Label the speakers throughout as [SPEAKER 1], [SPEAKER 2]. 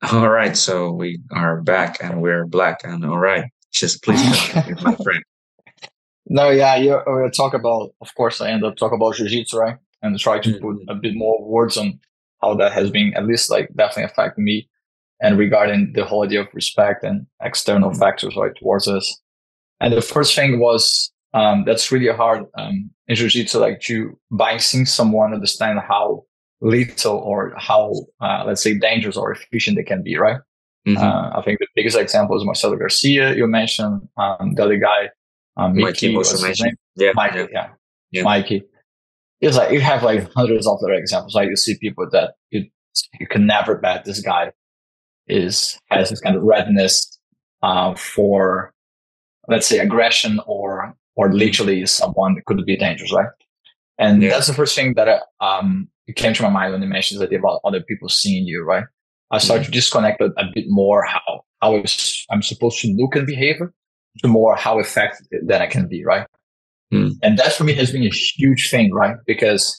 [SPEAKER 1] All right, so we are back and we're black. And all right, just please continue, my friend.
[SPEAKER 2] No, yeah, you talk about, of course, I end up talk about jiu-jitsu, right? And try to put
[SPEAKER 1] Mhm.
[SPEAKER 2] a bit more words on how that has been, at least like definitely affecting me and regarding the whole idea of respect and external factors, right, towards us. And the first thing was that's really hard in jiu-jitsu, like to by seeing someone understand how little or how let's say dangerous or efficient they can be, right?
[SPEAKER 1] Mhm.
[SPEAKER 2] I think the biggest example is Marcelo Garcia. You mentioned the other guy,
[SPEAKER 1] Mikey
[SPEAKER 2] Mickey, what's his
[SPEAKER 1] Musumeci.
[SPEAKER 2] name?
[SPEAKER 1] Yeah, yeah,
[SPEAKER 2] Mikey, yeah,
[SPEAKER 1] yeah.
[SPEAKER 2] Mikey. It's like you have like hundreds of other examples. Like you see people that you can never bet this guy is has this kind of readiness for let's say aggression or
[SPEAKER 1] Mhm.
[SPEAKER 2] literally someone that could be dangerous, right? And
[SPEAKER 1] Yeah.
[SPEAKER 2] that's the first thing that it came to my mind when you mentioned that about other people seeing you, right? I started to
[SPEAKER 1] Mhm.
[SPEAKER 2] disconnect a bit more how I'm supposed to look and behave to more how effective that I can be, right?
[SPEAKER 1] Mhm.
[SPEAKER 2] And that for me has been a huge thing, right? Because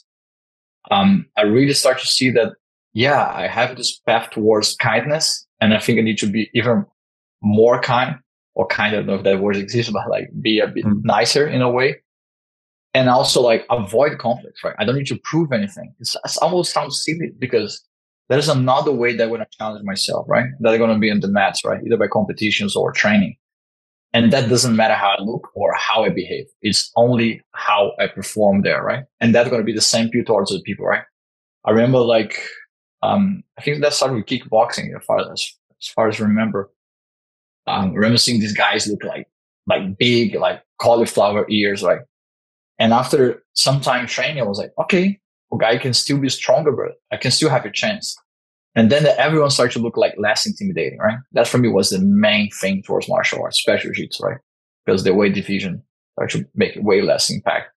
[SPEAKER 2] I really start to see that, yeah, I have this path towards kindness, and I think I need to be even more kind, or kind, I don't know if that word exists, but like be a bit
[SPEAKER 1] Mhm.
[SPEAKER 2] nicer in a way, and also like avoid conflicts, right? I don't need to prove anything. It almost sounds silly because there's another way that I'm going to challenge myself, right? That I'm going to be in the mats, right? Either by competitions or training. And that doesn't matter how I look or how I behave. It's only how I perform there, right? And that's going to be the same view towards the people, right? I remember like, I think that started with kickboxing as far as I remember. I remember seeing these guys look like big, like cauliflower ears, right? And after some time training, I was like, okay, okay, I can still be stronger, but I can still have a chance. And then everyone started to look like less intimidating, right? That for me was the main thing towards martial arts, especially jiu-jitsu, right? Because the weight division started to make way less impact.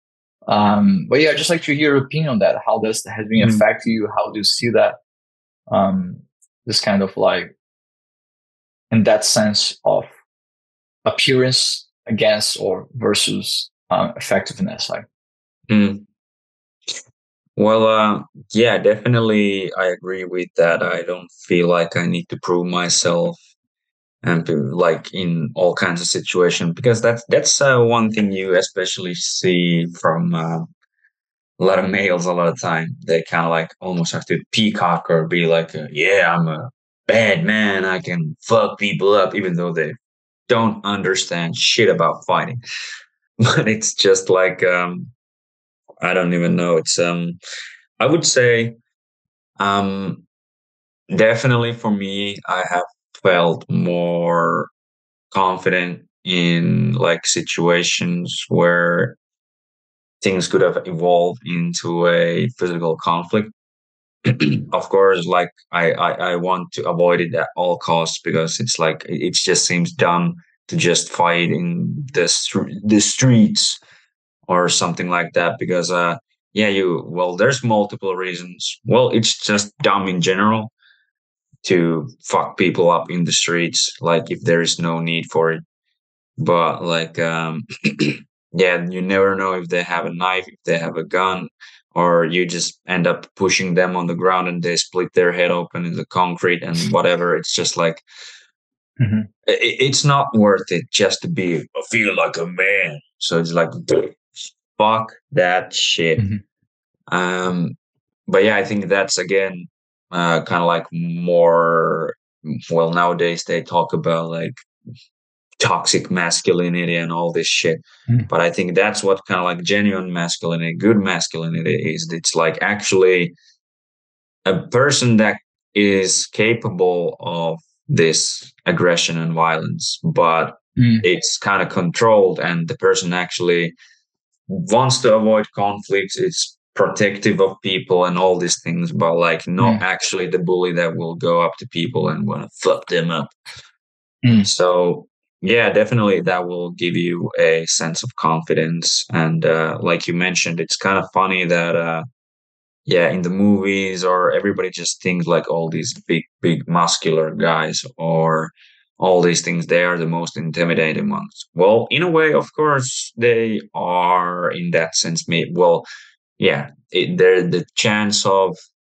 [SPEAKER 2] But yeah, I'd just like to hear your opinion on that. How does that has been
[SPEAKER 1] Mhm.
[SPEAKER 2] affect you? How do you see that? Um, this kind of like in that sense of appearance against or versus effectiveness, like.
[SPEAKER 1] Mhm. Well, yeah, definitely, I agree with that. I don't feel like I need to prove myself and to, like in all kinds of situations because that's one thing you especially see from a lot of males a lot of time. They kind of like almost have to peacock or be like, yeah, I'm a bad man. I can fuck people up, even though they don't understand shit about fighting. But it's just like, I don't even know. I would say, um, definitely for me, I have felt more confident in like situations where things could have evolved into a physical conflict. Of course, like I want to avoid it at all costs because it's like it just seems dumb to just fight in the streets or something like that because yeah, you well there's multiple reasons. Well, it's just dumb in general to fuck people up in the streets like if there is no need for it. But like yeah, you never know if they have a knife, if they have a gun, or you just end up pushing them on the ground and they split their head open in the concrete and whatever. It's just like
[SPEAKER 2] Mhm.
[SPEAKER 1] it's not worth it just to be I feel like a man. So it's like fuck that shit.
[SPEAKER 2] Mhm.
[SPEAKER 1] um but yeah, I think that's again kind of like more, well, nowadays they talk about like toxic masculinity and all this shit.
[SPEAKER 2] Mhm.
[SPEAKER 1] But I think that's what kind of like genuine masculinity, good masculinity is. It's like actually a person that is capable of this aggression and violence, but
[SPEAKER 2] Mhm.
[SPEAKER 1] it's kind of controlled, and the person actually wants to avoid conflicts. It's protective of people and all these things, but like not
[SPEAKER 2] Mhm.
[SPEAKER 1] actually the bully that will go up to people and want to fuck them up.
[SPEAKER 2] Mhm.
[SPEAKER 1] So yeah, definitely that will give you a sense of confidence. And like you mentioned, it's kind of funny that yeah, in the movies or everybody just thinks like all these big muscular guys or all these things, they are the most intimidating ones. Well, in a way, of course, they are in that sense. Well, yeah, they're the chance of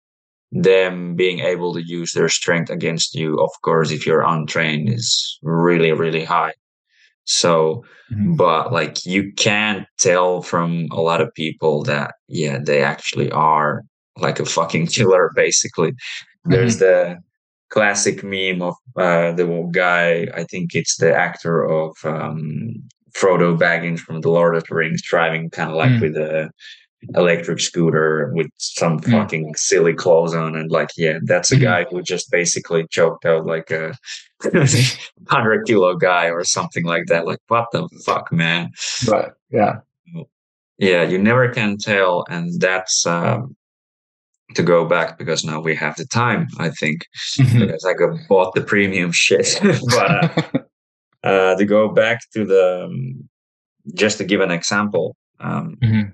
[SPEAKER 1] them being able to use their strength against you, of course, if you're untrained, is really, really high. So,
[SPEAKER 2] Mhm.
[SPEAKER 1] but like you can't tell from a lot of people that, yeah, they actually are like a fucking killer, basically. There's
[SPEAKER 2] Mhm.
[SPEAKER 1] the classic meme of the guy, I think it's the actor of Frodo Baggins from The Lord of the Rings, driving kind of like
[SPEAKER 2] Mm.
[SPEAKER 1] with a electric scooter with some
[SPEAKER 2] Mm.
[SPEAKER 1] fucking silly clothes on, and like, yeah, that's a
[SPEAKER 2] Mhm.
[SPEAKER 1] guy who just basically choked out like a 100 kilo guy or something like that. Like, what the fuck, man?
[SPEAKER 2] Right. Yeah.
[SPEAKER 1] Yeah, you never can tell, and that's to go back because now we have the time, I think,
[SPEAKER 2] Mhm.
[SPEAKER 1] because I got bought the premium shit. But to go back to the just to give an example,
[SPEAKER 2] Mhm.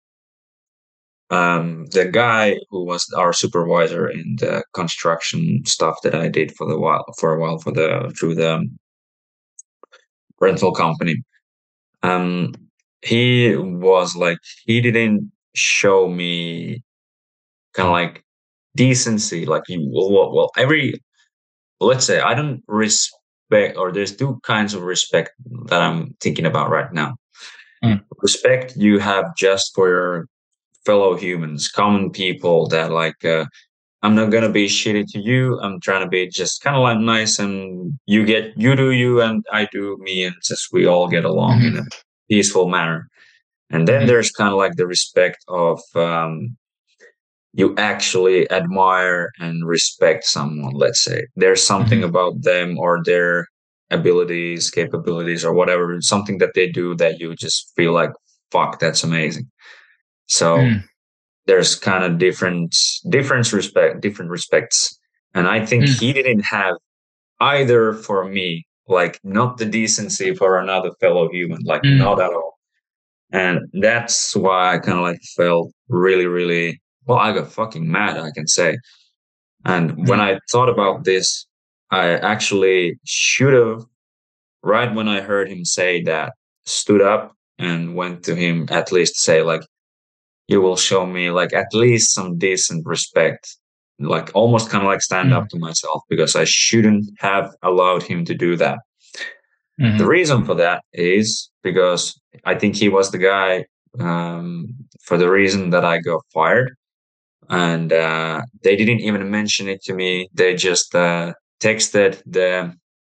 [SPEAKER 1] the guy who was our supervisor in the construction stuff that I did for a while through the rental company. Um, he was like he didn't show me kind of like decency. Like you, every let's say I don't respect, or there's two kinds of respect that I'm thinking about right now.
[SPEAKER 2] Mm.
[SPEAKER 1] Respect you have just for your fellow humans, common people that like. I'm not gonna be shitty to you. I'm trying to be just kind of like nice, and you do you, and I do me, and just we all get along in a
[SPEAKER 2] Mhm.
[SPEAKER 1] peaceful manner. And then
[SPEAKER 2] Mhm.
[SPEAKER 1] there's kind of like the respect of you actually admire and respect someone. Let's say there's something
[SPEAKER 2] Mhm.
[SPEAKER 1] about them or their abilities, capabilities, or whatever, something that they do that you just feel like, fuck, that's amazing. So
[SPEAKER 2] Mm.
[SPEAKER 1] there's kind of different respects, and I think
[SPEAKER 2] Mm.
[SPEAKER 1] he didn't have either for me, like not the decency for another fellow human, like
[SPEAKER 2] Mm.
[SPEAKER 1] not at all. And that's why I kind of like felt really, really, well, I got fucking mad, I can say. And when
[SPEAKER 2] Mm.
[SPEAKER 1] I thought about this, I actually should have, right when I heard him say that, stood up and went to him, at least say like, you will show me like at least some decent respect, like almost kind of like stand up
[SPEAKER 2] Mm.
[SPEAKER 1] to myself, because I shouldn't have allowed him to do that. The
[SPEAKER 2] Mhm.
[SPEAKER 1] reason for that is because I think he was the guy, for the reason that I got fired, and they didn't even mention it to me. They just texted the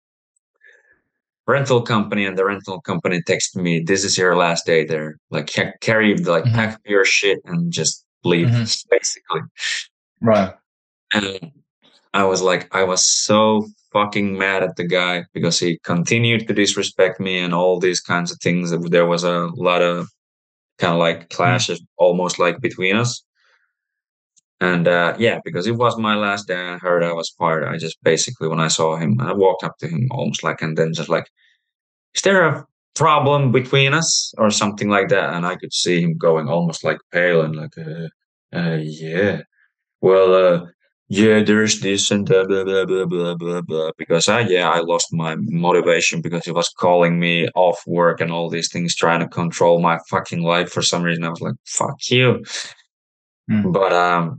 [SPEAKER 1] rental company, and the rental company texted me, "This is your last day there. Like carry, like
[SPEAKER 2] Mhm.
[SPEAKER 1] pack up your shit and just leave,"
[SPEAKER 2] Mhm.
[SPEAKER 1] basically.
[SPEAKER 2] Right.
[SPEAKER 1] And I was like, I was so fucking mad at the guy because he continued to disrespect me and all these kinds of things. There was a lot of kind of like
[SPEAKER 2] Mm.
[SPEAKER 1] clashes almost like between us. And yeah, because it was my last day, I heard I was fired. I just basically, when I saw him, I walked up to him almost like, and then just like, is there a problem between us or something like that? And I could see him going almost like pale and like, yeah. Well, yeah, there's this and that, blah, blah, blah, blah, blah, blah. Because I lost my motivation because he was calling me off work and all these things, trying to control my fucking life for some reason. I was like, fuck you.
[SPEAKER 2] Mm.
[SPEAKER 1] But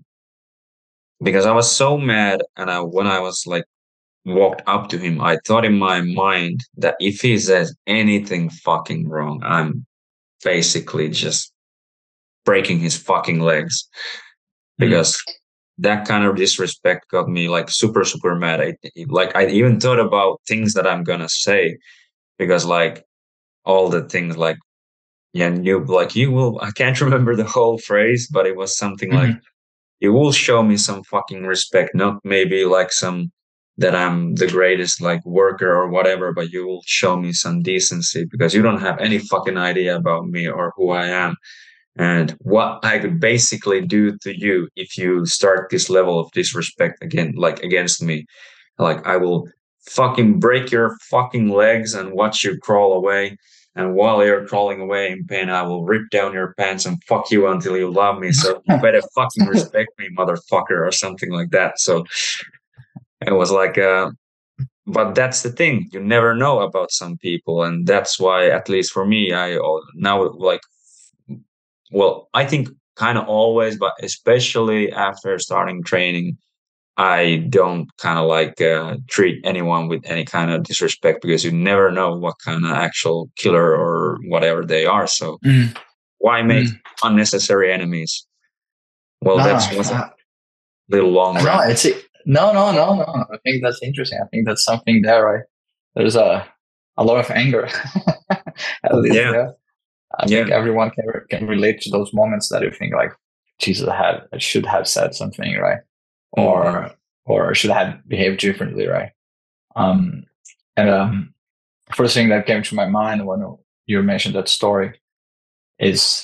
[SPEAKER 1] because I was so mad, and when I was like walked up to him, I thought in my mind that if he says anything fucking wrong, I'm basically just breaking his fucking legs,
[SPEAKER 2] Mm.
[SPEAKER 1] because that kind of disrespect got me like super, super mad. Like I even thought about things that I'm gonna say, because like all the things like, yeah, you will, I can't remember the whole phrase, but it was something like,
[SPEAKER 2] Mhm.
[SPEAKER 1] you will show me some fucking respect, not maybe like some that I'm the greatest like worker or whatever, but you will show me some decency because you don't have any fucking idea about me or who I am and what I could basically do to you if you start this level of disrespect again, like against me. Like I will fucking break your fucking legs and watch you crawl away. And while you're crawling away in pain, I will rip down your pants and fuck you until you love me. So you better fucking respect me, motherfucker, or something like that. So it was like, but that's the thing. You never know about some people. And that's why, at least for me, now like, well, I think kind of always, but especially after starting training, I don't kind of like treat anyone with any kind of disrespect because you never know what kind of actual killer or whatever they are. So
[SPEAKER 2] Mm,
[SPEAKER 1] why make
[SPEAKER 2] mm.
[SPEAKER 1] unnecessary enemies? Well,
[SPEAKER 2] No, no,
[SPEAKER 1] that's a little long
[SPEAKER 2] no.
[SPEAKER 1] rant.
[SPEAKER 2] No. I think that's interesting. I think that's something there, right? There's a lot of anger, at least
[SPEAKER 1] Yeah,
[SPEAKER 2] there. I think
[SPEAKER 1] yeah,
[SPEAKER 2] everyone can relate to those moments that you think like, Jesus, I should have said something, right?
[SPEAKER 1] hmm,
[SPEAKER 2] Or should have behaved differently, right? Um, and first thing that came to my mind when you mentioned that story is,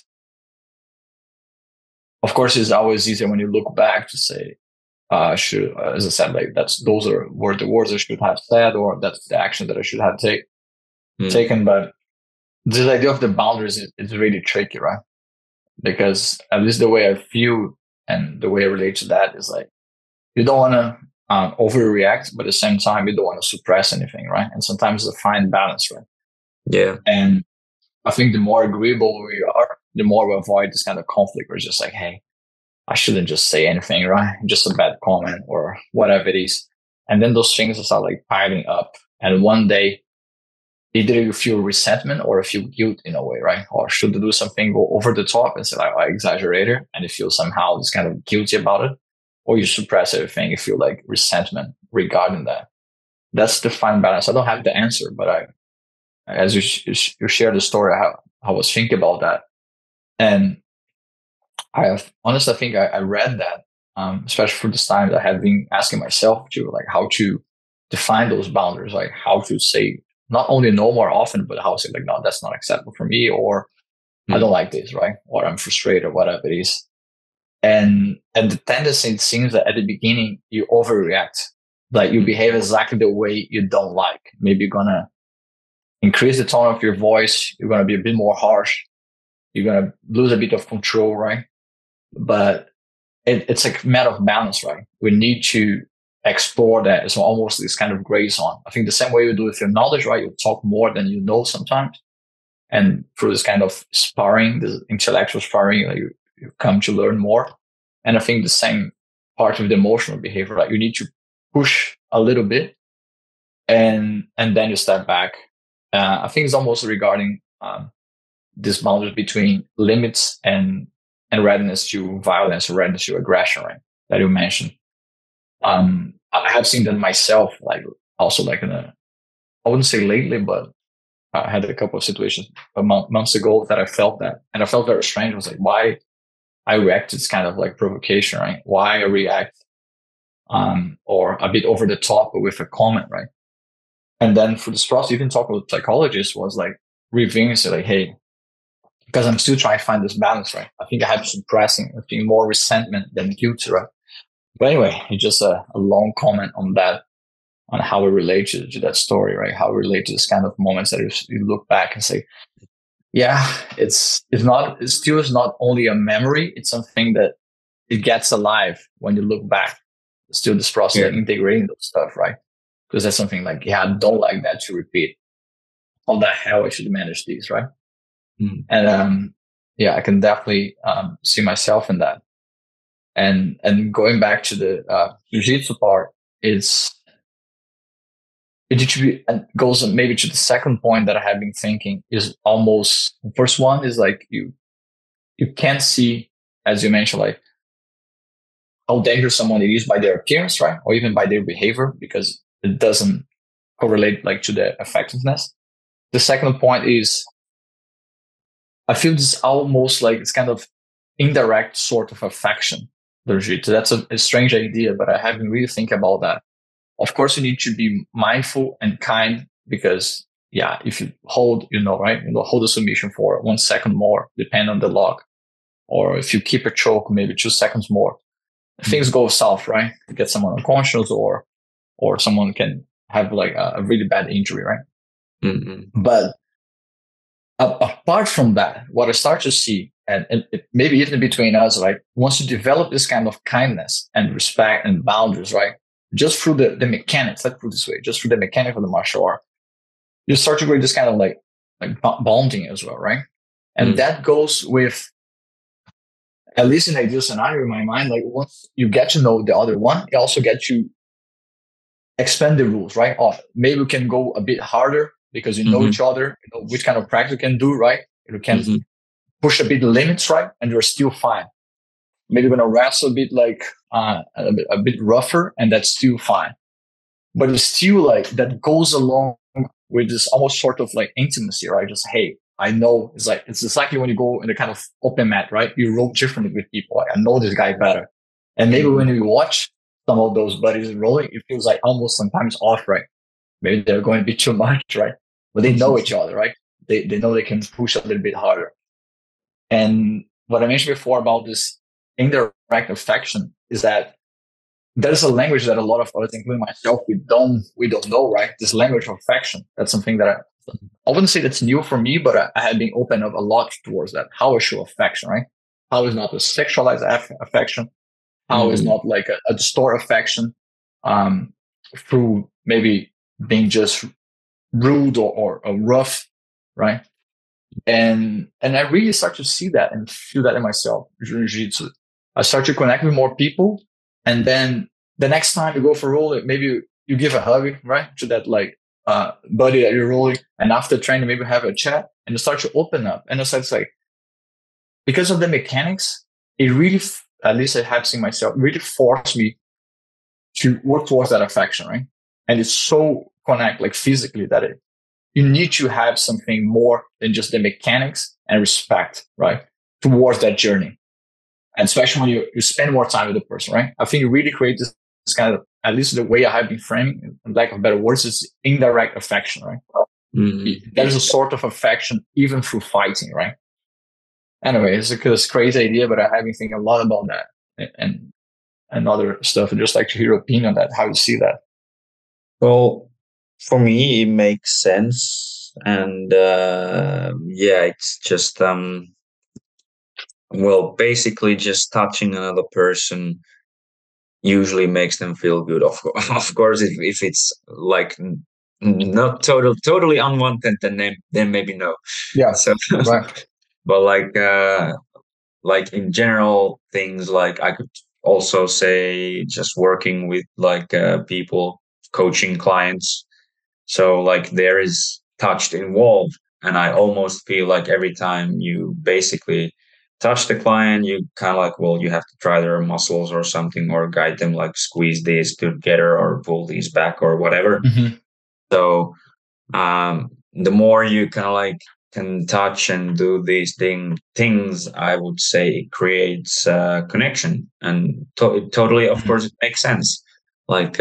[SPEAKER 2] of course, it's always easier when you look back to say, should, as I said, like were the words I should have said, or that's the action that I should have
[SPEAKER 1] hmm,
[SPEAKER 2] taken. But this idea of the boundaries is really tricky, right? Because at least the way I feel and the way I relate to that is like, you don't want to overreact, but at the same time, you don't want to suppress anything, right? And sometimes it's a fine balance, right?
[SPEAKER 1] yeah,
[SPEAKER 2] And I think the more agreeable we are, the more we avoid this kind of conflict where it's just like, hey, I shouldn't just say anything, right? Just a bad comment or whatever it is. And then those things start like piling up. And one day, either you feel resentment or you feel guilt in a way, right? Or should you do something, go over the top and say, like, I exaggerated, and you feel somehow just kind of guilty about it. Or you suppress everything, you feel like resentment regarding that. That's the fine balance. I don't have the answer, but as you share the story, I was thinking about that. And honestly, I think I read that, especially for this time, that I have been asking myself to like how to define those boundaries, like how to say not only no more often, but how to say like, no, that's not acceptable for me, or I don't
[SPEAKER 1] hmm,
[SPEAKER 2] like this, right? Or I'm frustrated, or whatever it is. And the tendency, it seems that at the beginning you overreact, like you
[SPEAKER 1] hmm,
[SPEAKER 2] behave exactly the way you don't like. Maybe you're gonna increase the tone of your voice, you're gonna be a bit more harsh, you're gonna lose a bit of control, right? But it's a matter of balance, right? We need to explore that. It's almost this kind of gray zone. I think the same way you do with your knowledge, right? You talk more than you know sometimes. And through this kind of sparring, this intellectual sparring, like you come to learn more. And I think the same part of the emotional behavior, right? You need to push a little bit and then you step back. I think it's almost regarding this boundary between limits and readiness to violence or readiness to aggression, right? That you mentioned. I have seen that myself, like also like I wouldn't say lately, but I had a couple of situations months ago that I felt that, and I felt very strange. I was like, why I react to this kind of like provocation, right? Why I react, or a bit over the top with a comment, right? And then for this process, even talking with psychologists was like reviewing, say like, hey, because I'm still trying to find this balance, right? I think I have suppressing, I think more resentment than guilt, right? But anyway, it's just a long comment on that, on how we relate to that story, right? How we relate to this kind of moments that you look back and say, yeah, it's still is not only a memory, it's something that it gets alive when you look back. It's still this process
[SPEAKER 1] yeah,
[SPEAKER 2] of integrating those stuff, right? Because that's something like, yeah, I don't like that to repeat. How the hell I should manage these, right?
[SPEAKER 1] hmm,
[SPEAKER 2] And yeah, I can definitely see myself in that. And going back to the jiu-jitsu part, and goes maybe to the second point that I have been thinking is almost the first one is like you can't see, as you mentioned, like how dangerous someone is by their appearance, right? Or even by their behavior, because it doesn't correlate like to the effectiveness. The second point is I feel this almost like it's kind of indirect sort of affection. That's a strange idea, but I haven't really think about that. Of course, you need to be mindful and kind because, yeah, if you hold, right, hold the submission for 1 second more, depending on the lock, or if you keep a choke, maybe 2 seconds more, things
[SPEAKER 1] hmm,
[SPEAKER 2] go south, right? You get someone unconscious, or someone can have like a really bad injury, right?
[SPEAKER 1] hmm,
[SPEAKER 2] But apart from that, what I start to see, and maybe even between us, like once you develop this kind of kindness and respect and boundaries, right? Just through the mechanics, let's put it this way, just through the mechanic of the martial art, you start to create this kind of like bonding as well, right? And
[SPEAKER 1] hmm,
[SPEAKER 2] that goes with at least in ideal scenario in my mind, like once you get to know the other one, it also gets you expand the rules, right? Oh, maybe we can go a bit harder because you know
[SPEAKER 1] Hmm.
[SPEAKER 2] each other, you know which kind of practice you can do, right? You can
[SPEAKER 1] Hmm.
[SPEAKER 2] push a bit the limits, right? And you're still fine. Maybe you're gonna wrestle a bit like a bit rougher, and that's still fine. But it's still like that goes along with this almost sort of like intimacy, right? Just hey, I know it's exactly when you go in the kind of open mat, right? You roll differently with people. Like, I know this guy better, and maybe
[SPEAKER 1] Hmm.
[SPEAKER 2] when you watch some of those buddies rolling, it feels like almost sometimes off, right? Maybe they're going to be too much, right? But they know each other, right? They know they can push a little bit harder. And what I mentioned before about this indirect affection is that there's a language that a lot of us, including myself, we don't know, right? This language of affection. That's something that I wouldn't say that's new for me, but I have been open up a lot towards that. How I show affection, right? How is not a sexualized affection? How is
[SPEAKER 1] Hmm.
[SPEAKER 2] not like a distort affection um, through maybe being just rude or rough, right? And I really start to see that and feel that in myself during jiu-jitsu. I start to connect with more people, and then the next time you go for a roll, maybe you give a hug, right, to that like buddy that you're rolling, and after training, maybe have a chat, and you start to open up, and it's like because of the mechanics, it really, at least I have seen myself, really forced me to work towards that affection, right? And it's so connect like physically that you need to have something more than just the mechanics and respect, right? Towards that journey. And especially when you spend more time with the person, right? I think it really creates this kind of, at least the way I have been framing, in lack of better words, is indirect affection, right?
[SPEAKER 1] Hmm.
[SPEAKER 2] There is a sort of affection even through fighting, right? Anyway, it's a crazy idea, but I have been thinking a lot about that and other stuff. I'd just like to hear your opinion on that, how you see that.
[SPEAKER 1] Well, for me, it makes sense, and yeah, it's just well, basically, just touching another person usually makes them feel good. Of course, if it's like not totally unwanted, then maybe no.
[SPEAKER 2] Yeah,
[SPEAKER 1] So,
[SPEAKER 2] right.
[SPEAKER 1] but like in general things, like I could also say just working with like people, coaching clients. So like there is touch involved, and I almost feel like every time you basically touch the client, you kind of like, well, you have to try their muscles or something, or guide them like squeeze these together or pull these back or whatever.
[SPEAKER 2] Mm-hmm.
[SPEAKER 1] So the more you kind of like can touch and do these things, I would say it creates connection, and totally, of course, it makes sense. Like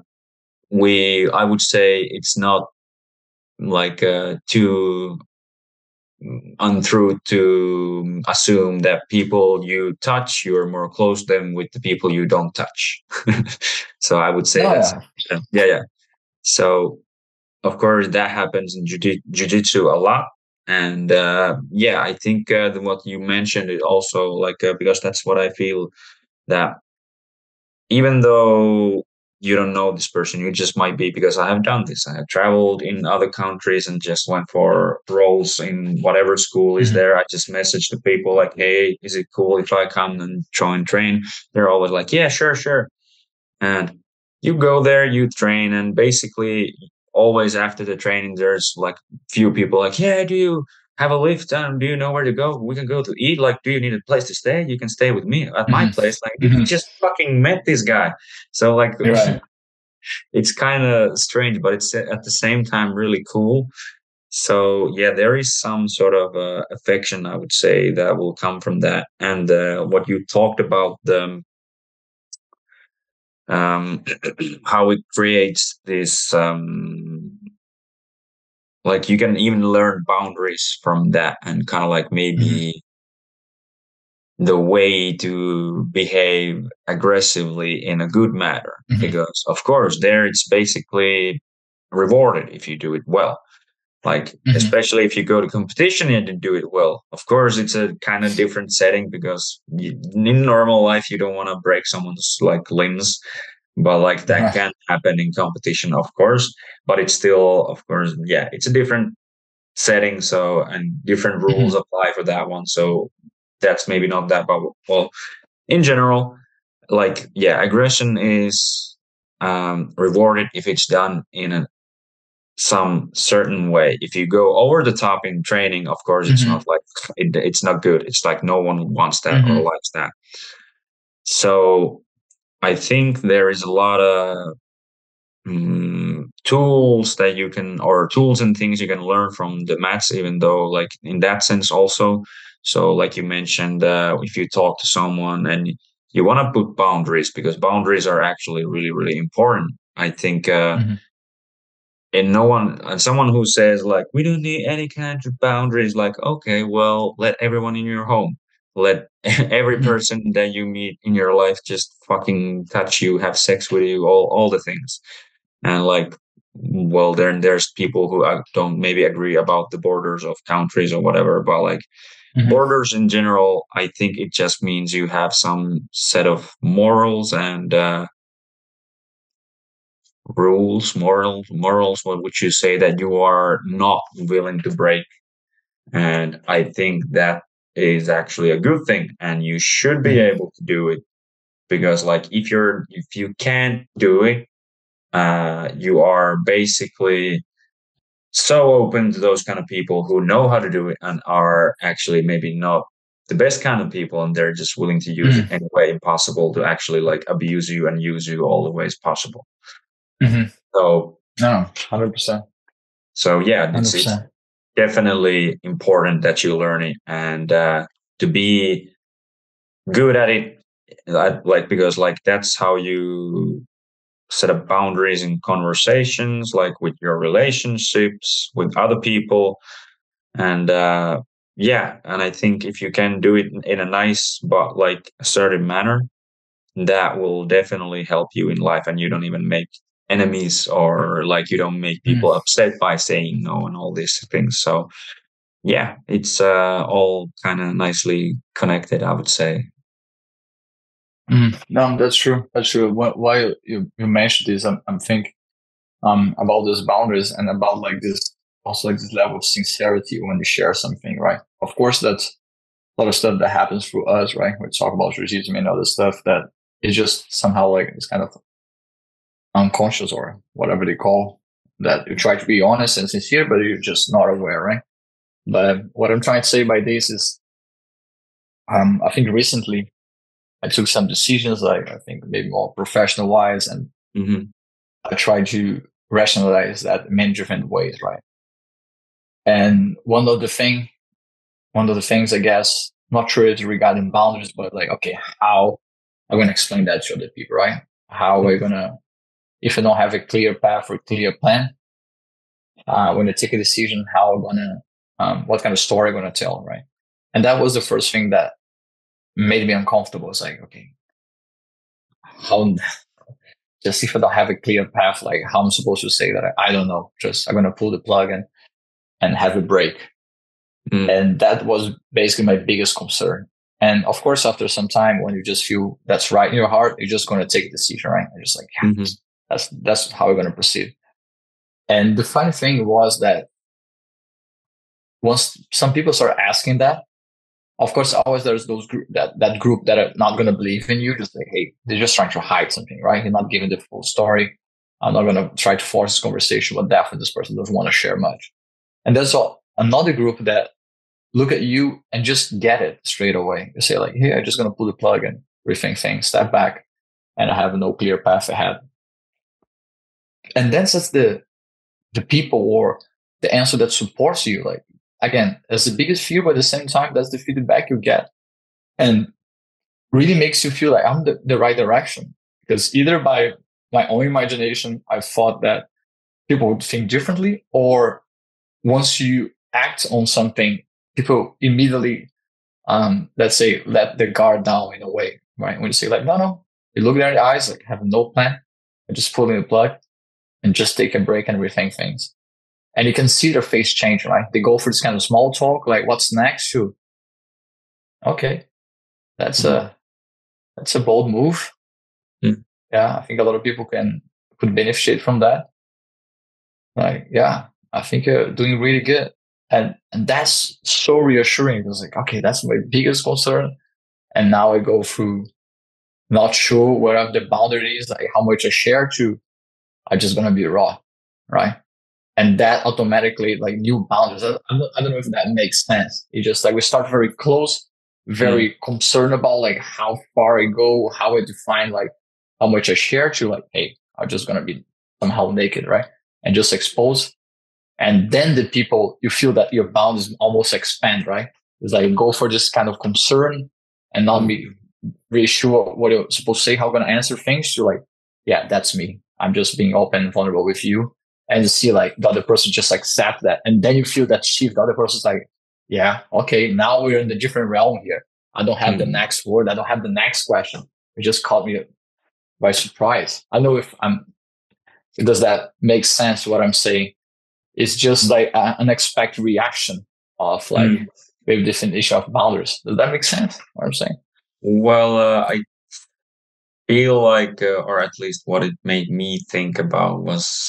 [SPEAKER 1] I would say it's not like too untrue to assume that people you touch, you're more close than with the people you don't touch. So I would say
[SPEAKER 2] No,
[SPEAKER 1] that's
[SPEAKER 2] yeah.
[SPEAKER 1] yeah, yeah. So of course that happens in jiu-jitsu a lot. And yeah, I think what you mentioned is also like because that's what I feel, that even though you don't know this person, you just might be, because I have done this. I have traveled in other countries and just went for roles in whatever school is
[SPEAKER 2] Mm-hmm.
[SPEAKER 1] there. I just message the people like, hey, is it cool if I come and join train? They're always like, yeah, sure, sure. And you go there, you train, and basically always after the training, there's like few people like, yeah, do you have a lift? Do you know where to go? We can go to eat. Like, do you need a place to stay? You can stay with me at my place. Like,
[SPEAKER 2] Mm-hmm.
[SPEAKER 1] you
[SPEAKER 2] Mm-hmm.
[SPEAKER 1] just fucking met this guy. So like,
[SPEAKER 2] You're right.
[SPEAKER 1] it's kind of strange, but it's at the same time really cool. So yeah, there is some sort of affection, I would say, that will come from that. And what you talked about, the um, how it creates this like you can even learn boundaries from that, and kind of like
[SPEAKER 2] Mm-hmm.
[SPEAKER 1] maybe the way to behave aggressively in a good manner,
[SPEAKER 2] Mm-hmm.
[SPEAKER 1] because of course there it's basically rewarded if you do it well. Like
[SPEAKER 2] Mm-hmm.
[SPEAKER 1] especially if you go to competition and you do it well, of course it's a kind of different setting, because in normal life you don't want to break someone's like limbs, but like that
[SPEAKER 2] Right.
[SPEAKER 1] can happen in competition, of course. But it's still, of course, yeah, it's a different setting, so, and different rules
[SPEAKER 2] Mm-hmm.
[SPEAKER 1] apply for that one. So that's maybe not that, but well, in general, like, yeah, aggression is rewarded if it's done in some certain way. If you go over the top in training, of course, it's
[SPEAKER 2] Mm-hmm.
[SPEAKER 1] not like it's not good. It's like no one wants that or
[SPEAKER 2] Mm-hmm.
[SPEAKER 1] likes that. So I think there is a lot of tools that you can, or tools and things you can learn from the mats, even though, like, in that sense also. So like you mentioned, if you talk to someone and you want to put boundaries, because boundaries are actually really, really important, I think.
[SPEAKER 2] Mm-hmm.
[SPEAKER 1] And no one, and someone who says like, we don't need any kind of boundaries, like, okay, well, let everyone in your home, let every
[SPEAKER 2] Mm-hmm.
[SPEAKER 1] person that you meet in your life just fucking touch you, have sex with you, all the things. And like, well, then there's people who don't maybe agree about the borders of countries or whatever, but like,
[SPEAKER 2] Mm-hmm.
[SPEAKER 1] borders in general, I think it just means you have some set of morals and morals, what would you say, that you are not willing to break? And I think that is actually a good thing, and you should be
[SPEAKER 2] Mm-hmm.
[SPEAKER 1] able to do it, because like, if you can't do it, you are basically so open to those kind of people who know how to do it and are actually maybe not the best kind of people, and they're just willing to use it any way possible to actually like abuse you and use you all the ways possible.
[SPEAKER 2] Mm-hmm.
[SPEAKER 1] So
[SPEAKER 2] No, 100%.
[SPEAKER 1] yeah, it's
[SPEAKER 2] 100%.
[SPEAKER 1] definitely important that you learn it, and to be good at it, like, because like that's how you set up boundaries in conversations, like with your relationships with other people. And yeah, and I think if you can do it in a nice but like assertive manner, that will definitely help you in life, and you don't even make enemies, or like you don't make people upset by saying no and all these things. So yeah, it's all kind of nicely connected, I would say.
[SPEAKER 2] No, that's true. That's true. Why you mentioned this, I'm thinking about those boundaries and about like this, also like this level of sincerity when you share something, right? Of course, that's a lot of stuff that happens through us, right? We talk about racism and other stuff that is just somehow like it's kind of unconscious or whatever they call that. You try to be honest and sincere, but you're just not aware, right? But what I'm trying to say by this is, I think recently I took some decisions, like I think maybe more professional wise, and
[SPEAKER 1] Hmm.
[SPEAKER 2] I tried to rationalize that in many different ways, right? And one of the things, I guess, not sure it's regarding boundaries, but like, okay, how I'm going to explain that to other people, right? How are we going to, if I don't have a clear path or clear plan, when I take a decision, how I'm going to, what kind of story I'm going to tell, right? And that was the first thing that made me uncomfortable. It's like, okay, how, just if I don't have a clear path, like how I'm supposed to say that, I don't know. Just I'm going to pull the plug and have a break.
[SPEAKER 1] Mm.
[SPEAKER 2] And that was basically my biggest concern. And of course, after some time, when you just feel that's right in your heart, you're just going to take a decision, right? You're just like, yeah,
[SPEAKER 1] Hmm.
[SPEAKER 2] that's how we're going to proceed. And the funny thing was that once some people start asking that, of course, always there's those that group that are not going to believe in you. Just like, hey, they're just trying to hide something, right? You're not giving the full story. I'm not going to try to force this conversation, but definitely this person doesn't want to share much. And there's another group that look at you and just get it straight away. You say like, hey, I'm just going to pull the plug and rethink things, step back, and I have no clear path ahead. And that's just the people or the answer that supports you. Like, again, that's the biggest fear, but at the same time, that's the feedback you get. And really makes you feel like I'm the right direction. Because either by my own imagination, I thought that people would think differently, or once you act on something, people immediately, let's say, let the guard down in a way, right? When you say like, no, you look them in the eyes, like have no plan, and just pulling the plug and just take a break and rethink things. And you can see their face change, right? They go for this kind of small talk, like what's next? To okay, that's
[SPEAKER 1] Mm.
[SPEAKER 2] a bold move.
[SPEAKER 1] Mm.
[SPEAKER 2] Yeah, I think a lot of people could benefit from that. Like, yeah, I think you're doing really good. And that's so reassuring. It was like, okay, that's my biggest concern. And now I go through not sure what are the boundaries, like how much I share to, are just gonna be raw, right? And that automatically like new boundaries. I don't know if that makes sense. It's just like we start very close,
[SPEAKER 1] Mm,
[SPEAKER 2] very concerned about like how far I go, how I define like how much I share to like, hey, I'm just gonna be somehow naked, right? And just expose. And then the people you feel that your boundaries almost expand, right? It's like go for this kind of concern and not
[SPEAKER 1] mm,
[SPEAKER 2] be really sure what you're supposed to say, how I'm gonna answer things. You're like, yeah, that's me. I'm just being open and vulnerable with you. And you see like the other person just accept that. And then you feel that shift. The other person's like, yeah, okay, now we're in a different realm here. I don't have the
[SPEAKER 1] mm.
[SPEAKER 2] next word. I don't have the next question. It just caught me by surprise. I don't know if does that make sense what I'm saying? It's just like an unexpected reaction of like
[SPEAKER 1] Mm.
[SPEAKER 2] maybe definition of boundaries. Does that make sense? What I'm saying?
[SPEAKER 1] Well, I feel like, or at least what it made me think about was,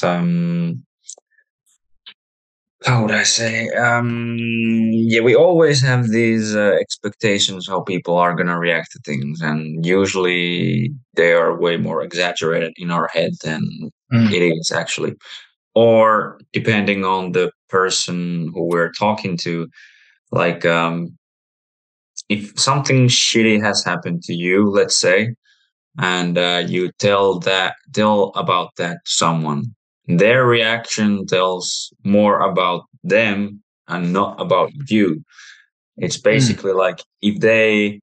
[SPEAKER 1] how would I say? Yeah, we always have these expectations how people are gonna react to things, and usually they are way more exaggerated in our head than
[SPEAKER 2] Mm,
[SPEAKER 1] it is actually. Or depending on the person who we're talking to, like if something shitty has happened to you, let's say, and you tell about that to someone, their reaction tells more about them and not about you. It's
[SPEAKER 2] mm,
[SPEAKER 1] basically like if they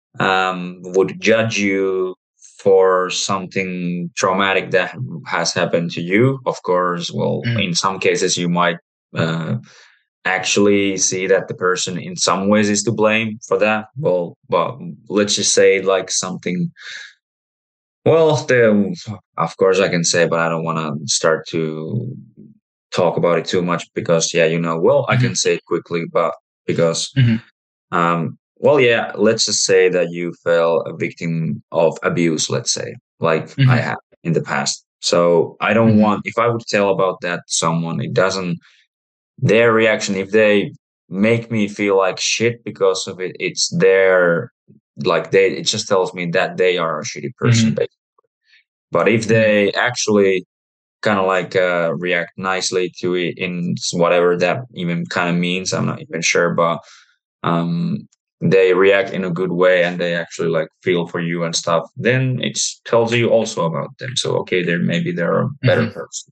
[SPEAKER 1] would judge you for something traumatic that has happened to you, of course, well,
[SPEAKER 2] mm,
[SPEAKER 1] in some cases you might uh, actually see that the person in some ways is to blame for that. Well, but let's just say like something, well, of course I can say, but I don't want to start to talk about it too much because, yeah, well, I
[SPEAKER 2] mhm,
[SPEAKER 1] can say it quickly, but because,
[SPEAKER 2] mhm,
[SPEAKER 1] well, yeah, let's just say that you fell a victim of abuse, let's say, like I
[SPEAKER 2] mhm,
[SPEAKER 1] have in the past. So I don't
[SPEAKER 2] mhm,
[SPEAKER 1] want, if I would tell about that to someone, it doesn't, their reaction, if they make me feel like shit because of it, it's their, like it just tells me that they are a shitty person,
[SPEAKER 2] mhm,
[SPEAKER 1] basically. But if
[SPEAKER 2] mhm,
[SPEAKER 1] they actually kind of like react nicely to it in whatever that even kind of means, I'm not even sure, but um, they react in a good way and they actually like feel for you and stuff, then it tells you also about them. So okay, maybe they're a better
[SPEAKER 2] mhm,
[SPEAKER 1] person.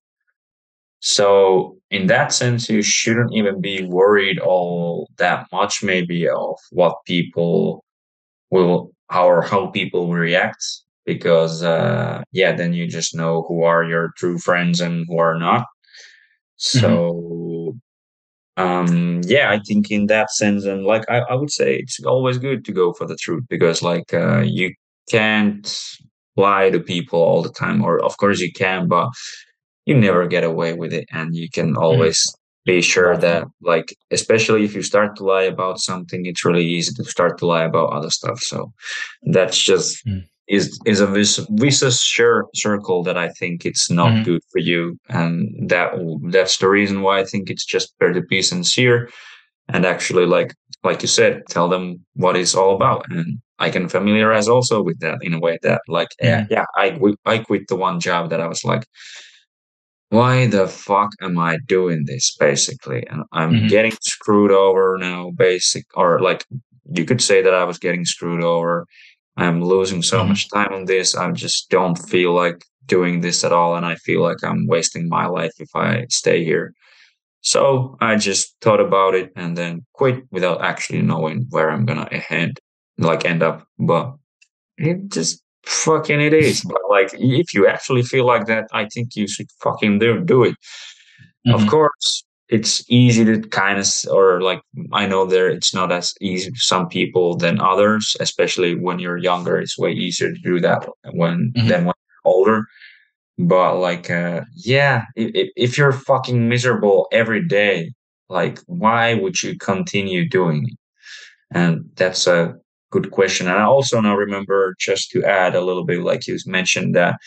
[SPEAKER 1] So in that sense, you shouldn't even be worried all that much, maybe, of what people will how people will react, because yeah, then you just know who are your true friends and who are not.
[SPEAKER 2] mhm,
[SPEAKER 1] So yeah, I think in that sense, and like I would say it's always good to go for the truth, because like you can't lie to people all the time, or of course you can, but you never get away with it, and you can
[SPEAKER 2] mhm.
[SPEAKER 1] always be sure that,
[SPEAKER 2] Definitely.
[SPEAKER 1] like, especially if you start to lie about something, it's really easy to start to lie about other stuff. So that's just
[SPEAKER 2] Mm,
[SPEAKER 1] is a vicious circle that I think it's not
[SPEAKER 2] mhm,
[SPEAKER 1] good for you, and that's the reason why I think it's just better to be sincere and actually, like you said, tell them what it's all about. And I can familiarize also with that in a way that, like,
[SPEAKER 2] mhm,
[SPEAKER 1] yeah, I quit the one job that I was like, why the fuck am I doing this, basically? And I'm
[SPEAKER 2] mhm,
[SPEAKER 1] getting screwed over now, or like you could say that I was getting screwed over. I'm losing so
[SPEAKER 2] mhm,
[SPEAKER 1] much time on this. I just don't feel like doing this at all. And I feel like I'm wasting my life if I stay here. So I just thought about it and then quit without actually knowing where I'm gonna end up. But it just fucking it is. But like, if you actually feel like that, I think you should fucking do it. Of
[SPEAKER 2] mhm,
[SPEAKER 1] course, it's easy to kind of, or like, I know it's not as easy to some people than others, especially when you're younger. It's way easier to do that
[SPEAKER 2] mhm,
[SPEAKER 1] when you're older. But like, yeah, if you're fucking miserable every day, like, why would you continue doing it? And that's a good question. And I also now remember, just to add a little bit, like you mentioned, that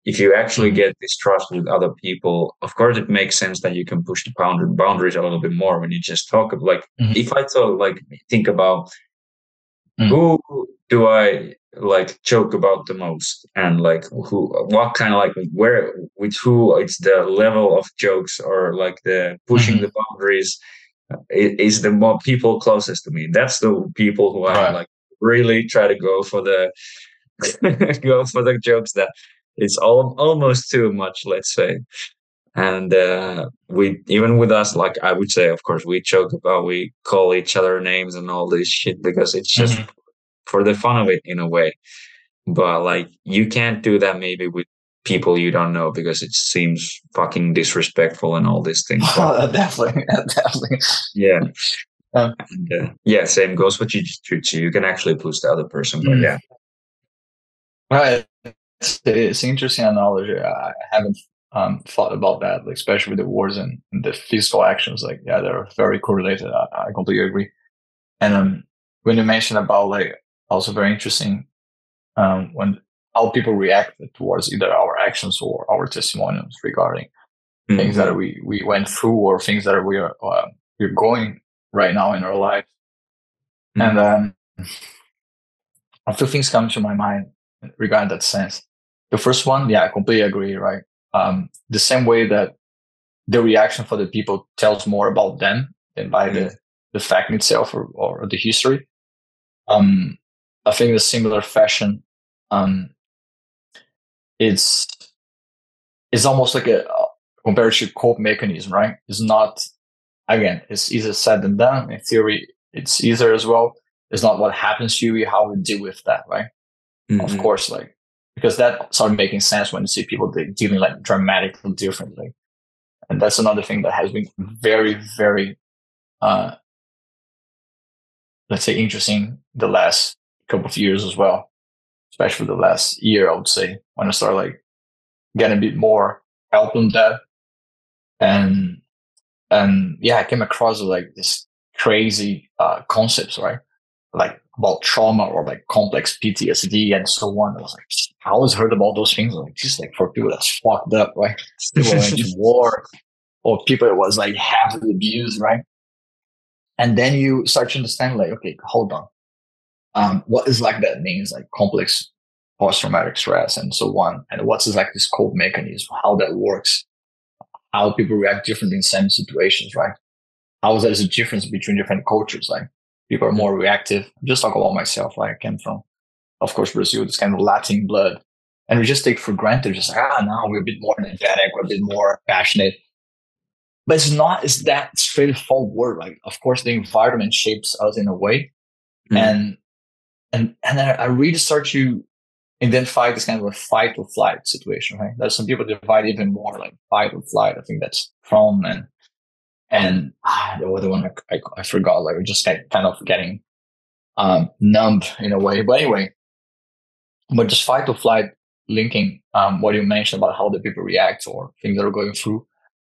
[SPEAKER 1] if you actually
[SPEAKER 2] Mhm.
[SPEAKER 1] get this trust with other people, of course, it makes sense that you can push the boundaries a little bit more when you just talk of like,
[SPEAKER 2] Mhm.
[SPEAKER 1] if I talk, like, think about
[SPEAKER 2] Mhm.
[SPEAKER 1] who do I like joke about the most, and like who, what kind of like where, with who it's the level of jokes or like the pushing the
[SPEAKER 2] Mhm.
[SPEAKER 1] boundaries is the more people closest to me. That's the people who I
[SPEAKER 2] Right.
[SPEAKER 1] like really try to go for the go for the jokes that it's almost too much, let's say. And we, even with us, like I would say, of course, we joke about, we call each other names and all this shit because it's just
[SPEAKER 2] Mhm.
[SPEAKER 1] for the fun of it in a way. But like you can't do that maybe with people you don't know because it seems fucking disrespectful and all these things. But
[SPEAKER 2] Definitely, definitely.
[SPEAKER 1] yeah,
[SPEAKER 2] Um,
[SPEAKER 1] and, yeah, same goes for jiu-jitsu. You can actually push the other person, but
[SPEAKER 2] mm.
[SPEAKER 1] yeah.
[SPEAKER 2] Right. It's an interesting analogy. I haven't thought about that, like, especially with the wars and the physical actions. Like, yeah, they're very correlated. I completely agree. And when you mentioned about, like, also very interesting, when how people react towards either our actions or our testimonials regarding things that
[SPEAKER 1] Hmm.
[SPEAKER 2] we went through or things that we're going right now in our life. And
[SPEAKER 1] Hmm.
[SPEAKER 2] a few things come to my mind regarding that sense. The first one, yeah, I completely agree, right? The same way that the reaction for the people tells more about them than by the fact itself or the history. Um, I think in a similar fashion, um, it's it's almost like a compared to cope mechanism, right? It's not, again, it's easier said than done. In theory, it's easier as well. It's not what happens to you, how we deal with that, right? Of
[SPEAKER 1] Hmm.
[SPEAKER 2] course, like, because that started making sense when you see people dealing like dramatically differently. And that's another thing that has been very, very, uh, let's say, interesting the last couple of years as well, especially the last year, I would say, when I started like getting a bit more help on that. And, and yeah, I came across like this crazy, concepts, right? Like about trauma or like complex PTSD and so on. I was like, I always heard about those things. Like, just like for people that's fucked up, right? People that went to war or people that was like heavily abused, right? And then you start to understand, like, okay, hold on. What is like that means, like complex post-traumatic stress and so on. And what's like this cope mechanism, how that works, how people react differently in same situations, right? How there's a difference between different cultures. Like people are more reactive. Just talk about myself. Like I came from, of course, Brazil, this kind of Latin blood. And we just take for granted, just like, now we're a bit more energetic, we're a bit more passionate. But it's not, it's that straightforward. Like, of course, the environment shapes us in a way.
[SPEAKER 1] Hmm.
[SPEAKER 2] And and then I really start to identify this kind of a fight or flight situation, right? There's some people divide even more like fight or flight. I think that's from and the other one I forgot. Like we're just kind of getting numb in a way. But anyway, but just fight or flight linking what you mentioned about how the people react or things that are going through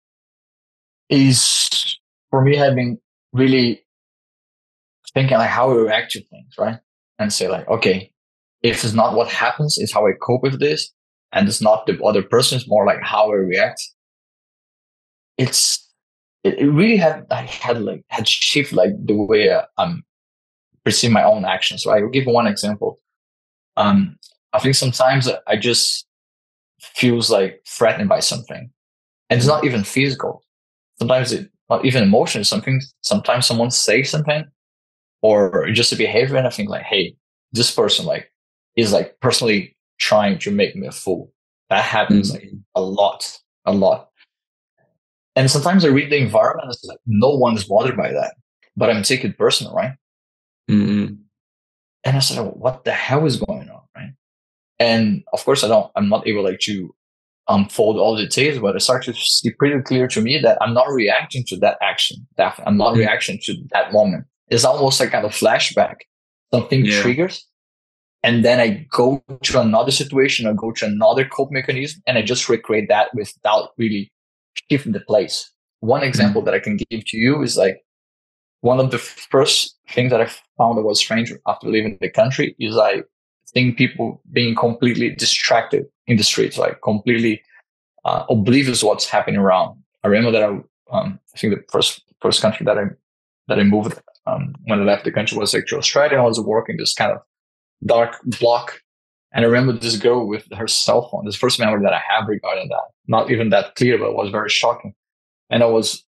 [SPEAKER 2] is for me having really thinking like how we react to things, right? And say like, okay, if it's not what happens, it's how I cope with this, and it's not the other person, it's more like how I react. It's it really had shift like the way I'm perceive my own actions. So I will give one example. Um, I think sometimes I just feels like threatened by something, and it's not even physical. Sometimes it not even emotional. Something. Sometimes someone says something, or just a behavior, and I think like, hey, this person like is like personally trying to make me a fool. That happens like
[SPEAKER 1] Hmm.
[SPEAKER 2] a lot, a lot. And sometimes I read the environment, and it's like no one is bothered by that, but I'm taking it personal, right?
[SPEAKER 1] Hmm.
[SPEAKER 2] And I said, what the hell is going on, right? And of course, I'm not able like to unfold all the details, but it starts to see pretty clear to me that I'm not reacting to that action. That I'm not
[SPEAKER 1] Hmm.
[SPEAKER 2] reacting to that moment. It's almost like kind of flashback. Something
[SPEAKER 1] Yeah.
[SPEAKER 2] triggers, and then I go to another situation or go to another cope mechanism, and I just recreate that without really shifting the place. One example
[SPEAKER 1] Hmm.
[SPEAKER 2] that I can give to you is like one of the first things that I found that was strange after leaving the country is I think people being completely distracted in the streets, like completely oblivious what's happening around. I remember that I think the first country that I moved when I left the country was like to Australia. I was working this kind of dark block, and I remember this girl with her cell phone. This first memory that I have regarding that, not even that clear, but it was very shocking. And I was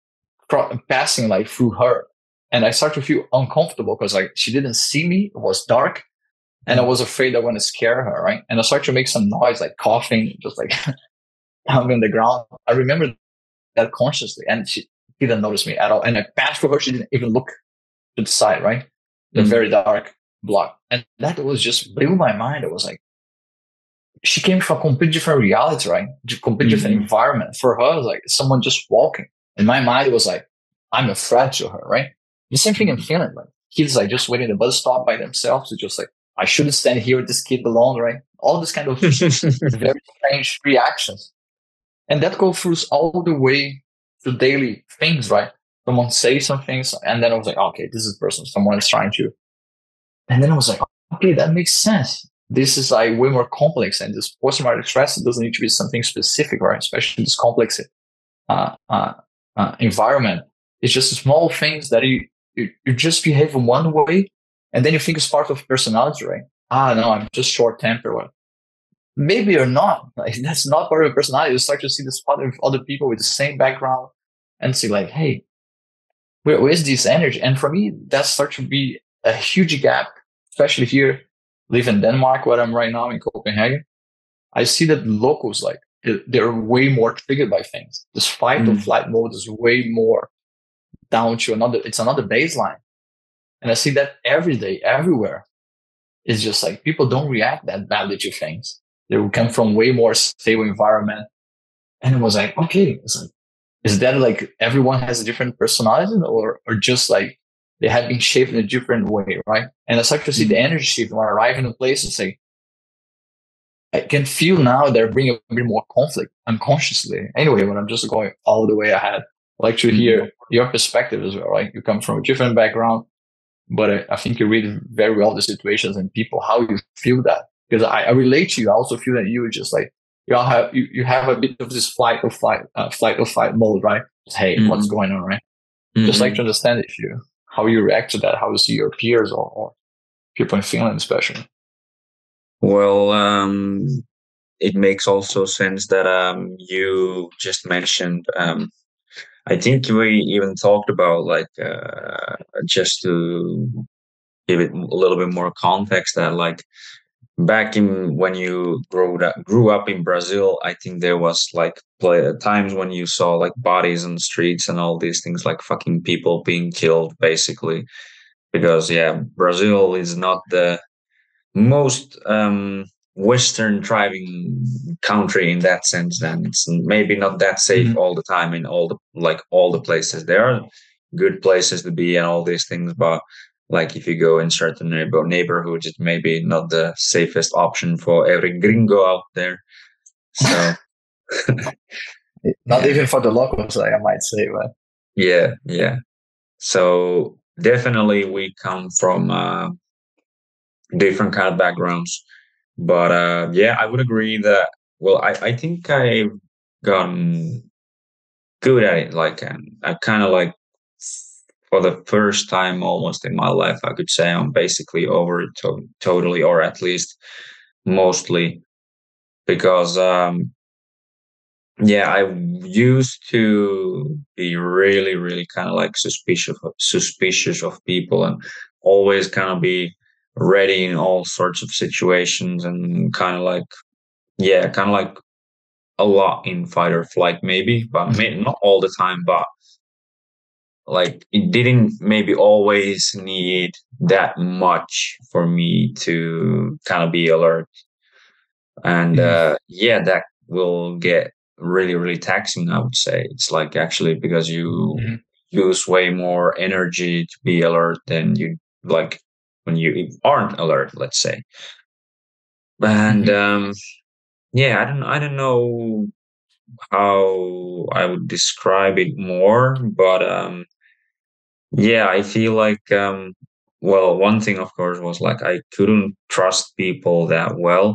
[SPEAKER 2] passing like through her, and I started to feel uncomfortable because like she didn't see me. It was dark, and I was afraid I want to scare her, right? And I started to make some noise, like coughing, just like down on the ground. I remember that consciously, and she didn't notice me at all. And I passed for her; she didn't even look to the side, right? The very dark block, and that was just blew my mind. It was like she came from a completely different reality, right? Completely different environment. For her, it was like someone just walking. In my mind, it was like I'm a threat to her, right? The same thing in Finland, like kids like just waiting at the bus stop by themselves. It's just like I shouldn't stand here with this kid alone, right? All this kind of very strange reactions. And that goes through all the way to daily things, right? Someone say some things, and then I was like, okay, this is person. Someone is trying to. And then I was like, okay, that makes sense. This is like way more complex, and this post-traumatic stress doesn't need to be something specific, right? Especially this complex uh, uh, environment. It's just small things that you just behave in one way, and then you think it's part of personality, right? No, I'm just short-tempered. Well, maybe you're not. Like that's not part of your personality. You start to see this part of other people with the same background, and see like, hey, where's this energy? And for me, that starts to be a huge gap, especially here, live in Denmark, where I'm right now in Copenhagen. I see that locals like they're way more triggered by things. This fight or flight mode is way more down to another. It's another baseline, and I see that every day, everywhere. It's just like people don't react that badly to things. They will come from way more stable environment, and it was like, okay, it's like, is that like everyone has a different personality, or just like they have been shaped in a different way, right? And I start to see the energy shift when I arrive in a place and say, I can feel now they're bringing a bit more conflict unconsciously. Anyway, when I'm just going all the way ahead, I like to hear your perspective as well, right? You come from a different background, but I think you read very well the situations and people, how you feel that. Because I relate to you. I also feel that you just like, you have a bit of this flight or fight mode, right? Just, hey, what's going on, right? Just like to understand if you how you react to that, how you see your peers or people in Finland, especially.
[SPEAKER 1] Well, it makes also sense that you just mentioned. I think we even talked about like just to give it a little bit more context that like back in when you grew up in Brazil, I think there was like times when you saw like bodies on the streets and all these things, like fucking people being killed, basically. Because yeah, Brazil is not the most Western driving country in that sense. Then it's maybe not that safe all the time in all the places. There are good places to be and all these things, but like if you go in certain neighborhoods, it's maybe not the safest option for every gringo out there. So
[SPEAKER 2] not even for the locals, like I might say, but
[SPEAKER 1] yeah. So definitely we come from different kind of backgrounds, but yeah, I would agree that. Well, I think I've gotten good at it. Like I kind of like for the first time almost in my life, I could say I'm basically over it totally, or at least mostly, because yeah, I used to be really, really kind of like suspicious of people, and always kind of be ready in all sorts of situations, and kind of like yeah, kind of like a lot in fight or flight, maybe, but maybe not all the time, but like it didn't maybe always need that much for me to kind of be alert. And yeah, that will get really, really taxing, I would say. It's like actually because you use way more energy to be alert than you like when you aren't alert, let's say. And yeah, I don't know how I would describe it more, but yeah, I feel like well, one thing of course was like I couldn't trust people that well,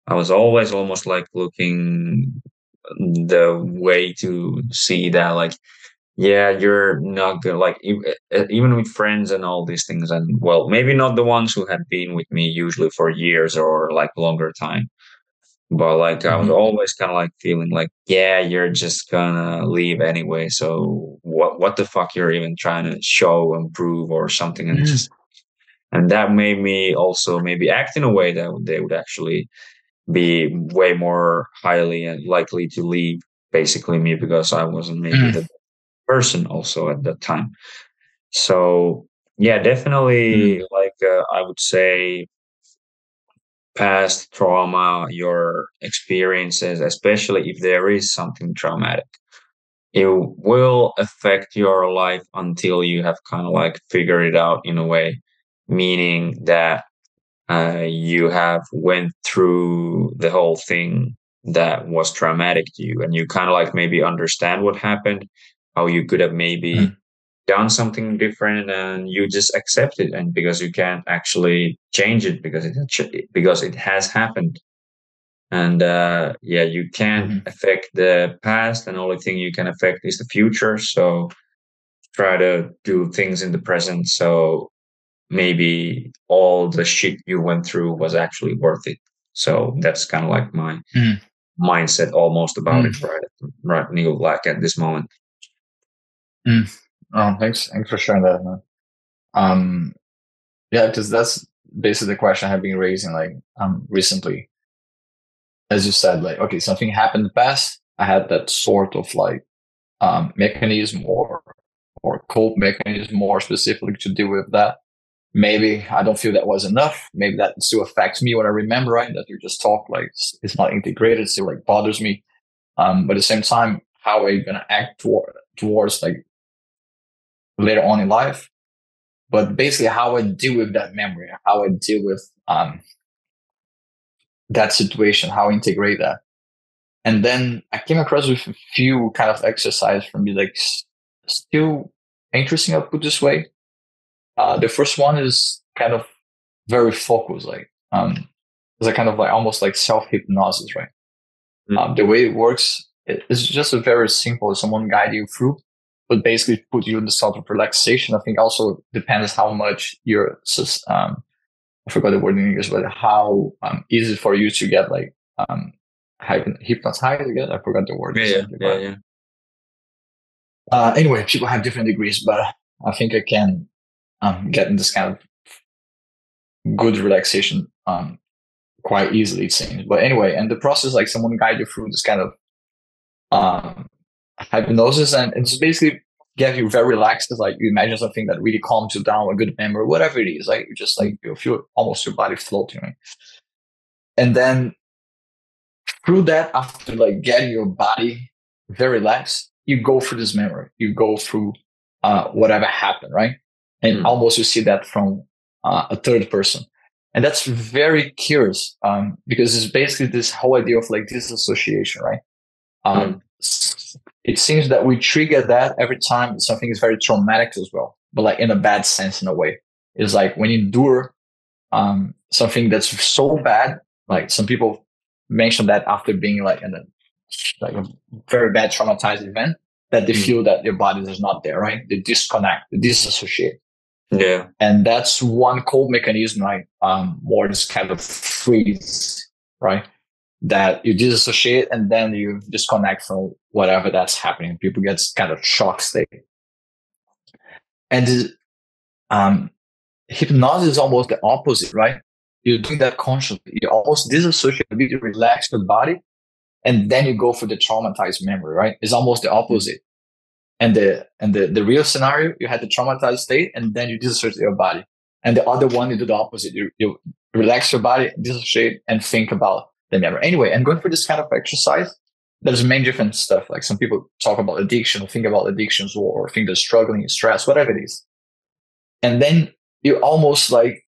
[SPEAKER 1] I was always almost like looking the way to see that, like, yeah, you're not good. Like, even with friends and all these things, and well, maybe not the ones who have been with me usually for years or like longer time. But like I was
[SPEAKER 2] Hmm.
[SPEAKER 1] always kind of like feeling like, yeah, you're just gonna leave anyway. So what the fuck you're even trying to show and prove or something? And
[SPEAKER 2] Hmm.
[SPEAKER 1] just and that made me also maybe act in a way that they would actually be way more highly and likely to leave basically me because I wasn't maybe the person also at that time. So yeah, definitely
[SPEAKER 2] Hmm.
[SPEAKER 1] like I would say past trauma, your experiences, especially if there is something traumatic, it will affect your life until you have kind of like figured it out in a way, meaning that you have went through the whole thing that was traumatic to you, and you kind of like maybe understand what happened, how you could have maybe
[SPEAKER 2] Hmm.
[SPEAKER 1] done something different, and you just accept it, and because you can't actually change it because it has happened. And yeah, you can't
[SPEAKER 2] Hmm.
[SPEAKER 1] affect the past, and the only thing you can affect is the future. So try to do things in the present, so maybe all the shit you went through was actually worth it. So that's kind of like my
[SPEAKER 2] Hmm.
[SPEAKER 1] mindset almost about it,
[SPEAKER 2] Hmm.
[SPEAKER 1] right, Neil, like at this moment.
[SPEAKER 2] Hmm. Oh, thanks for sharing that, man. Um, yeah, because that's basically the question I have been raising like recently. As you said, like, okay, something happened in the past. I had that sort of like mechanism or cope mechanism more specifically to deal with that. Maybe I don't feel that was enough. Maybe that still affects me when I remember, right? That you just talk like it's not integrated, still like bothers me. But at the same time, how are you gonna act towards like later on in life? But basically, how I deal with that memory, how I deal with that situation, how I integrate that. And then I came across with a few kind of exercise from me, like still interesting. I'll put this way. The first one is kind of very focused, like it's a kind of like almost like self hypnosis, right?
[SPEAKER 1] Mm.
[SPEAKER 2] The way it works, it's just a very simple. Someone guide you through, but basically put you in the sort of relaxation. I think also depends how much you're. I forgot the word in English, but how easy for you to get like hypnotized again. I forgot the word
[SPEAKER 1] Yeah, yeah,
[SPEAKER 2] exactly,
[SPEAKER 1] yeah,
[SPEAKER 2] but
[SPEAKER 1] yeah.
[SPEAKER 2] anyway, people have different degrees, but I think I can get in this kind of good relaxation quite easily, it seems. But anyway, and the process, like someone guide you through this kind of um, hypnosis, and it's basically get you very relaxed. It's like you imagine something that really calms you down, a good memory, whatever it is. Like you just like you feel almost your body floating, right? And then through that, after like getting your body very relaxed, you go through this memory, you go through whatever happened, right? And
[SPEAKER 1] Mm.
[SPEAKER 2] almost you see that from a third person. And that's very curious because it's basically this whole idea of like disassociation, right?
[SPEAKER 1] Mm.
[SPEAKER 2] It seems that we trigger that every time something is very traumatic as well, but like in a bad sense, in a way. It's like when you endure something that's so bad, like some people mention that after being like in a like a very bad traumatized event, that they
[SPEAKER 1] Mm.
[SPEAKER 2] feel that their bodies is not there, right? They disconnect, they disassociate.
[SPEAKER 1] Yeah,
[SPEAKER 2] And that's one cold mechanism, right? More this kind of freeze, right? That you disassociate and then you disconnect from whatever that's happening. People get kind of shock state. And um, hypnosis is almost the opposite, right? You're doing that consciously. You almost disassociate, you relax your body, and then you go for the traumatized memory, right? It's almost the opposite. And the real scenario, you had the traumatized state, and then you dissociate your body. And the other one, you do the opposite. You relax your body, dissociate, and think about the memory. Anyway, and going for this kind of exercise, there's many different stuff. Like some people talk about addiction, think about addictions, or think they're struggling, stress, whatever it is. And then you almost like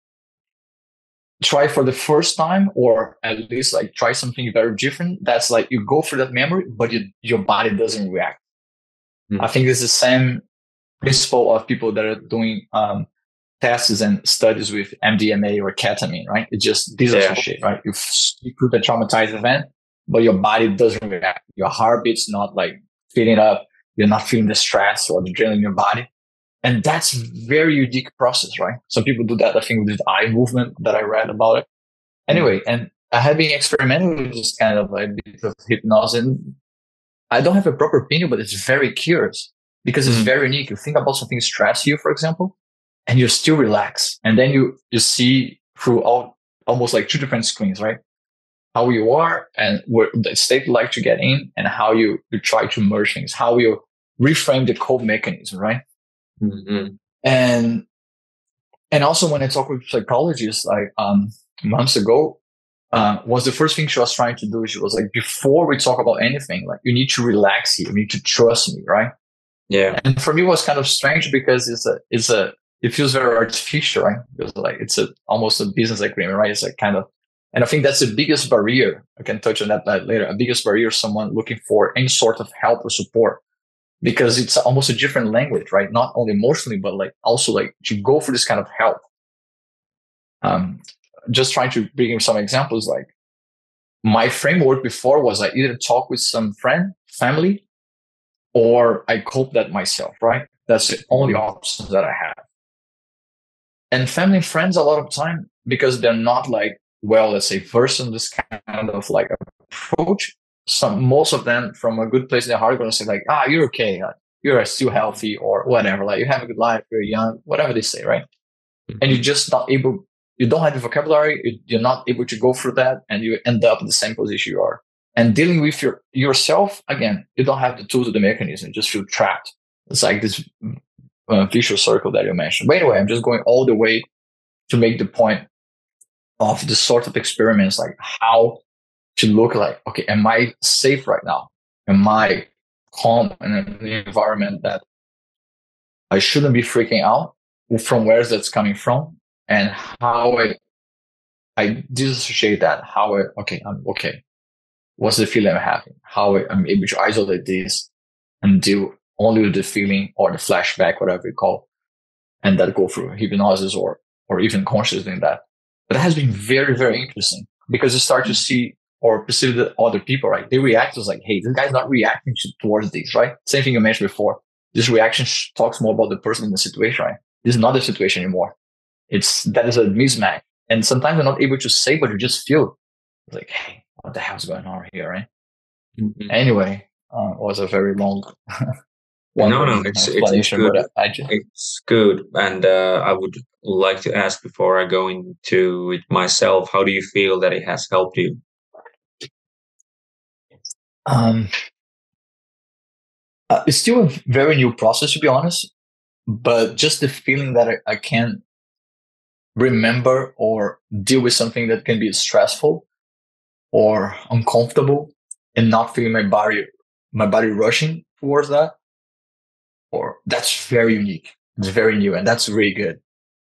[SPEAKER 2] try for the first time, or at least like try something very different. That's like you go for that memory, but your body doesn't react. I
[SPEAKER 1] mm.
[SPEAKER 2] think it's the same principle of people that are doing tests and studies with MDMA or ketamine, right? It just disassociate, right? You put a traumatized event, but your body doesn't react. Your heartbeat's not like filling up. You're not feeling the stress or the adrenaline in your body. And that's very unique process, right? Some people do that, I think, with the eye movement that I read about it. Anyway, and I have been experimenting with this kind of like bit of hypnosis. And I don't have a proper opinion, but it's very curious because it's very unique. You think about something stress you, for example, and you're still relaxed. And then you see through almost like two different screens, right? How you are and what the state you like to get in, and how you try to merge things, how you reframe the code mechanism, right?
[SPEAKER 1] Mm-hmm.
[SPEAKER 2] And also when I talk with psychologists, like months ago, was the first thing she was trying to do. She was like, before we talk about anything, like you need to relax here, you need to trust me, right?
[SPEAKER 1] Yeah.
[SPEAKER 2] And for me, it was kind of strange because it feels very artificial, right? Because like it's almost a business agreement, right? It's like kind of, and I think that's the biggest barrier. I can touch on that later. A biggest barrier, someone looking for any sort of help or support, because it's almost a different language, right? Not only emotionally, but like also like to go for this kind of help. Just trying to bring you some examples, like my framework before was I either talk with some friend, family, or I cope that myself, right? That's the only options that I have. And family and friends, a lot of time, because they're not like, well, let's say versed in this kind of like approach. Most of them from a good place in their heart are going to say like, you're okay. You're still healthy or whatever. Like you have a good life. You're young, whatever they say, right? And you're just not able, you don't have the vocabulary. You're not able to go through that. And you end up in the same position you are. And dealing with yourself, again, you don't have the tools or the mechanism. You just feel trapped. It's like this vicious circle that you mentioned. But anyway, I'm just going all the way to make the point of the sort of experiments, like how to look like, okay, am I safe right now? Am I calm in an environment that I shouldn't be freaking out? From where that's coming from, and how I disassociate that. Okay, I'm okay. What's the feeling I'm having? How I'm able to isolate this and deal only with the feeling or the flashback, whatever you call, and that go through hypnosis or even conscious in that. But it has been very, very interesting because you start to see or perceive the other people, right? They react as like, hey, this guy's not reacting towards this, right? Same thing you mentioned before. This reaction talks more about the person in the situation, right? This is not the situation anymore. That is a mismatch. And sometimes you're not able to say, but you just feel like, hey, what the hell's going on here, right? Mm-hmm. Anyway, it was a very long
[SPEAKER 1] No, it's good. It's good. And I would like to ask before I go into it myself, how do you feel that it has helped you?
[SPEAKER 2] It's still a very new process, to be honest, but just the feeling that I can remember or deal with something that can be stressful or uncomfortable and not feeling my body rushing towards that, or that's very unique. It's very new, and that's really good.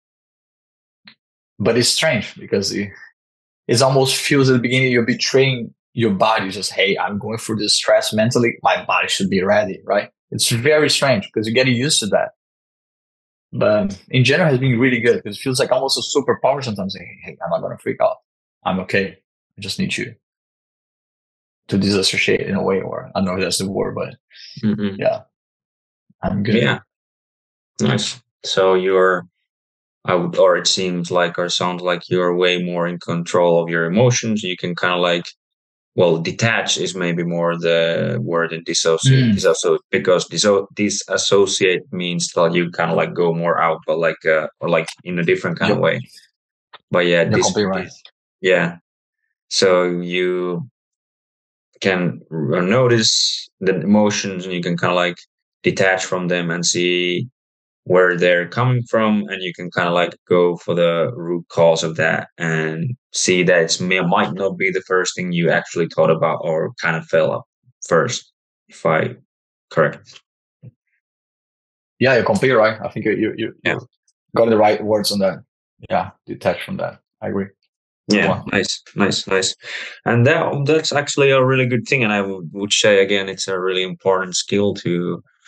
[SPEAKER 2] But it's strange because it almost feels at the beginning you're betraying your body. Just, hey, I'm going through this stress mentally. My body should be ready, right? It's very strange because you're getting used to that. But in general, it has been really good because it feels like almost a superpower sometimes. Hey, I'm not going to freak out. I'm okay. I just need you to disassociate in a way, or I don't know if that's the word, but yeah, I'm good.
[SPEAKER 1] Yeah, nice. So or it seems like, or sounds like you're way more in control of your emotions. You can kind of like, well, detach is maybe more the word than dissociate. Disassociate, because disassociate means that you kind of like go more out, but like or like in a different kind of way. But yeah,
[SPEAKER 2] right.
[SPEAKER 1] Yeah. So you can notice the emotions, and you can kind of like detach from them and see where they're coming from, and you can kind of like go for the root cause of that and see that it might not be the first thing you actually thought about or kind of fell up first, if I correct.
[SPEAKER 2] Yeah, you're completely right. I think you got the right words on that. Yeah, detach from that. I agree.
[SPEAKER 1] Yeah, nice. And that's actually a really good thing, and I would say again, it's a really important skill to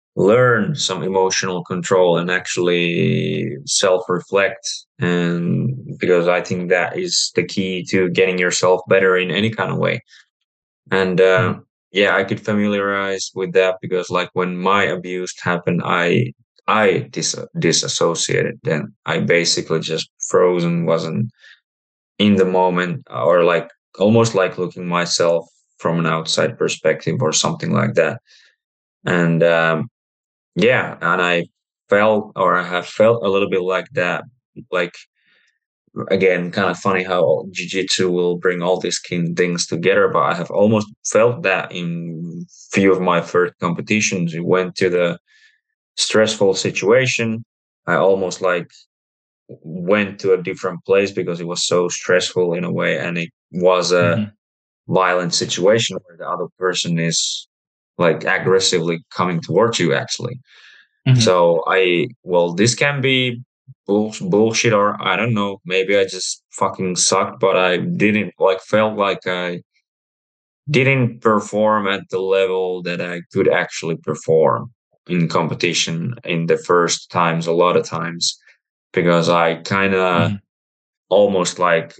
[SPEAKER 1] learn some emotional control and actually self-reflect. And because I think that is the key to getting yourself better in any kind of way. And
[SPEAKER 2] Mhm.
[SPEAKER 1] yeah, I could familiarize with that because like when my abuse happened, I disassociated. Then I basically just frozen, wasn't in the moment, or like almost like looking myself from an outside perspective or something like that. And yeah, and I felt, or I have felt a little bit like that. Like, again, kind of funny how jiu-jitsu will bring all these things together, but I have almost felt that in few of my first competitions. We went to the stressful situation. I almost like went to a different place because it was so stressful in a way, and it was a
[SPEAKER 2] Mhm.
[SPEAKER 1] violent situation where the other person is like aggressively coming towards you actually.
[SPEAKER 2] Mhm.
[SPEAKER 1] So well, this can be bullshit, or I don't know. Maybe I just fucking sucked, but I didn't like, felt like I didn't perform at the level that I could actually perform in competition in the first times, a lot of times, because I kind of
[SPEAKER 2] Mhm.
[SPEAKER 1] almost like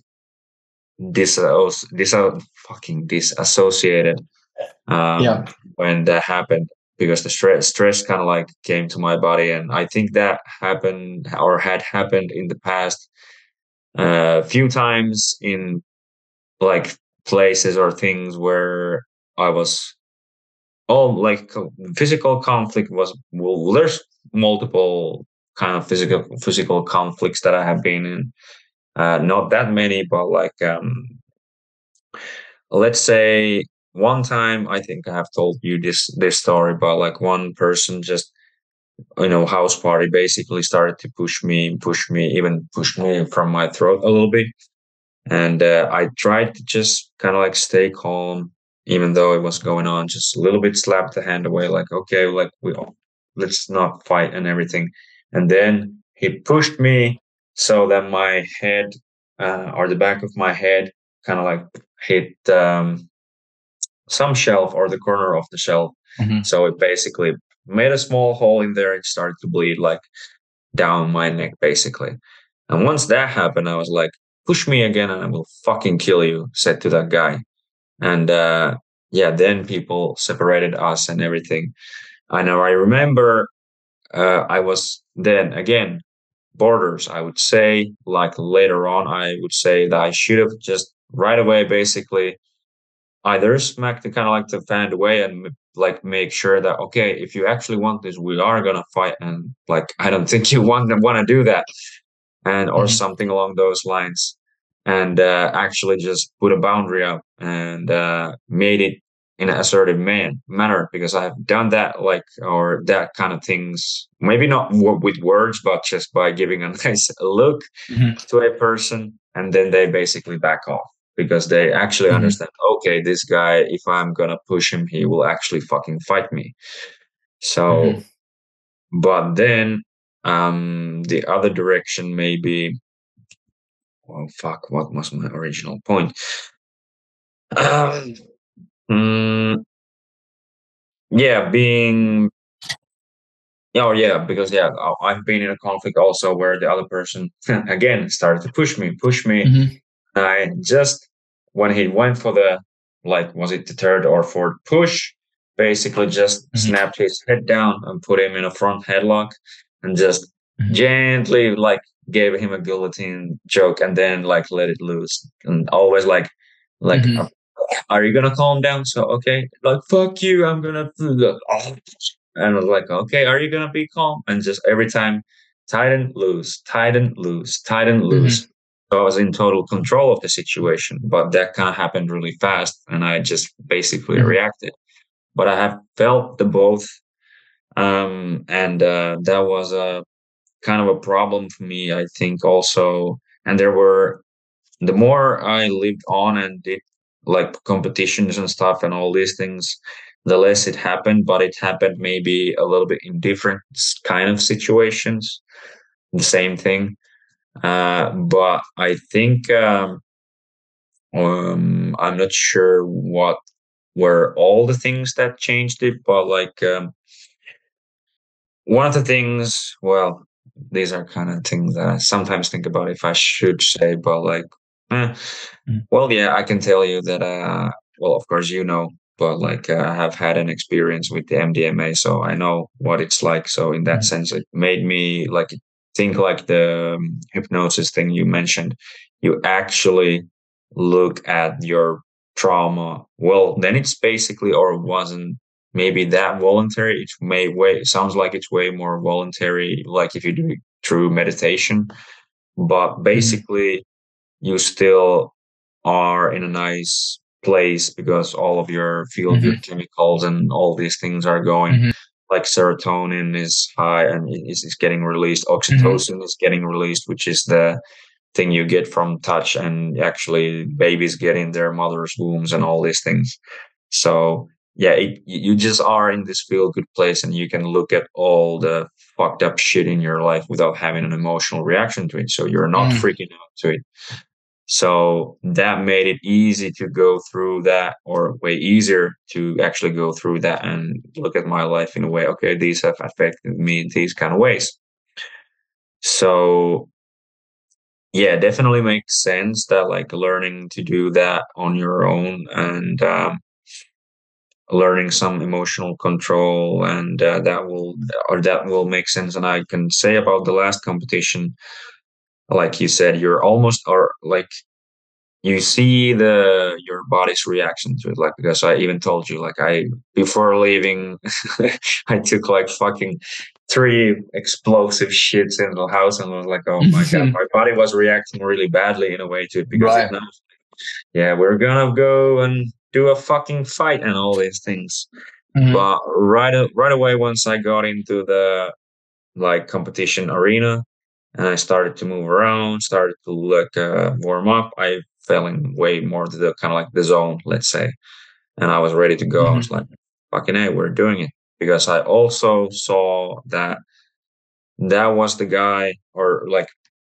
[SPEAKER 1] fucking disassociated
[SPEAKER 2] Yeah.
[SPEAKER 1] when that happened, because the stress kind of like came to my body. And I think that happened or had happened in the past a few times in like places or things where I was all like physical conflict was, well, there's multiple kind of physical conflicts that I have been in, not that many, but like let's say one time, I think I have told you this story, but like one person just, house party, basically started to even push me from my throat a little bit. And I tried to just kind of like stay calm, even though it was going on, just a little bit, slapped the hand away, like, okay, like let's not fight and everything. And then he pushed me so that my head, or the back of my head, kind of like hit some shelf or the corner of the shelf.
[SPEAKER 2] Mhm.
[SPEAKER 1] So it basically made a small hole in there. It started to bleed like down my neck, basically. And once that happened, I was like, push me again and I will fucking kill you, said to that guy. And yeah, then people separated us and everything. I know, I remember I was then again, borders, I would say, like later on, I would say that I should have just right away basically either smack the kind of like the fan away and like make sure that, okay, if you actually want this, we are gonna fight, and like I don't think you want to do that, and or
[SPEAKER 2] Mhm.
[SPEAKER 1] something along those lines, and actually just put a boundary up and made it in an assertive manner, because I have done that, like, or that kind of things, maybe not with words, but just by giving a nice look
[SPEAKER 2] Mhm.
[SPEAKER 1] to a person, and then they basically back off because they actually
[SPEAKER 2] Mhm.
[SPEAKER 1] understand, okay, this guy, if I'm gonna push him, he will actually fucking fight me.
[SPEAKER 2] Mhm.
[SPEAKER 1] So, but then the other direction maybe, well, fuck, what was my original point? um, mm, yeah, being, oh yeah, because yeah, I've been in a conflict also where the other person again started to push me.
[SPEAKER 2] Mhm.
[SPEAKER 1] I just, when he went for the, like, was it the third or fourth push, basically just
[SPEAKER 2] Mhm.
[SPEAKER 1] snapped his head down and put him in a front headlock and just
[SPEAKER 2] Mhm.
[SPEAKER 1] gently like gave him a guillotine choke and then like let it loose. And always like,
[SPEAKER 2] Mhm.
[SPEAKER 1] are you gonna calm down? So okay, like fuck you, I'm gonna, and I was like, okay, are you gonna be calm? And just every time, tighten, loose, tighten, loose, tighten, loose.
[SPEAKER 2] Mhm.
[SPEAKER 1] So I was in total control of the situation, but that kind of happened really fast, and I just basically
[SPEAKER 2] Mhm.
[SPEAKER 1] reacted. But I have felt the both, and that was a kind of a problem for me, I think, also. And there were, the more I lived on and did like competitions and stuff and all these things, the less it happened. But it happened maybe a little bit in different kind of situations. The same thing, but I think I'm not sure what were all the things that changed it, but like one of the things, well, these are kind of things that I sometimes think about if I should say, but like, eh,
[SPEAKER 2] Mhm.
[SPEAKER 1] well, yeah, I can tell you that, well, of course, but like, I have had an experience with the MDMA, so I know what it's like. So in that
[SPEAKER 2] Mhm.
[SPEAKER 1] sense, it made me like think like the hypnosis thing you mentioned. You actually look at your trauma. Well, then it's basically, or wasn't maybe that voluntary. It may way sounds like it's way more voluntary, like if you do it through meditation. But
[SPEAKER 2] Mhm.
[SPEAKER 1] basically, you still are in a nice place because all of your feel good
[SPEAKER 2] Mhm.
[SPEAKER 1] chemicals and all these things are going.
[SPEAKER 2] Mhm.
[SPEAKER 1] Like serotonin is high and is getting released.
[SPEAKER 2] Mhm.
[SPEAKER 1] Oxytocin is getting released, which is the thing you get from touch, and actually babies get in their mother's wombs and all these things. So yeah, you just are in this feel good place and you can look at all the fucked up shit in your life without having an emotional reaction to it. So you're not
[SPEAKER 2] Mhm.
[SPEAKER 1] freaking out to it. So that made it easy to go through that, or way easier to actually go through that and look at my life in a way, okay, these have affected me in these kind of ways. So yeah, definitely makes sense that like learning to do that on your own and learning some emotional control and that will make sense. And I can say about the last competition, like you said, you're almost or like you see the your body's reaction to it, like because I even told you like I before leaving I took like fucking three explosive shits in the house and was like, oh my god, my body was reacting really badly in a way to it because it
[SPEAKER 2] Right.
[SPEAKER 1] knows, yeah, we're gonna go and do a fucking fight and all these things.
[SPEAKER 2] Mhm.
[SPEAKER 1] But right away, once I got into the like competition arena and I started to move around, started to like warm up, I fell in way more to the kind of like the zone, let's say, and I was ready to go. I was
[SPEAKER 2] Mhm.
[SPEAKER 1] like, "Fucking hey, we're doing it!" Because I also saw that that was the guy, or like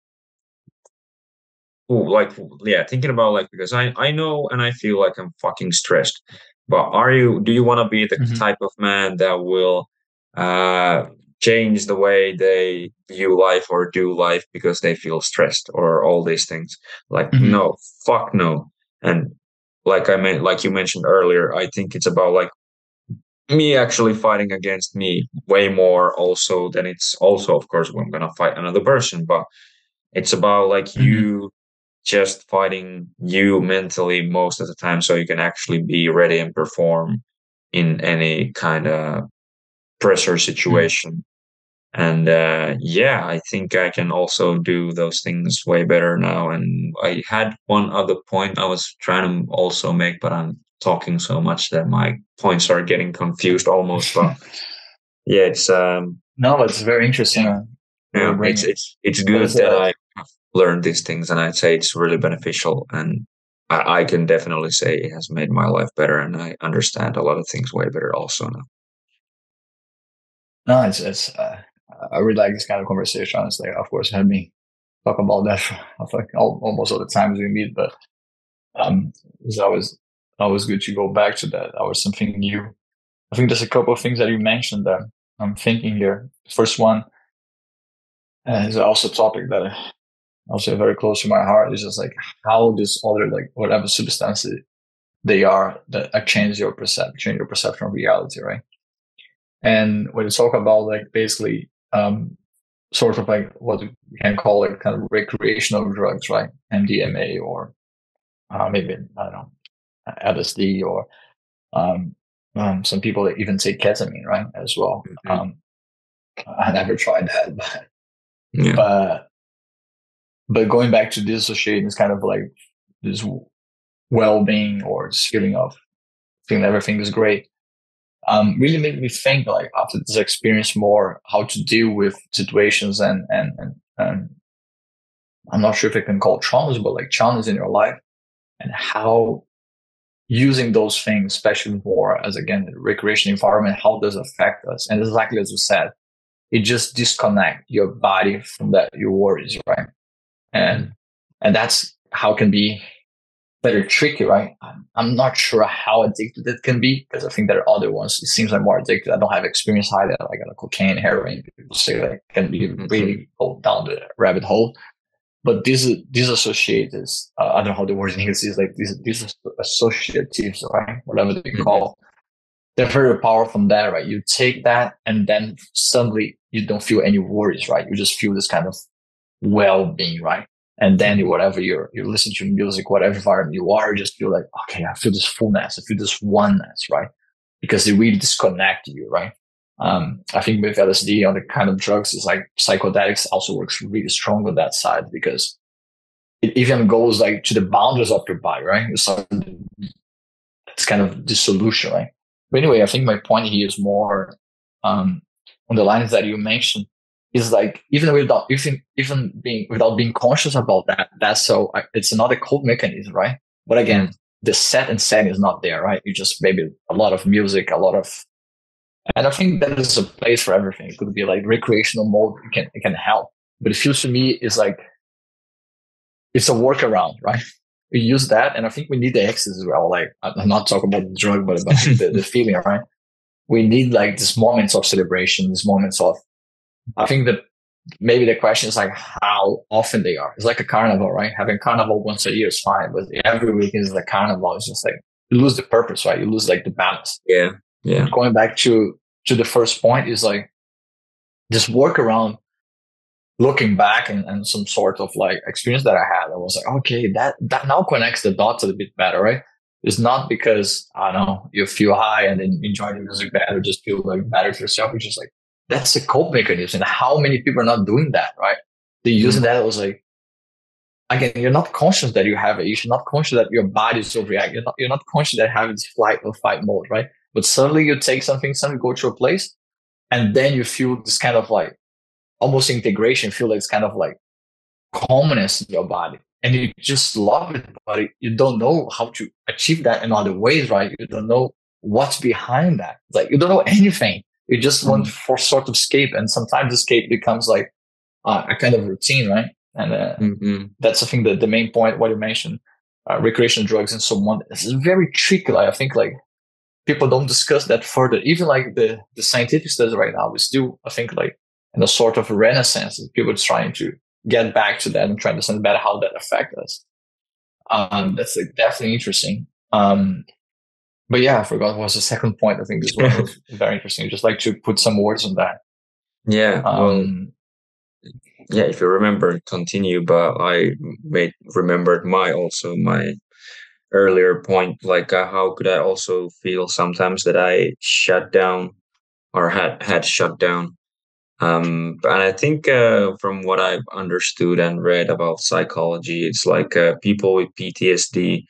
[SPEAKER 1] who, like yeah, thinking about like because I know and I feel like I'm fucking stressed. But do you want to be the
[SPEAKER 2] Mhm.
[SPEAKER 1] type of man that will uh change the way they view life or do life because they feel stressed or all these things? Like
[SPEAKER 2] Mhm.
[SPEAKER 1] no, fuck no. And like I meant like you mentioned earlier, I think it's about like me actually fighting against me way more also than it's also of course when I'm gonna fight another person, but it's about like
[SPEAKER 2] Mhm.
[SPEAKER 1] you just fighting you mentally most of the time so you can actually be ready and perform in any kind of pressure
[SPEAKER 2] Mhm.
[SPEAKER 1] situation. And yeah, I think I can also do those things way better now. And I had one other point I was trying to also make, but I'm talking so much that my points are getting confused almost. But yeah, it's
[SPEAKER 2] No, it's very
[SPEAKER 1] yeah,
[SPEAKER 2] interesting. What we're
[SPEAKER 1] yeah,
[SPEAKER 2] bringing,
[SPEAKER 1] it's
[SPEAKER 2] but
[SPEAKER 1] good
[SPEAKER 2] it's
[SPEAKER 1] that
[SPEAKER 2] a
[SPEAKER 1] I learn these things, and I'd say it's really beneficial. And I can definitely say it has made my life better, and I understand a lot of things way better also now.
[SPEAKER 2] no, it's I really like this kind of conversation. Honestly, of course, had me talk about that for like almost all the times we meet, but it's always good to go back to that. That was something new. I think there's a couple of things that you mentioned that I'm thinking here. First one is also a topic that also very close to my heart. Is just like how this other like whatever substances they are that change your perception of reality, right? And when you talk about like basically sort of like what we can call like kind of recreational drugs, right? MDMA or maybe I don't know LSD or um, some people even take ketamine, right? As well.
[SPEAKER 1] Mhm.
[SPEAKER 2] I never tried that,
[SPEAKER 1] Yeah.
[SPEAKER 2] but but going back to dissociating is kind of like this well-being or this feeling of feeling everything is great. Really made me think like after this experience more how to deal with situations and I'm not sure if it can call traumas, but like challenges in your life and how using those things, especially more as again the recreation environment, how does it affect us? And exactly as you said, it just disconnect your body from that your worries, right? And
[SPEAKER 1] Mhm.
[SPEAKER 2] and that's how can be very tricky, right? I'm not sure how addicted it can be because I think there are other ones. It seems like more addicted. I don't have experience either, like cocaine, heroin. People say that can be
[SPEAKER 1] Mhm.
[SPEAKER 2] really go down the rabbit hole. But these associators, I don't know how the word in English is, like these associatives, right? Whatever they
[SPEAKER 1] Mhm.
[SPEAKER 2] call, they're very powerful from that, right? You take that and then suddenly you don't feel any worries, right? You just feel this kind of well-being, right? And then
[SPEAKER 1] Mhm.
[SPEAKER 2] whatever you listen to music, whatever environment you are, you just feel like, okay, I feel this fullness, I feel this oneness, right? Because they really disconnect you, right? I think with LSD on the kind of drugs is like psychedelics also works really strong on that side because it even goes like to the boundaries of your body, right? It's kind of dissolution, right? But anyway, I think my point here is more um, on the lines that you mentioned is like even being without being conscious about that. That's so it's another code mechanism, right? But
[SPEAKER 1] Mhm.
[SPEAKER 2] again, the set and setting is not there, right? You just maybe a lot of music, a lot of, and I think that is a place for everything. It could be like recreational mode. It can help, but it feels to me is like it's a workaround, right? We use that, and I think we need the X as well. Like I'm not talking about the drug, but I think the feeling, right? We need like these moments of celebration, these moments of. I think that maybe the question is like how often they are. It's like a carnival, right? Having carnival once a year is fine, but every weekend is the carnival. It's just like you lose the purpose, right? You lose like the balance.
[SPEAKER 1] Yeah. Yeah.
[SPEAKER 2] But going back to the first point is like this workaround looking back and some sort of like experience that I had, I was like, okay, that now connects the dots a little bit better, right? It's not because I don't know you feel high and then enjoy the music better, just feel like better for yourself. It's just like that's a cope mechanism. And how many people are not doing that, right? They're
[SPEAKER 1] Mhm.
[SPEAKER 2] using that. It was like again, you're not conscious that you have it. You're not conscious that your body is overreacting. You're not conscious that you have this flight or fight mode, right? But suddenly you take something, suddenly go to a place, and then you feel this kind of like almost integration, feel like it's kind of like calmness in your body and you just love it, but you don't know how to achieve that in other ways, right? You don't know what's behind that. It's like you don't know anything. You just want
[SPEAKER 1] Mhm.
[SPEAKER 2] for sort of escape, and sometimes escape becomes like a kind of routine, right? And
[SPEAKER 1] Mhm.
[SPEAKER 2] that's I think the main point what you mentioned, recreational drugs and so on. This is very tricky. Like, I think like people don't discuss that further. Even like the scientific studies right now, we still I think like in a sort of renaissance, people are trying to get back to that and try to understand better how that affects us. That's like definitely interesting. But yeah, I forgot what was the second point. I think this one was very interesting. Just like to put some words on that.
[SPEAKER 1] Yeah. Well,
[SPEAKER 2] Um,
[SPEAKER 1] yeah, if you remember, continue, but I made remembered my earlier point, like how could I also feel sometimes that I shut down or had shut down. And I think from what I've understood and read about psychology, it's like people with PTSD,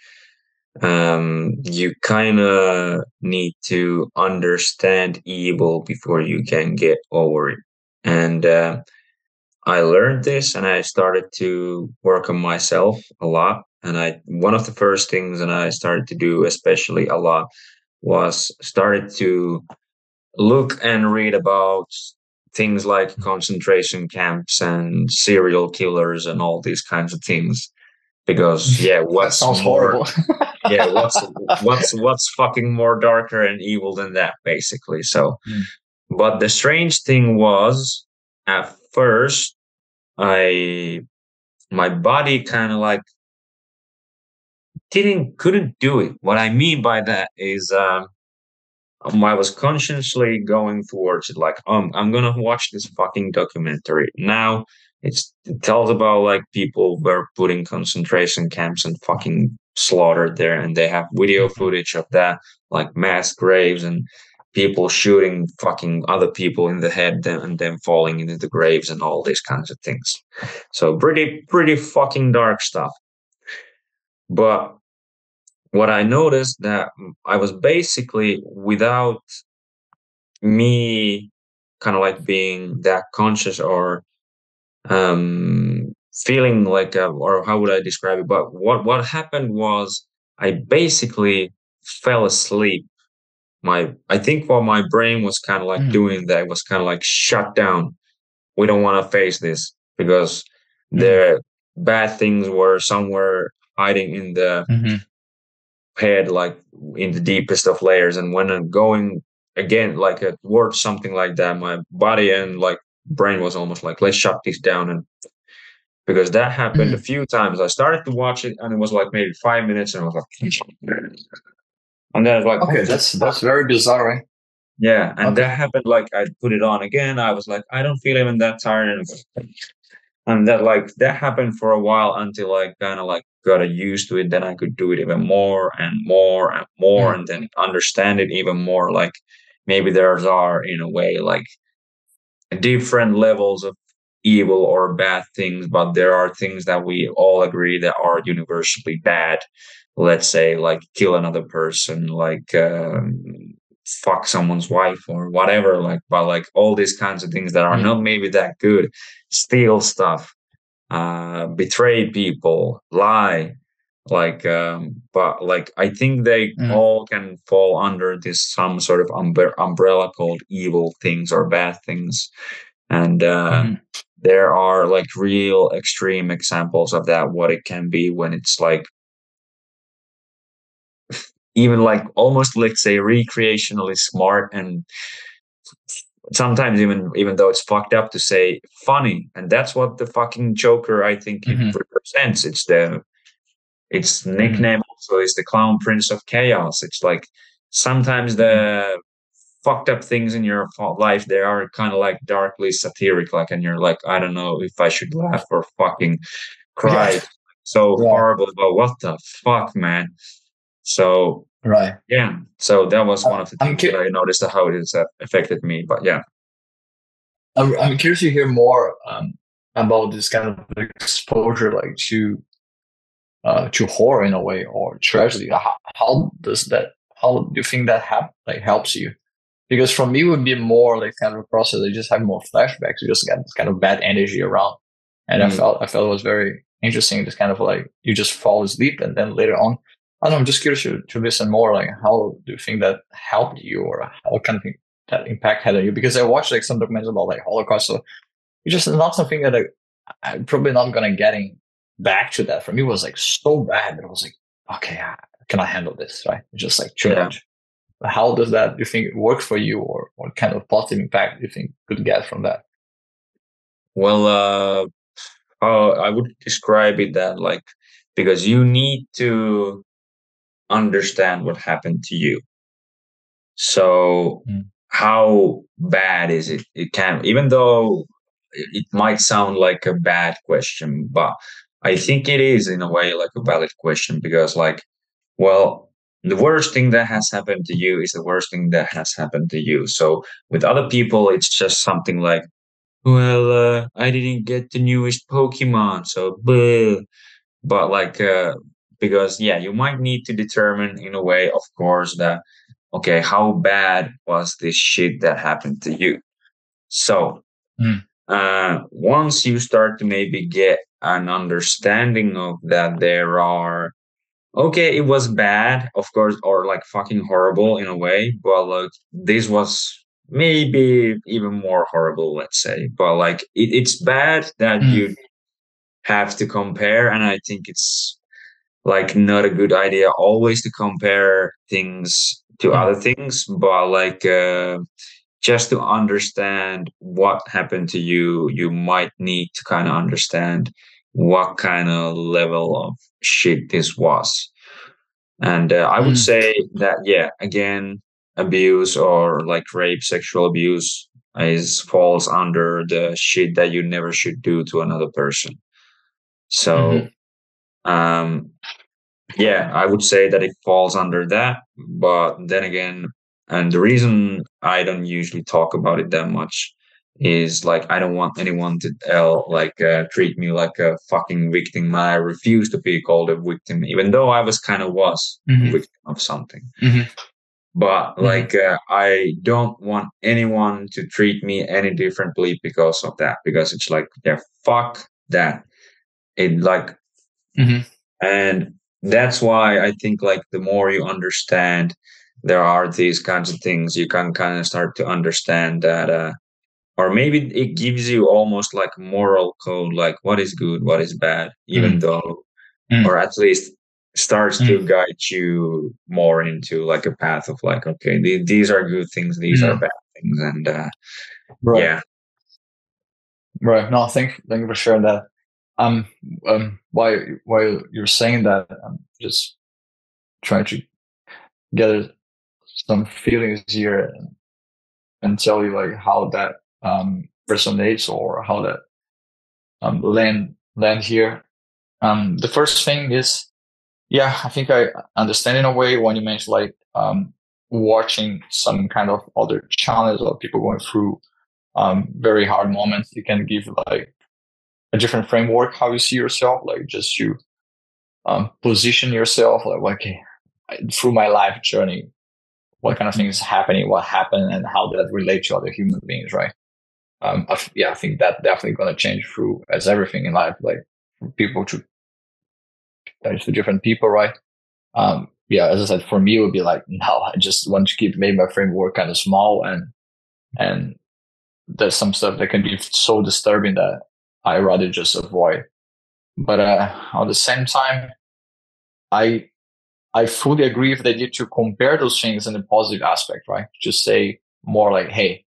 [SPEAKER 1] you kind of need to understand evil before you can get over it. And I learned this and I started to work on myself a lot. And one of the first things that I started to do, especially a lot, was started to look and read about things like concentration camps and serial killers and all these kinds of things. Because yeah,
[SPEAKER 2] that
[SPEAKER 1] what's
[SPEAKER 2] sounds
[SPEAKER 1] more,
[SPEAKER 2] horrible.
[SPEAKER 1] yeah, what's fucking more darker and evil than that, basically. So,
[SPEAKER 2] Mm,
[SPEAKER 1] but the strange thing was, at first, I my body kind of like didn't couldn't do it. What I mean by that is I was consciously going towards it, like I'm gonna watch this fucking documentary now. It tells about like people were put in concentration camps and fucking slaughtered there, and they have video
[SPEAKER 2] mhm.
[SPEAKER 1] footage of that, like mass graves and people shooting fucking other people in the head and then falling into the graves and all these kinds of things. So pretty fucking dark stuff. But what I noticed that I was basically without me kind of like being that conscious or feeling like or how would I describe it? But what happened was I basically fell asleep. I think what my brain was kind of like
[SPEAKER 2] Mm,
[SPEAKER 1] doing that was kind of like shut down. We don't want to face this because
[SPEAKER 2] mm,
[SPEAKER 1] the bad things were somewhere hiding in the
[SPEAKER 2] Hmm.
[SPEAKER 1] head, like in the deepest of layers. And when I'm going again, like towards something like that, my body and like brain was almost like, let's shut this down. And because that happened a
[SPEAKER 2] Hmm.
[SPEAKER 1] few times, I started to watch it and it was like maybe 5 minutes and I was like, and then I was like, what
[SPEAKER 2] Okay,
[SPEAKER 1] the
[SPEAKER 2] that's
[SPEAKER 1] fuck?
[SPEAKER 2] very bizarre, right?
[SPEAKER 1] Yeah. And
[SPEAKER 2] Okay.
[SPEAKER 1] that happened. Like I put it on again. I was like, I don't feel even that tired. And that like that happened for a while until I kind of like got used to it. Then I could do it even more and more and more,
[SPEAKER 2] Mm.
[SPEAKER 1] and then understand it even more. Like maybe there's are in a way like different levels of evil or bad things, but there are things that we all agree that are universally bad. Let's say like kill another person, like fuck someone's wife or whatever. Like, but like all these kinds of things that are
[SPEAKER 2] Mm.
[SPEAKER 1] not maybe that good, steal stuff, betray people, lie. Like, but like I think they
[SPEAKER 2] Mm.
[SPEAKER 1] all can fall under this some sort of umbrella called evil things or bad things, and
[SPEAKER 2] Hmm.
[SPEAKER 1] there are like real extreme examples of that. What it can be when it's like even like almost let's say recreationally smart and sometimes even though it's fucked up to say funny, and that's what the fucking Joker I think it
[SPEAKER 2] Hmm.
[SPEAKER 1] represents. Its
[SPEAKER 2] Hmm.
[SPEAKER 1] nickname also is the Clown Prince of Chaos. It's like sometimes
[SPEAKER 2] Hmm.
[SPEAKER 1] the fucked up things in your life they are kind of like darkly satiric, like, and you're like, I don't know if I should laugh or fucking cry.
[SPEAKER 2] Yeah.
[SPEAKER 1] It's so
[SPEAKER 2] Right.
[SPEAKER 1] horrible, but what the fuck, man? So
[SPEAKER 2] Right.
[SPEAKER 1] yeah, so that was one of the
[SPEAKER 2] I'm
[SPEAKER 1] things that
[SPEAKER 2] cu-
[SPEAKER 1] I noticed how it has affected me. But yeah.
[SPEAKER 2] I'm curious to hear more about this kind of exposure, like to horror in a way or tragedy. How does that? How do you think that helps you? Because for me, it would be more like kind of a process. I just have more flashbacks. You just get this kind of bad energy around, and
[SPEAKER 1] Mm.
[SPEAKER 2] I felt it was very interesting. This kind of like you just fall asleep, and then later on, I don't know. I'm just curious to listen more. Like, how do you think that helped you, or what kind of thing that impact had on you? Because I watched like some documentaries about like Holocaust, so it's just not something that I'm probably not gonna getting back to that. For me, it was like so bad that I was like, okay, I cannot handle this. Right? It's just like too
[SPEAKER 1] Yeah.
[SPEAKER 2] much. How does that, do you think, work for you, or what kind of positive impact do you think could get from that?
[SPEAKER 1] Well, how I would describe it that like because you need to understand what happened to you. So
[SPEAKER 2] Mm.
[SPEAKER 1] how bad is it? It can, even though it might sound like a bad question, but I think it is in a way like a valid question because like, well, the worst thing that has happened to you is the worst thing that has happened to you. So with other people, it's just something like, well, I didn't get the newest Pokemon, so bleh. But like, because yeah, you might need to determine in a way, of course, that okay, how bad was this shit that happened to you? So,
[SPEAKER 2] Mm.
[SPEAKER 1] once you start to maybe get an understanding of that, there are okay, it was bad, of course, or like fucking horrible in a way, but like this was maybe even more horrible, let's say. But like it's bad that
[SPEAKER 2] Mm.
[SPEAKER 1] you have to compare, and I think it's like not a good idea always to compare things to
[SPEAKER 2] Mm.
[SPEAKER 1] other things, but like just to understand what happened to you, you might need to kind of understand what kind of level of shit this was. And I would
[SPEAKER 2] Mm.
[SPEAKER 1] say that, yeah, again, abuse or like rape, sexual abuse is falls under the shit that you never should do to another person.
[SPEAKER 2] Mm-hmm.
[SPEAKER 1] So, um, yeah, I would say that it falls under that. But then again, and the reason I don't usually talk about it that much is like I don't want anyone to treat me like a fucking victim. I refuse to be called a victim, even though I was kind of was a
[SPEAKER 2] Mm-hmm.
[SPEAKER 1] victim of something.
[SPEAKER 2] Mm-hmm.
[SPEAKER 1] But
[SPEAKER 2] Mm-hmm.
[SPEAKER 1] like I don't want anyone to treat me any differently because of that. Because it's like yeah, fuck that. It like
[SPEAKER 2] Mm-hmm.
[SPEAKER 1] and that's why I think like the more you understand there are these kinds of things, you can kind of start to understand that or maybe it gives you almost like a moral code, like what is good, what is bad, even
[SPEAKER 2] Mm.
[SPEAKER 1] though
[SPEAKER 2] Mm.
[SPEAKER 1] or at least starts to
[SPEAKER 2] Mm.
[SPEAKER 1] guide you more into like a path of like, okay, these are good things, these are
[SPEAKER 2] Mm.
[SPEAKER 1] bad things, and
[SPEAKER 2] Right.
[SPEAKER 1] yeah.
[SPEAKER 2] Right. No, thank you for sharing that. Um, while you're saying that, I'm just trying to gather some feelings here and tell you like how that resonates or how that land here. The first thing is, yeah, I think I understand in a way when you mentioned like watching some kind of other challenge or people going through very hard moments. You can give like a different framework how you see yourself, like just to position yourself like okay, through my life journey, what kind of things happening, what happened, and how that relate to other human beings, right? Yeah, I think that definitely going to change through as everything in life, like from people to different people, right? Yeah, as I said, for me, it would be like, no, I just want to keep maybe my framework kind of small, and there's some stuff that can be so disturbing that I rather just avoid. But at the same time, I I fully agree with the idea to compare those things in a positive aspect, right? Just say more like, hey,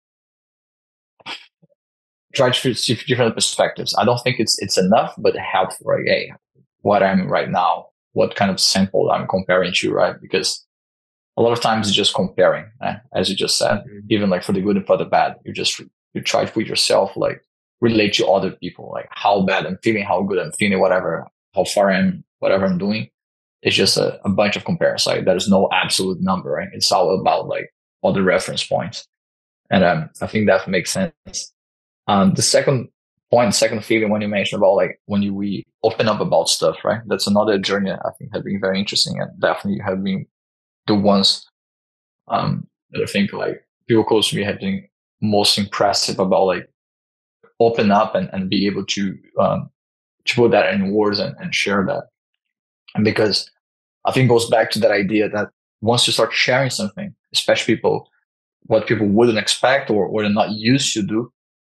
[SPEAKER 2] try to see different perspectives. I don't think it's enough, but helpful, right? Hey, what I'm right now, what kind of sample I'm comparing to, right? Because a lot of times it's just comparing, as you just said, even like for the good and for the bad. You try to put yourself like relate to other people, like how bad I'm feeling, how good I'm feeling, whatever, how far I am, whatever I'm doing. It's just a bunch of comparisons. Like there's no absolute number, right? It's all about like other reference points. And I think that makes sense. The second point, second feeling when you mentioned about like when we open up about stuff, right? That's another journey I think has been very interesting and definitely have been the ones that I think like people close to me have been most impressive about like open up and be able to put that in words and share that. And because I think it goes back to that idea that once you start sharing something, especially what people wouldn't expect or they're not used to do,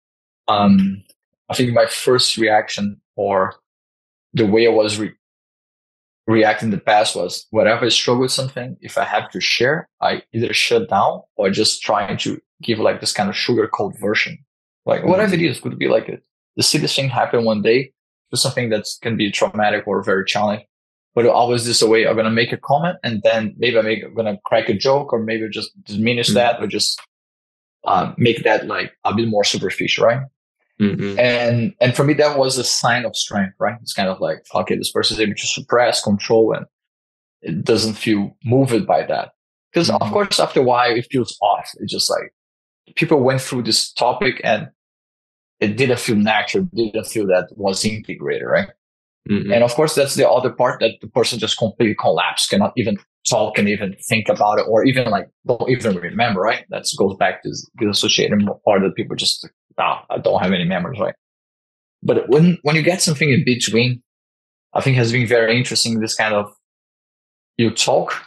[SPEAKER 2] I think my first reaction or the way I was reacting in the past was whenever I struggle with something, if I have to share, I either shut down or just trying to give like this kind of sugar coat version. Like whatever it is, could be like the silliest thing happen one day, to something that can be traumatic or very challenging. But always this way, I'm gonna make a comment and then maybe I'm gonna crack a joke or maybe just diminish that or just make that like a bit more superficial, right?
[SPEAKER 1] Mm-hmm.
[SPEAKER 2] And for me that was a sign of strength, right? It's kind of like okay, this person is able to suppress, control, and it doesn't feel moved by that. Because of course, after a while, it feels off. It's just like people went through this topic and it didn't feel natural, didn't feel that was integrated, right?
[SPEAKER 1] Mm-hmm.
[SPEAKER 2] And of course, that's the other part that the person just completely collapsed, cannot even talk, can even think about it, or even like don't even remember, right? That goes back to the associated part that people just, I don't have any memories, right? But when you get something in between, I think has been very interesting. This kind of you talk,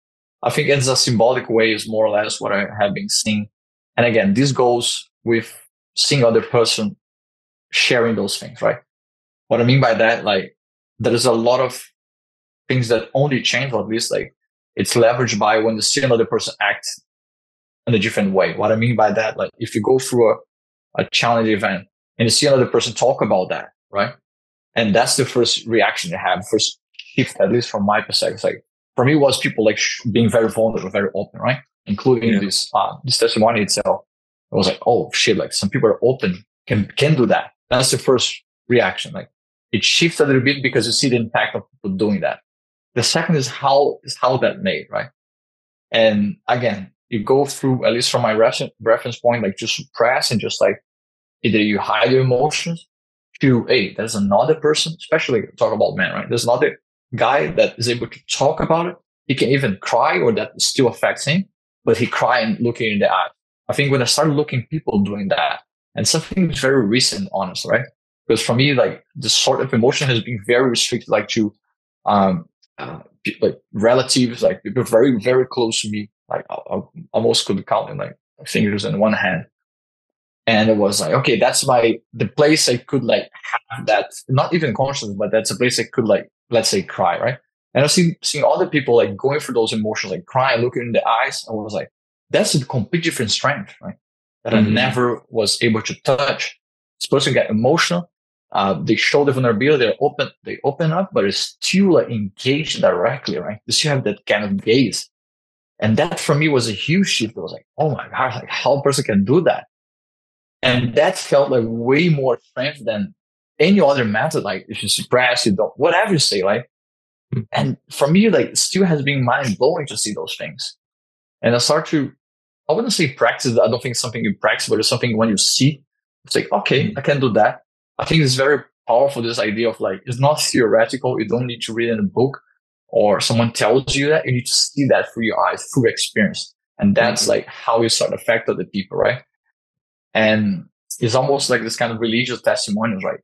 [SPEAKER 2] I think it's a symbolic way is more or less what I have been seeing. And again, this goes with seeing other person sharing those things, right? What I mean by that, like there's a lot of things that only change, or at least like it's leveraged by when you see another person act in a different way. What I mean by that, like if you go through a challenge event and you see another person talk about that, right? And that's the first reaction you have, first shift, at least from my perspective. It's like for me, was people like being very vulnerable, very open, right? Including this testimony itself. I was like, oh shit! Like some people are open, can do that. That's the first reaction. Like it shifts a little bit because you see the impact of people doing that. The second is how that made, right? And again, you go through, at least from my reference point, like to suppress and just like either you hide your emotions to, hey, there's another person, especially talk about men, right? There's another guy that is able to talk about it. He can even cry or that still affects him, but he cry and looking in the eye. I think when I started looking people doing that, and something very recent, honestly, right? Because for me, like this sort of emotion has been very restricted, like to um, like relatives, like people very, very close to me. Like I almost could count in like fingers in one hand. And it was like, okay, that's the place I could like have that, not even conscious, but that's a place I could like let's say, cry, right? And I see seeing other people like going through those emotions, like crying, looking in the eyes. I was like, that's a complete different strength, right? That I
[SPEAKER 1] Mm-hmm.
[SPEAKER 2] never was able to touch. This person get emotional. They show the vulnerability. They open up, but it's still like engaged directly, right? You still have that kind of gaze. And that for me was a huge shift. I was like, oh my God, like how a person can do that. And that felt like way more strength than any other method. Like if you suppress, you don't, whatever you say, like, and for me, like, it still has been mind blowing to see those things. And I start to, I wouldn't say practice. I don't think it's something you practice, but it's something when you see, it's like, okay, I can do that. I think it's very powerful. This idea of like, it's not theoretical. You don't need to read in a book or someone tells you that. You need to see that through your eyes, through experience. And that's
[SPEAKER 1] Mm-hmm.
[SPEAKER 2] like how you start to affect other people, right? And it's almost like this kind of religious testimonials, right?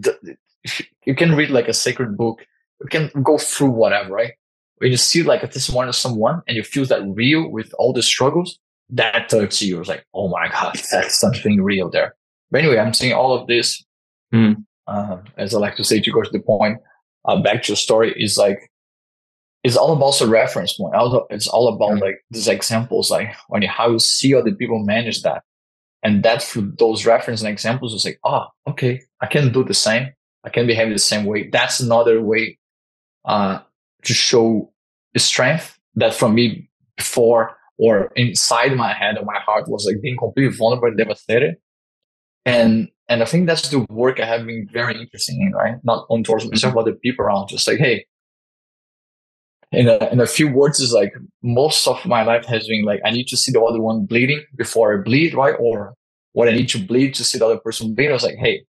[SPEAKER 2] You can read like a sacred book, you can go through whatever, right? When you see like a testimony of someone and you feel that real with all the struggles, that touches you. It's like, oh my God, that's something real there. But anyway, I'm saying all of this, as I like to say, to go to the point, back to your story, is like, it's all about the reference point. It's all about
[SPEAKER 1] Mm-hmm.
[SPEAKER 2] like these examples, like when you, how you see other people manage that. And that through those reference and examples is like, oh, okay, I can do the same. I can behave the same way. That's another way uh, to show the strength that from me before or inside my head or my heart was like being completely vulnerable and devastated. And I think that's the work I have been very interested in, right? Not only towards myself, but the people around. Just like, hey, in a few words, is like most of my life has been like I need to see the other one bleeding before I bleed, right? Or what I need to bleed to see the other person bleed. I was like, hey,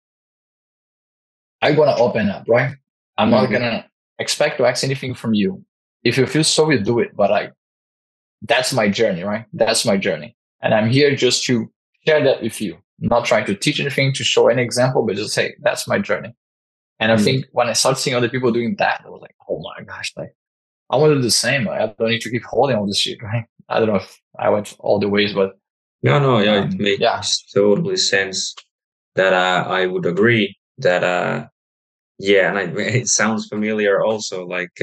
[SPEAKER 2] I'm gonna open up, right? I'm not
[SPEAKER 1] Mm-hmm.
[SPEAKER 2] gonna expect to ask anything from you. If you feel so, you do it. But like that's my journey, right? That's my journey. And I'm here just to share that with you. I'm not trying to teach anything, to show any example, but just say that's my journey. And I think when I started seeing other people doing that, I was like, oh my gosh, like I want to do the same. Like, I don't need to keep holding all this shit, right? I don't know if I went all the ways, but
[SPEAKER 1] No, no, yeah, it
[SPEAKER 2] yeah.
[SPEAKER 1] makes totally sense that I would agree that yeah, and it sounds familiar also, like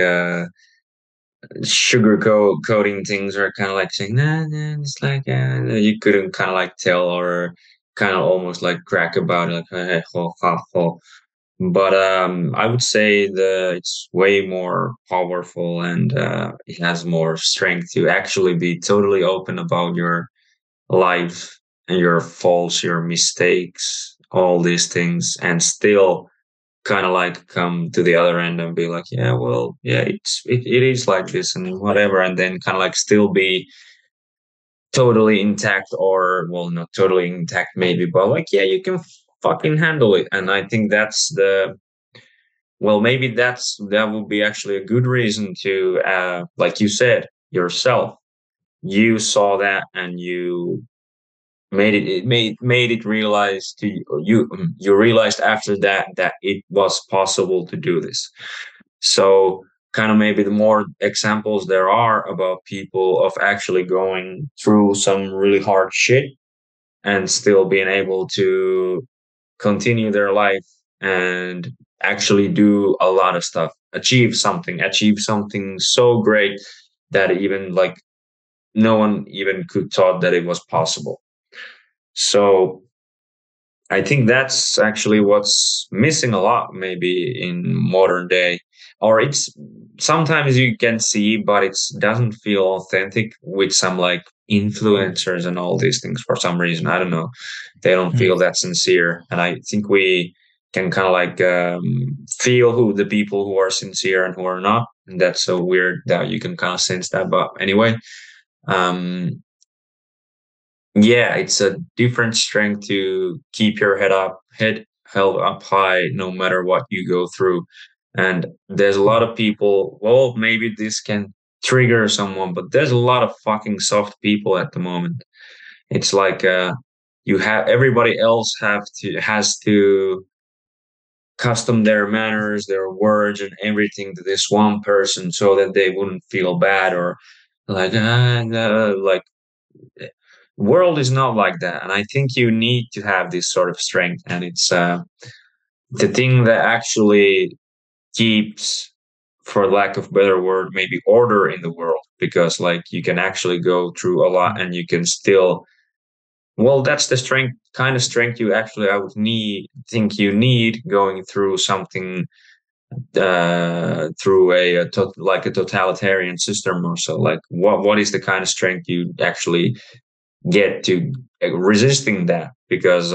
[SPEAKER 1] coating things are kind of like saying nah, nah, it's like you couldn't kind of like tell or kind of almost like crack about it, like hey, ho, ha, ho. But I would say it's way more powerful and it has more strength to actually be totally open about your life and your faults, your mistakes, all these things, and still kind of like come to the other end and be like, yeah, well, yeah, it is like this and whatever, and then kind of like still be totally intact, or well, not totally intact maybe, but like yeah, you can fucking handle it. And I think that's the well, maybe that would be actually a good reason to like you said yourself, you saw that and you made it realize to you realized after that that it was possible to do this. So kind of maybe the more examples there are about people of actually going through some really hard shit and still being able to continue their life and actually do a lot of stuff, achieve something so great that even like no one even could thought that it was possible. So I think that's actually what's missing a lot, maybe in modern day, or it's sometimes you can see, but it doesn't feel authentic with some like influencers and all these things for some reason. I don't know. They don't
[SPEAKER 2] Mm.
[SPEAKER 1] feel that sincere. And I think we can kind of like feel who the people who are sincere and who are not. And that's so weird that you can kind of sense that. But anyway, um, yeah, it's a different strength to keep your head held up high no matter what you go through. And there's a lot of people, well, maybe this can trigger someone, but there's a lot of fucking soft people at the moment. It's like you have everybody else has to custom their manners, their words and everything to this one person so that they wouldn't feel bad or like like world is not like that, and I think you need to have this sort of strength, and it's the thing that actually keeps for lack of better word, maybe order in the world, because like you can actually go through a lot and you can still, well, that's the strength, kind of strength you actually, I would think you need going through something, through like a totalitarian system or so. Like what is the kind of strength you actually get to resisting that? Because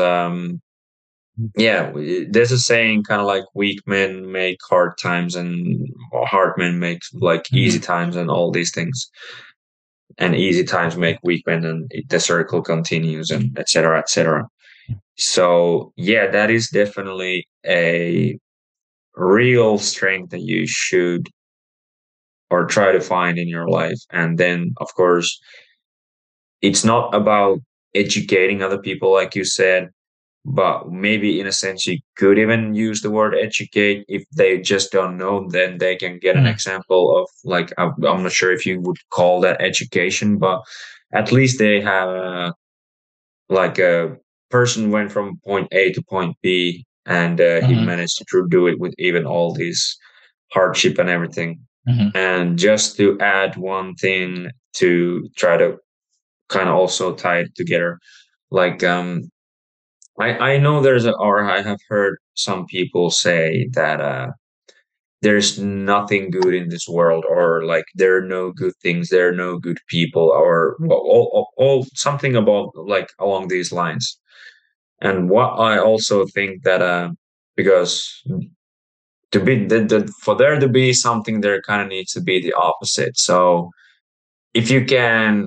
[SPEAKER 1] yeah, there's a saying kind of like weak men make hard times and hard men make like easy
[SPEAKER 2] Mhm.
[SPEAKER 1] times and all these things, and easy times make weak men, and the circle continues, and etc etc. So yeah, that is definitely a real strength that you should or try to find in your life. And then of course it's not about educating other people like you said, but maybe in a sense you could even use the word educate. If they just don't know, then they can get an
[SPEAKER 2] Mhm.
[SPEAKER 1] example of like, I'm not sure if you would call that education, but at least they have like a person went from point A to point B, and he
[SPEAKER 2] Mhm.
[SPEAKER 1] managed to do it with even all these hardship and everything.
[SPEAKER 2] Mhm.
[SPEAKER 1] And just to add one thing to try to kind of also tie it together, like I know there's or I have heard some people say that there's nothing good in this world, or like there are no good things, there are no good people, or all something about like along these lines. And what I also think that because to be for there to be something, there kind of needs to be the opposite. So if you can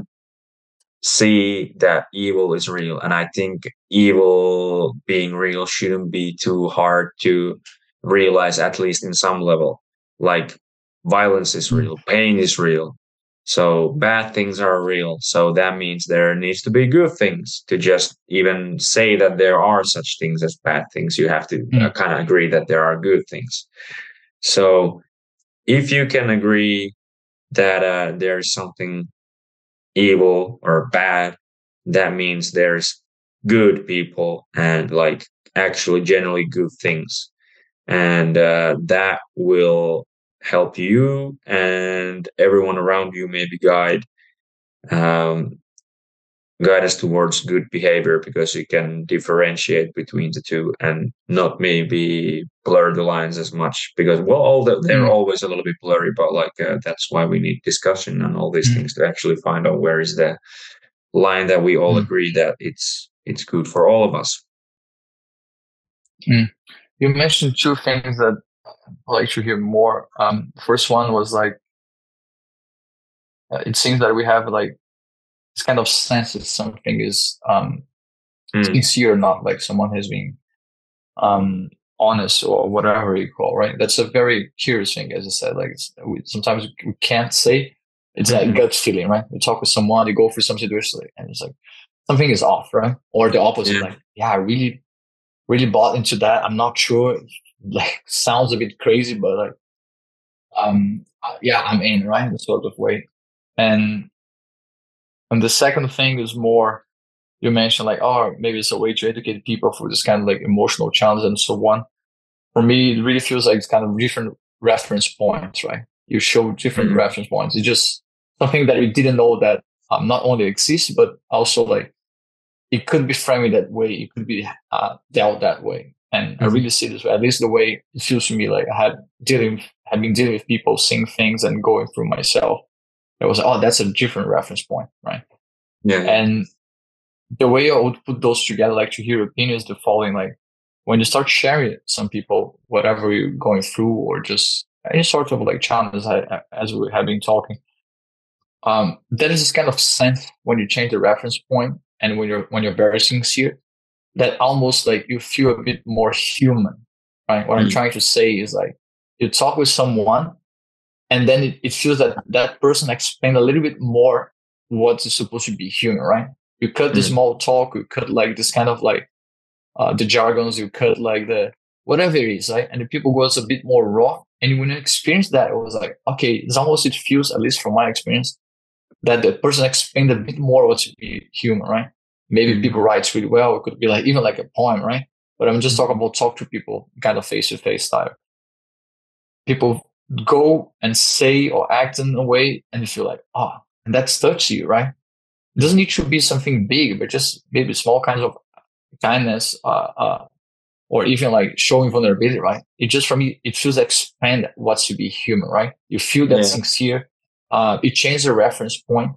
[SPEAKER 1] see that evil is real, and I think evil being real shouldn't be too hard to realize, at least in some level. Like violence is
[SPEAKER 2] Mhm.
[SPEAKER 1] real, pain is real, so bad things are real, so that means there needs to be good things. To just even say that there are such things as bad things, you have to
[SPEAKER 2] Mhm.
[SPEAKER 1] kind of agree that there are good things. So if you can agree that there's something evil or bad, that means there's good people and like actually generally good things. And that will help you and everyone around you, maybe um, guide us towards good behavior, because you can differentiate between the two and not maybe blur the lines as much, because well they're
[SPEAKER 2] Mhm.
[SPEAKER 1] always a little bit blurry, but like that's why we need discussion and all these things
[SPEAKER 2] Mhm.
[SPEAKER 1] to actually find out where is the line that we all
[SPEAKER 2] Mhm.
[SPEAKER 1] agree that it's good for all of us.
[SPEAKER 2] Mhm. You mentioned two things that I'd like to hear more. First one was like, it seems that we have like this kind of sense that something is
[SPEAKER 1] Mm,
[SPEAKER 2] sincere or not, like someone has been um, honest or whatever you call, right? That's a very curious thing, as I said. Like sometimes we can't say. It's that
[SPEAKER 1] mhm.
[SPEAKER 2] gut feeling, right? You talk with someone, you go through some situation, and it's like something is off, right? Or the opposite,
[SPEAKER 1] Yeah,
[SPEAKER 2] like, yeah, I really, really bought into that. I'm not sure. Like, sounds a bit crazy, but like, yeah, I'm in, right? The sort of way. And the second thing is more, you mentioned like, oh, maybe it's a way to educate people for this kind of like emotional challenge and so on. For me, it really feels like it's kind of different reference points, right? You show different
[SPEAKER 1] mhm,
[SPEAKER 2] reference points. It's just something that we didn't know that not only exists, but also like it could be framed that way. It could be dealt that way. And I
[SPEAKER 1] mhm.
[SPEAKER 2] really see this way, at least the way it feels to me. Like had been dealing with people, seeing things and going through myself. It was, oh, that's a different reference point, right?
[SPEAKER 1] Yeah, yeah.
[SPEAKER 2] And the way I would put those together, like to hear opinions, the following, like when you start sharing it, some people, whatever you're going through, or just any sort of like challenge, as we have been talking, there is this kind of sense when you change the reference point and when you're very sincere, that almost like you feel a bit more human, right? What I'm
[SPEAKER 1] Mm,
[SPEAKER 2] trying to say is like you talk with someone and then it feels that that person explained a little bit more what is supposed to be human, right? You cut the
[SPEAKER 1] mm,
[SPEAKER 2] small talk, you cut like this kind of like the jargons, you cut like the whatever it is, right? And the people goes a bit more raw. And when you experience that, it was like, okay, it's almost, it feels, at least from my experience, that the person explained a bit more what to be human, right? Maybe people
[SPEAKER 1] mhm,
[SPEAKER 2] write really well. It could be like even like a poem, right? But I'm just talking
[SPEAKER 1] mhm,
[SPEAKER 2] about talk to people kind of face to face style. People go and say or act in a way and you feel like, oh, and that's touched you, right? It doesn't need to be something big, but just maybe small kinds of kindness, or even like showing vulnerability, right? It just, for me, it feels expand what's to be human, right? You feel that
[SPEAKER 1] Yeah.
[SPEAKER 2] sincere. It changes the reference point.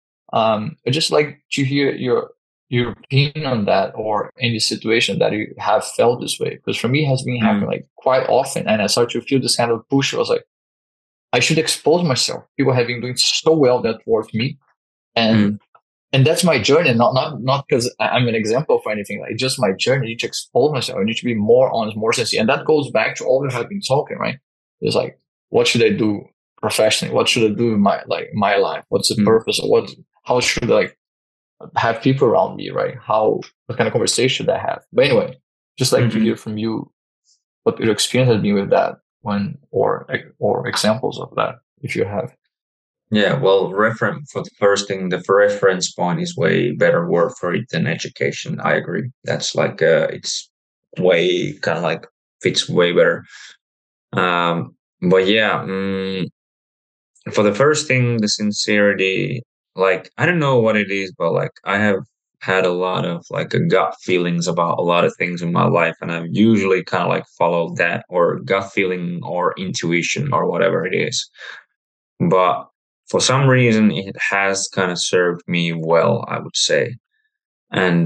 [SPEAKER 2] I just like to hear your opinion on that, or any situation that you have felt this way. Because for me, it has been happening
[SPEAKER 1] Mm,
[SPEAKER 2] like quite often, and I started to feel this kind of push. I was like, I should expose myself. People have been doing so well that towards me, and
[SPEAKER 1] mm,
[SPEAKER 2] that's my journey. Not because I'm an example for anything. Like just my journey. I need to expose myself. I need to be more honest, more sincere, and that goes back to all we have been talking. Right? It's like, what should I do professionally? What should I do in my life? What's the
[SPEAKER 1] mm,
[SPEAKER 2] purpose? Or what? How should I like have people around me? Right? How, what kind of conversation should I have? But anyway, just like to
[SPEAKER 1] mhm.
[SPEAKER 2] hear from you what your experience has been with that, when, or examples of that, if you have.
[SPEAKER 1] Yeah, well, reference for the first thing, the reference point is way better word for it than education. I agree. That's like it's way kind of like fits way better. But yeah, for the first thing, the sincerity, like I don't know what it is, but like I have had a lot of like a gut feelings about a lot of things in my life, and I've usually kind of like followed that or gut feeling or intuition or whatever it is. But for some reason, it has kind of served me well, I would say. And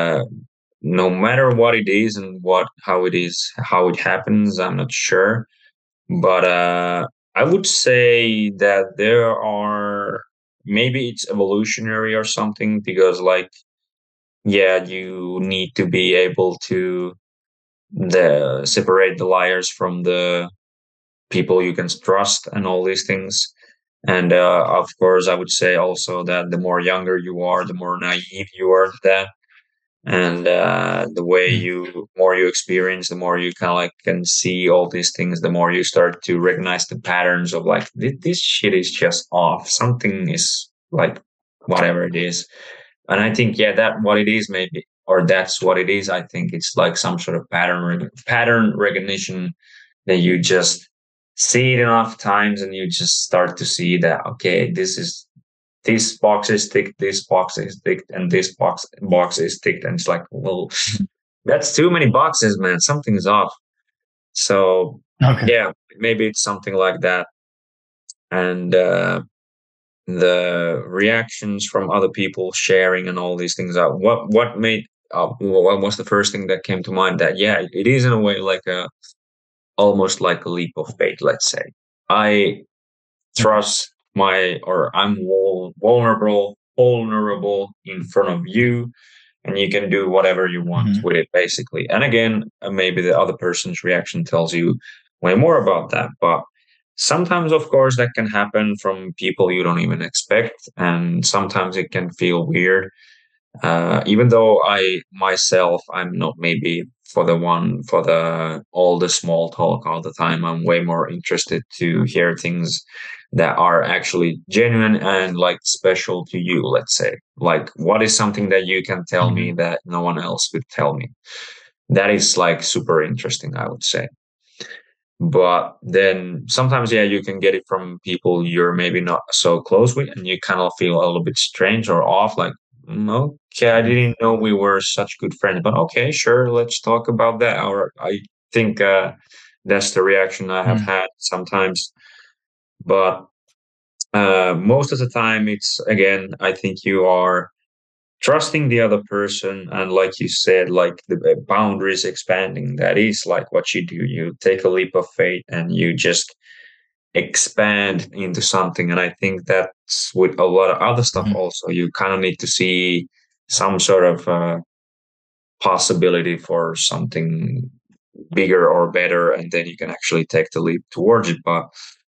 [SPEAKER 1] no matter what it is and what how it is, how it happens, I'm not sure. But I would say that there are, maybe it's evolutionary or something, because like yeah, you need to be able to the separate the liars from the people you can trust and all these things. And of course, I would say also that the more younger you are, the more naive you are to that. And the way
[SPEAKER 2] Mm.
[SPEAKER 1] you more you experience, the more you kind of like can see all these things, the more you start to recognize the patterns of like this shit is just off, something is like whatever it is. And I think yeah, that what it is maybe, or that's what it is. I think it's like some sort of pattern recognition, that you just see it enough times and you just start to see that okay, this box is ticked, this box is ticked, and this box is ticked, and it's like, well, that's too many boxes, man. Something's off. So
[SPEAKER 2] Okay.
[SPEAKER 1] yeah, maybe it's something like that. And the reactions from other people sharing and all these things are what made what was the first thing that came to mind, that yeah, it is in a way like a almost like a leap of faith, let's say. I
[SPEAKER 2] Okay.
[SPEAKER 1] trust my, or I'm vulnerable in front of you, and you can do whatever you want
[SPEAKER 2] Hmm.
[SPEAKER 1] with it, basically. And again, maybe the other person's reaction tells you way more about that. But sometimes, of course, that can happen from people you don't even expect, and sometimes it can feel weird. Even though I myself, I'm not maybe for the one for the all the small talk all the time. I'm way more interested to hear things that are actually genuine and like special to you. Let's say, like, what is something that you can tell me
[SPEAKER 2] Hmm.
[SPEAKER 1] that no one else could tell me? That is like super interesting, I would say. But then sometimes, yeah, you can get it from people you're maybe not so close with, and you kind of feel a little bit strange or off. Like, okay, I didn't know we were such good friends, but okay, sure, let's talk about that. Or I think that's the reaction I have
[SPEAKER 2] Hmm.
[SPEAKER 1] had sometimes. But most of the time, it's again, I think you are trusting the other person, and like you said, like the boundaries expanding. That is like what you do. You take a leap of faith and you just expand into something. And I think that's with a lot of other stuff
[SPEAKER 2] Hmm.
[SPEAKER 1] also. You kind of need to see some sort of possibility for something bigger or better, and then you can actually take the leap towards it. But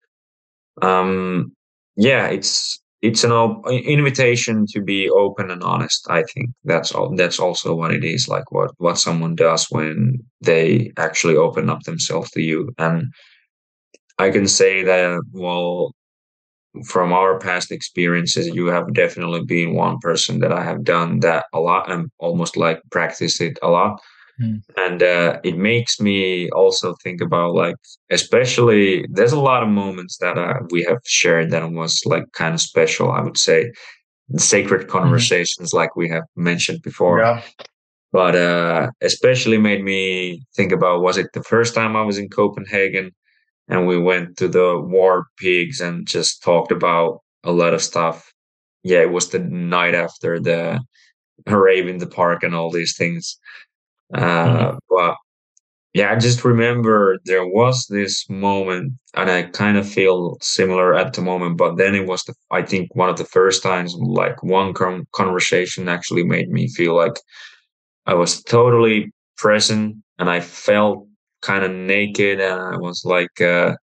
[SPEAKER 1] um, yeah, it's an invitation to be open and honest. I think that's all. That's also what it is. Like what someone does when they actually open up themselves to you. And I can say that, well, from our past experiences, you have definitely been one person that I have done that a lot and almost like practiced it a lot.
[SPEAKER 2] Mm.
[SPEAKER 1] And it makes me also think about, like, especially there's a lot of moments that we have shared that was like kind of special, I would say, sacred
[SPEAKER 2] Mhm.
[SPEAKER 1] conversations like we have mentioned before.
[SPEAKER 2] Yeah.
[SPEAKER 1] But especially made me think about, was it the first time I was in Copenhagen and we went to the War Pigs and just talked about a lot of stuff. Yeah, it was the night after the rave in the park and all these things.
[SPEAKER 2] Mhm.
[SPEAKER 1] But yeah, I just remember there was this moment, and I kind of feel similar at the moment. But then it was, I think, one of the first times, like one conversation actually made me feel like I was totally present, and I felt kind of naked, and I was like,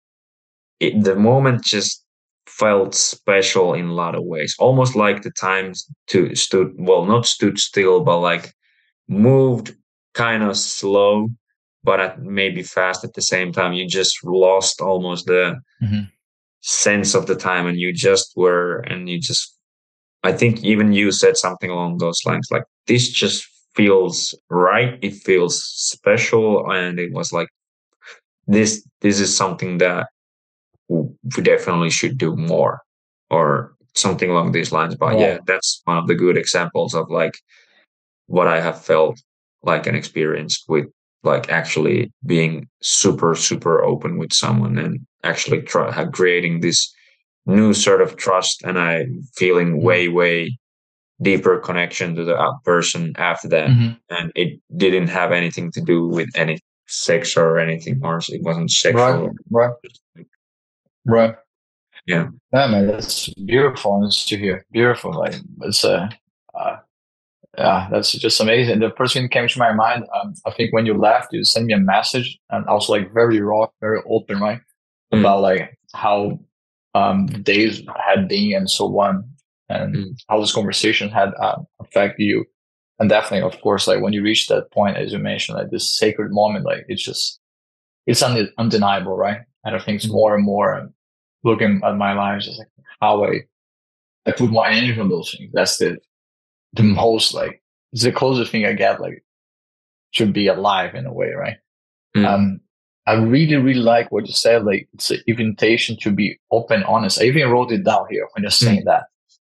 [SPEAKER 1] the moment just felt special in a lot of ways, almost like the times to stood, well, not stood still, but like moved kind of slow, but at maybe fast at the same time. You just lost almost the
[SPEAKER 2] Mhm.
[SPEAKER 1] sense of the time, and you just were, and you just, I think even you said something along those lines, like, this just feels right. It feels special. And it was like, this is something that we definitely should do more, or something along these lines. But yeah,
[SPEAKER 2] Right.
[SPEAKER 1] that's one of the good examples of like what I have felt like and experienced with, like, actually being super, super open with someone, and actually creating this new sort of trust, and I feeling
[SPEAKER 2] Mhm.
[SPEAKER 1] way, way deeper connection to the person after that.
[SPEAKER 2] Mhm.
[SPEAKER 1] And it didn't have anything to do with any sex or anything, or it wasn't
[SPEAKER 2] Right.
[SPEAKER 1] sexual.
[SPEAKER 2] Right. Right.
[SPEAKER 1] Yeah.
[SPEAKER 2] Yeah, man, that's beautiful and to hear. Beautiful. Like it's uh yeah, that's just amazing. The first thing that came to my mind, I think when you left, you sent me a message, and I was like very raw, very open, right,
[SPEAKER 1] Mm,
[SPEAKER 2] about like how the days had been and so on, and
[SPEAKER 1] mm,
[SPEAKER 2] how this conversation had affected you. And definitely, of course, like when you reach that point, as you mentioned, like this sacred moment, like it's undeniable, right? And I think it's
[SPEAKER 1] mm,
[SPEAKER 2] more and more looking at my life, just like how I put my energy on those things. That's the most like it's the closest thing I get like to be alive in a way, right?
[SPEAKER 1] mm,
[SPEAKER 2] Um, I really, really like what you said. Like it's an invitation to be open, honest. I even wrote it down here when you're saying
[SPEAKER 1] mm,
[SPEAKER 2] that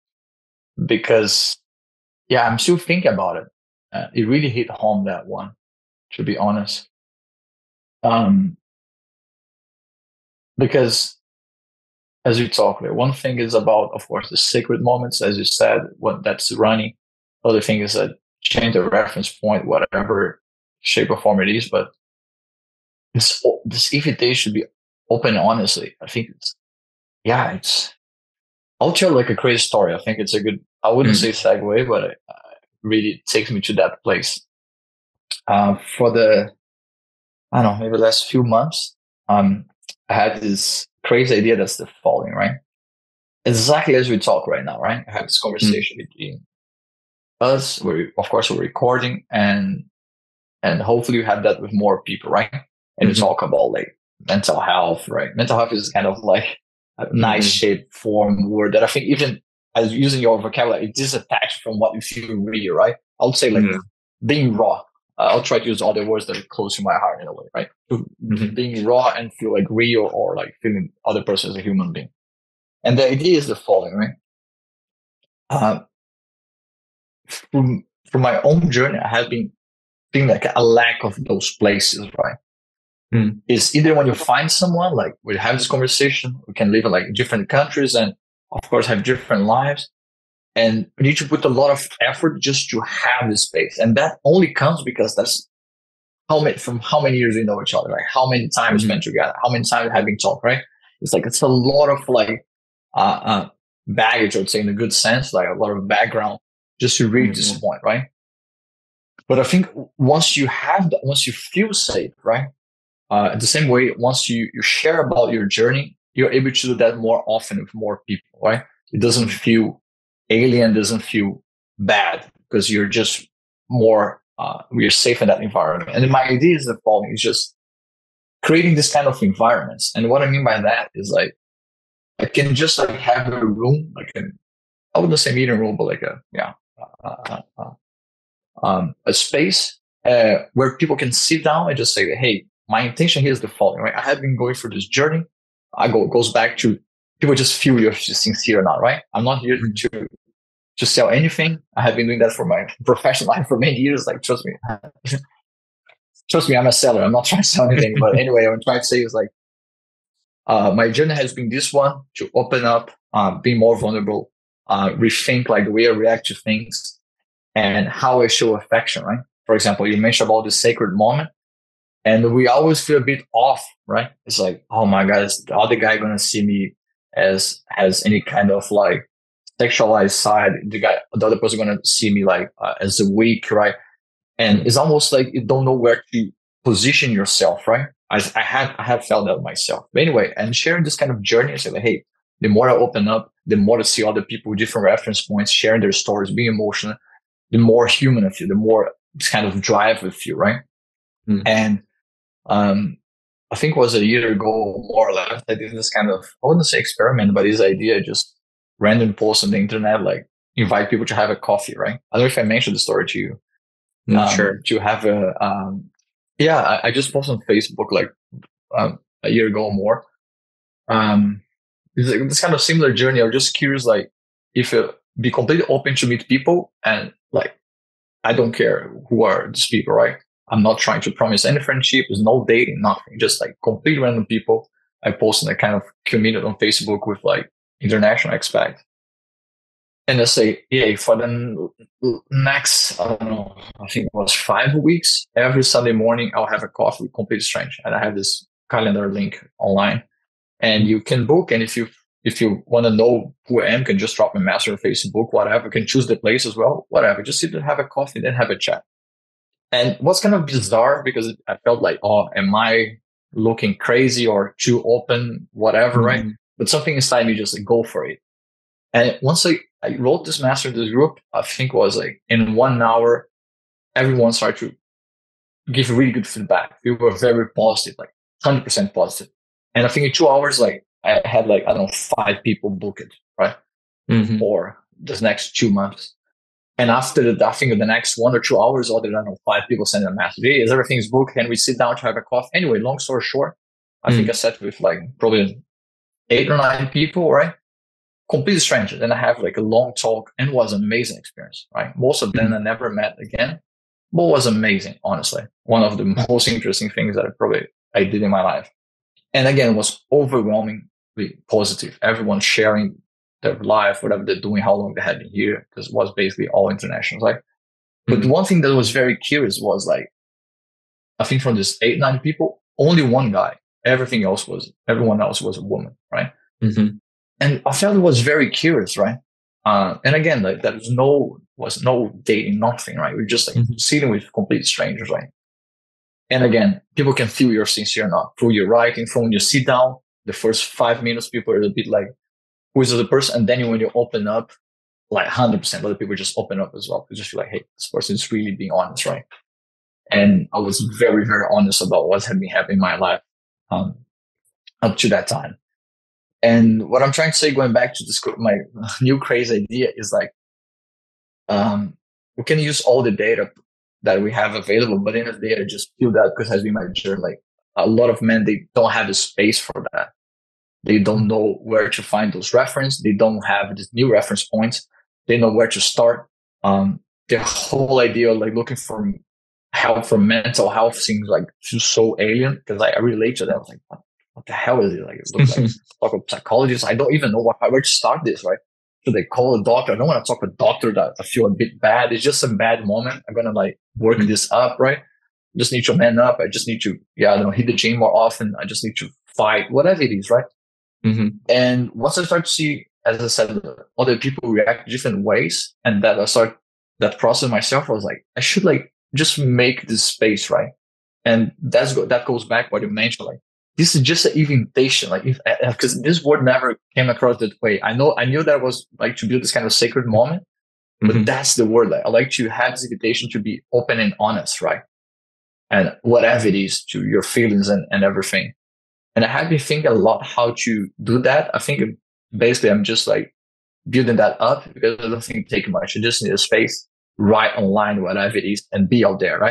[SPEAKER 2] because yeah, I'm still thinking about it. It really hit home that one, to be honest. Um, because as we talk, like, one thing is about, of course, the sacred moments, as you said, what that's running. Other thing is that change the reference point, whatever shape or form it is. But this invitation should be open honestly. I think it's yeah, it's I'll tell like a crazy story. I think it's a good I wouldn't say
[SPEAKER 1] mm,
[SPEAKER 2] segue, but it really takes me to that place. For the I don't know, maybe the last few months, I had this crazy idea that's the following, right? Exactly as we talk right now, right? I had this
[SPEAKER 1] mm,
[SPEAKER 2] conversation between us. We of course we're recording and hopefully you have that with more people, right? And you
[SPEAKER 1] mhm,
[SPEAKER 2] talk about like mental health, right? Mental health is kind of like a nice
[SPEAKER 1] mhm,
[SPEAKER 2] shape form word that I think even as using your vocabulary, it is attached from what you feel real, right? I would say like
[SPEAKER 1] yeah,
[SPEAKER 2] being raw. I'll try to use other words that are close to my heart in a way, right?
[SPEAKER 1] mhm,
[SPEAKER 2] Being raw and feel like real or like feeling other person as a human being. And the idea is the following, right? Uh, from my own journey, I have been feeling like a lack of those places, right?
[SPEAKER 1] mm,
[SPEAKER 2] Is either when you find someone, like we have this conversation, we can live in like different countries and of course have different lives. And we need to put a lot of effort just to have this space. And that only comes because that's from how many years we know each other, like how many times we
[SPEAKER 1] mhm,
[SPEAKER 2] spent together, how many times we have been talked, right? It's like it's a lot of like baggage, I would say, in a good sense, like a lot of background just to reach this
[SPEAKER 1] mhm,
[SPEAKER 2] point, right? But I think once you have that, once you feel safe, right? The same way, once you share about your journey, you're able to do that more often with more people, right? It doesn't
[SPEAKER 1] mm,
[SPEAKER 2] feel alien, doesn't feel bad because you're just more, we're safe in that environment. And then my idea is the following: is just creating this kind of environments. And what I mean by that is like I can just like have a room, like I wouldn't say meeting room, but like a yeah, a space where people can sit down and just say, hey, my intention here is the following, right? I have been going through this journey. Goes back to people just feel you're sincere or not, right? I'm not here to sell anything. I have been doing that for my professional life for many years. Like, trust me, I'm a seller. I'm not trying to sell anything. But anyway, what I'm trying to say is like, my journey has been this one to open up, be more vulnerable, rethink like the way I react to things and how I show affection, right? For example, you mentioned about the sacred moment, and we always feel a bit off, right? It's like, oh my God, is the other guy gonna see me as any kind of like sexualized side? The other person gonna see me like as a weak, right? And it's almost like you don't know where to position yourself, right? I have felt that myself. But anyway, and sharing this kind of journey, I say like, hey, the more I open up, the more I see other people with different reference points, sharing their stories, being emotional, the more human I feel, the more kind of drive I feel, right?
[SPEAKER 1] Mm.
[SPEAKER 2] And I think it was a year ago, more or less, I did this kind of, I wouldn't say experiment, but this idea, just random posts on the internet, like invite people to have a coffee, right? I don't know if I mentioned the story to you.
[SPEAKER 1] Sure.
[SPEAKER 2] To have I just posted on Facebook like a year ago or more. This kind of similar journey. I was just curious, like, if you be completely open to meet people, and like, I don't care who are these people, right? I'm not trying to promise any friendship. There's no dating, nothing. Just like complete random people. I posted a kind of community on Facebook with like international expats. And I say, yeah, for the next, I don't know, I think it was 5 weeks, every Sunday morning, I'll have a coffee with complete strange. And I have this calendar link online, and you can book. And if you want to know who I am, you can just drop me a message on Facebook, whatever. You can choose the place as well, whatever. Just sit and have a coffee, then have a chat. And what's kind of bizarre, because I felt like, oh, am I looking crazy or too open, whatever, right? But something inside me just like, go for it. And once I wrote this master in this group, I think it was like in 1 hour, everyone started to give really good feedback. We were very positive, like 100% positive. And I think in 2 hours, like I had like, I don't know, 5 people book it, right? For the next 2 months. And after that, I think in the next 1 or 2 hours, I don't know, 5 people sent a message. Hey, is everything's booked? Can we sit down to have a coffee? Anyway, long story short, I think I sat with like probably 8 or 9 people, right? Complete strangers. And I have like a long talk, and it was an amazing experience, right? Most of them I never met again, but it was amazing, honestly. One of the most interesting things that I did in my life. And again, it was overwhelmingly positive. Everyone sharing their life, whatever they're doing, how long they had been here, because it was basically all international, right? But one thing that was very curious was like, I think from this 8, 9 people, only one guy. Everyone else was a woman, right? And I felt it was very curious, right? And again, like there was no dating, nothing, right? We're just like sitting with complete strangers, right? And again, people can feel you're sincere or not through your writing, from when you sit down. The first 5 minutes, people are a bit like, who is the other person? And then when you open up, like 100% other people just open up as well. You just feel like, hey, this person is really being honest, right? And I was very, very honest about what had been happening in my life up to that time. And what I'm trying to say, going back to this, my new crazy idea is like, we can use all the data that we have available, but in the day, I just feel that because has been my journey, like a lot of men, they don't have the space for that. They don't know where to find those references. They don't have these new reference points. They know where to start. The whole idea of like looking for help for mental health seems like so alien, because I relate to that. I was like, what the hell is it? Like, it looks like talk with psychologists. I don't even know where to start this, right? Should they call a doctor? I don't want to talk to a doctor that I feel a bit bad. It's just a bad moment. I'm going to like work this up, right? I just need to man up. I just need to, I don't know, hit the gym more often. I just need to fight, whatever it is, right? And once I start to see, as I said, other people react different ways, and that I start that process myself, I was like, I should like just make this space, right? And that goes back what you mentioned, like, this is just an invitation, like, because this word never came across that way. I knew that was like to build this kind of sacred moment, but that's the word. Like, I like to have this invitation to be open and honest, right? And whatever it is, to your feelings and everything. And I have been thinking a lot how to do that. I think basically I'm just like building that up, because I don't think it takes much. You just need a space, write online, whatever it is, and be out there, right?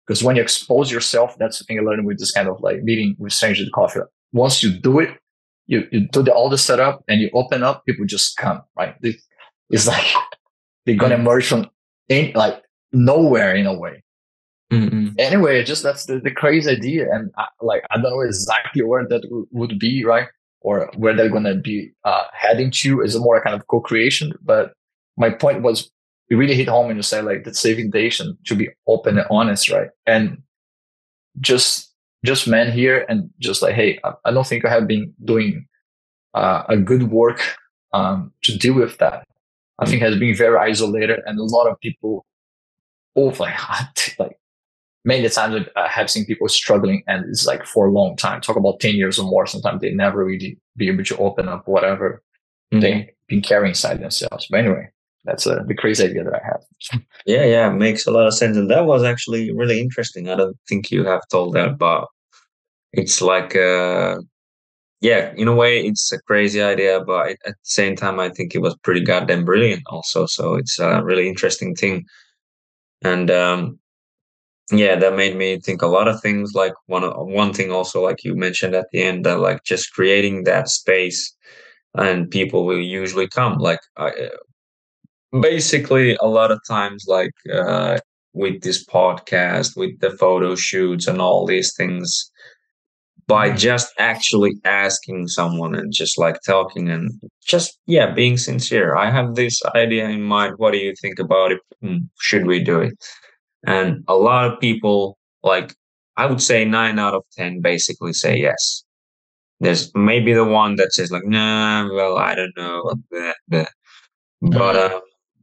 [SPEAKER 2] Because when you expose yourself, that's the thing I learned with this kind of like meeting with strangers at coffee. Once you do it, you do all the setup and you open up, people just come, right? It's like they're gonna
[SPEAKER 1] Mm.
[SPEAKER 2] emerge from like nowhere in a way.
[SPEAKER 1] Mm-mm.
[SPEAKER 2] Anyway, just that's the crazy idea, and I don't know exactly where that would be, right, or where they're gonna be heading to. Is more kind of co-creation, but my point was it really hit home when you say like the saving nation to be open and honest, right, and just men here and just like, hey, I don't think I have been doing a good work to deal with that. I think
[SPEAKER 1] Mm.
[SPEAKER 2] has been very isolated, and a lot of people, oh, like many times I have seen people struggling, and it's like for a long time. Talk about 10 years or more. Sometimes they never really be able to open up whatever
[SPEAKER 1] Mm.
[SPEAKER 2] they been carrying inside themselves. But anyway, that's the crazy idea that I have.
[SPEAKER 1] Yeah, yeah, makes a lot of sense, and that was actually really interesting. I don't think you have told that, but it's like, yeah, in a way, it's a crazy idea, but at the same time, I think it was pretty goddamn brilliant, also. So it's a really interesting thing, and yeah, that made me think a lot of things. Like one thing also, like you mentioned at the end, that like just creating that space, and people will usually come. Like basically, a lot of times, like with this podcast, with the photo shoots and all these things, by
[SPEAKER 2] Mm.
[SPEAKER 1] just actually asking someone and just like talking and just, yeah, being sincere. I have this idea in mind. What do you think about it? Should we do it? And a lot of people, like, I would say 9 out of 10 basically say yes. There's maybe the one that says like, nah, well, I don't know, blah, blah. But
[SPEAKER 2] Mm.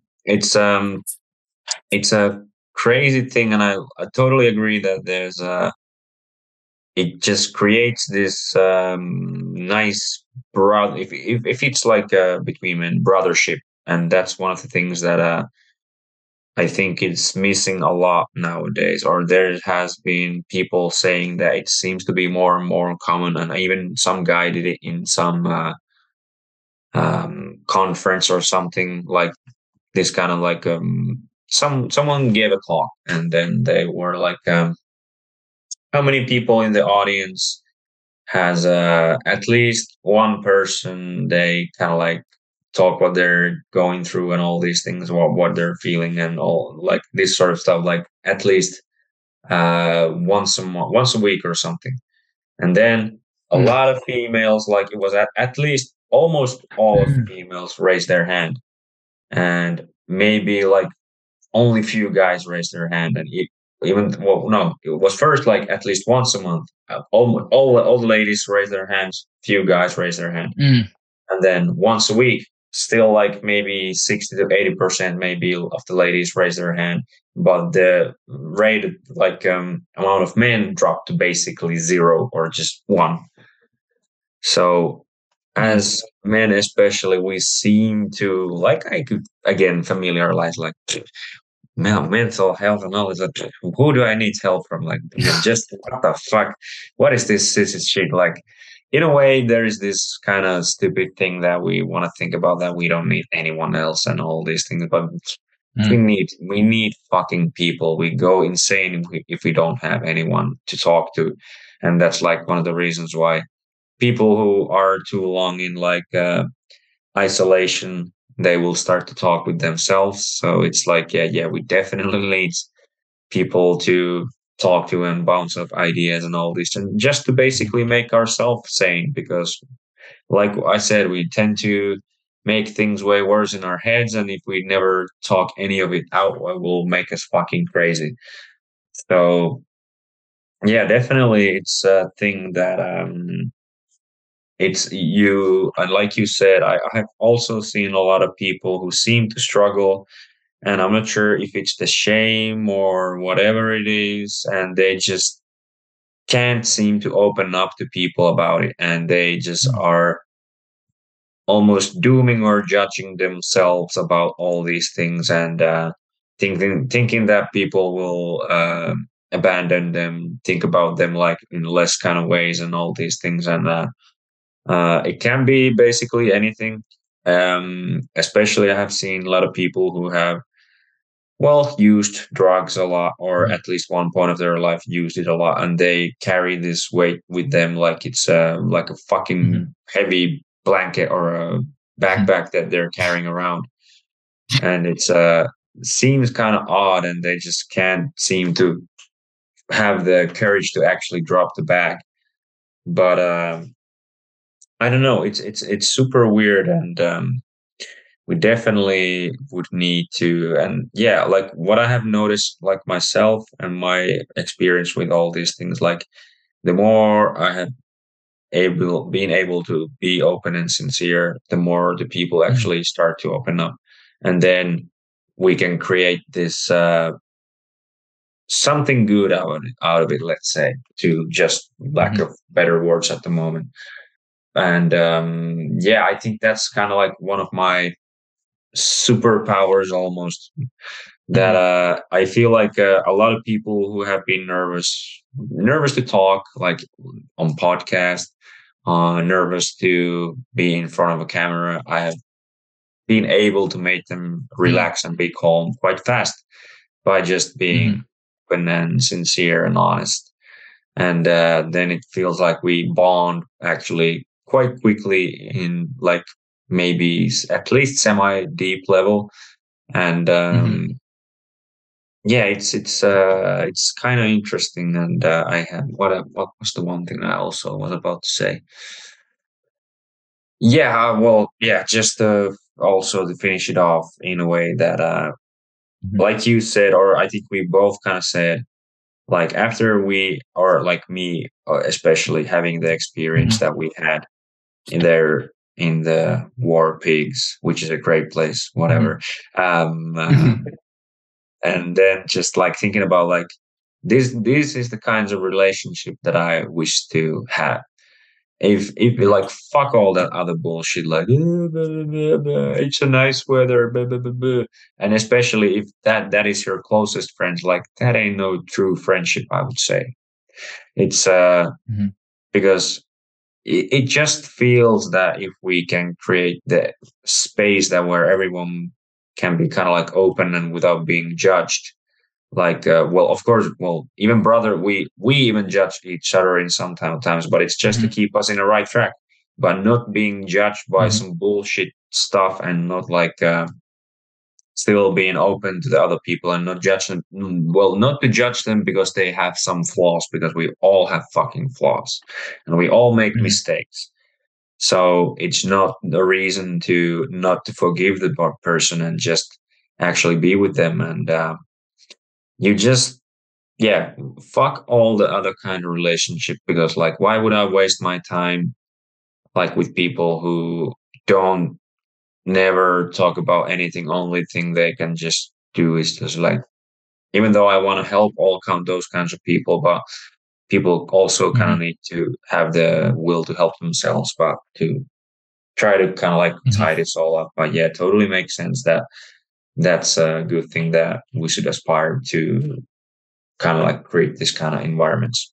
[SPEAKER 1] it's a crazy thing, and I totally agree that there's it just creates this nice if it's like between men brothership, and that's one of the things that I think it's missing a lot nowadays, or there has been people saying that it seems to be more and more common, and even some guy did it in some conference or something like this, kind of like someone gave a talk, and then they were like, how many people in the audience has at least one person they kind of like talk what they're going through and all these things, what they're feeling and all like this sort of stuff, like at least once a week or something. And then a
[SPEAKER 2] Mm.
[SPEAKER 1] lot of females, like it was at least almost all of females raised their hand, and maybe like only few guys raised their hand, and even, well, no, it was first like at least once a month. All the ladies raised their hands, few guys raised their hand,
[SPEAKER 2] Mm.
[SPEAKER 1] and then once a week, still like maybe 60 to 80% maybe of the ladies raise their hand, but the rate like amount of men dropped to basically zero or just one. So
[SPEAKER 2] Mm.
[SPEAKER 1] as men especially, we seem to, like, I could again familiarize like mental health and all this. Like, who do I need help from? Like, just what the fuck? What is this is shit? Like, in a way, there is this kind of stupid thing that we want to think about, that we don't need anyone else and all these things, but we
[SPEAKER 2] Mm.
[SPEAKER 1] need fucking people. We go insane if we don't have anyone to talk to, and that's like one of the reasons why people who are too long in like isolation, they will start to talk with themselves. So it's like, yeah, yeah, we definitely need people to talk to and bounce off ideas and all this, and just to basically make ourselves sane. Because, like I said, we tend to make things way worse in our heads, and if we never talk any of it out, it will make us fucking crazy. So, yeah, definitely, it's a thing that it's you, and like you said, I have also seen a lot of people who seem to struggle, and I'm not sure if it's the shame or whatever it is, and they just can't seem to open up to people about it, and they just
[SPEAKER 2] Mm.
[SPEAKER 1] are almost dooming or judging themselves about all these things, and thinking that people will abandon them, think about them like in less kind of ways and all these things, and it can be basically anything. Especially, I have seen a lot of people well, used drugs a lot, or
[SPEAKER 2] Mhm.
[SPEAKER 1] at least one point of their life used it a lot, and they carry this weight with them like it's like a fucking
[SPEAKER 2] Mhm.
[SPEAKER 1] heavy blanket or a
[SPEAKER 2] Mhm.
[SPEAKER 1] backpack that they're carrying around, and it's seems kind of odd, and they just can't seem to have the courage to actually drop the bag. But I don't know. It's super weird, and we definitely would need to. And yeah, like what I have noticed, like myself and my experience with all these things, like the more I have been able to be open and sincere, the more the people
[SPEAKER 2] Mhm.
[SPEAKER 1] actually start to open up, and then we can create this something good out of it. Let's say, to just lack
[SPEAKER 2] Mhm.
[SPEAKER 1] of better words at the moment. And yeah, I think that's kind of like one of my superpowers almost, that
[SPEAKER 2] Mhm.
[SPEAKER 1] I feel like a lot of people who have been nervous to talk, like on podcast, nervous to be in front of a camera, I have been able to make them
[SPEAKER 2] Mhm.
[SPEAKER 1] relax and be calm quite fast by just being
[SPEAKER 2] Mhm.
[SPEAKER 1] open and sincere and honest. And then it feels like we bond actually quite quickly in like maybe at least semi deep level. And
[SPEAKER 2] Mhm.
[SPEAKER 1] yeah, it's kind of interesting. And I had what was the one thing I also was about to say? Yeah, well, yeah, just also to finish it off in a way that
[SPEAKER 2] Mhm.
[SPEAKER 1] like you said, or I think we both kind of said, like after we, or like me especially, having the experience
[SPEAKER 2] Mhm.
[SPEAKER 1] that we had in the War Pigs, which is a great place, whatever.
[SPEAKER 2] Mhm.
[SPEAKER 1] Um,
[SPEAKER 2] Mhm.
[SPEAKER 1] and then just like thinking about like this is the kinds of relationship that I wish to have. If
[SPEAKER 2] Mhm.
[SPEAKER 1] like fuck all that other bullshit, like it's a nice weather, and especially if that is your closest friends, like that ain't no true friendship, I would say. It's
[SPEAKER 2] Mhm.
[SPEAKER 1] because it just feels that if we can create the space that where everyone can be kind of like open and without being judged, like well, of course, well, even brother, we even judge each other in some times, but it's just to
[SPEAKER 2] Mhm.
[SPEAKER 1] keep us in the right track, but not being judged by
[SPEAKER 2] Mhm.
[SPEAKER 1] some bullshit stuff, and not like still being open to the other people and not judge them. Well, not to judge them because they have some flaws, because we all have fucking flaws and we all make
[SPEAKER 2] Mhm.
[SPEAKER 1] mistakes. So it's not the reason to not to forgive the person and just actually be with them. And you just, yeah, fuck all the other kind of relationship, because like, why would I waste my time like with people who don't never talk about anything? Only thing they can just do is just like, even though I want to help all count those kinds of people, but people also kind of
[SPEAKER 2] Mhm.
[SPEAKER 1] need to have the will to help themselves, but to try to kind of like
[SPEAKER 2] Mhm.
[SPEAKER 1] tie this all up. But yeah, totally makes sense that that's a good thing that we should aspire to kind of like create this kind of environments.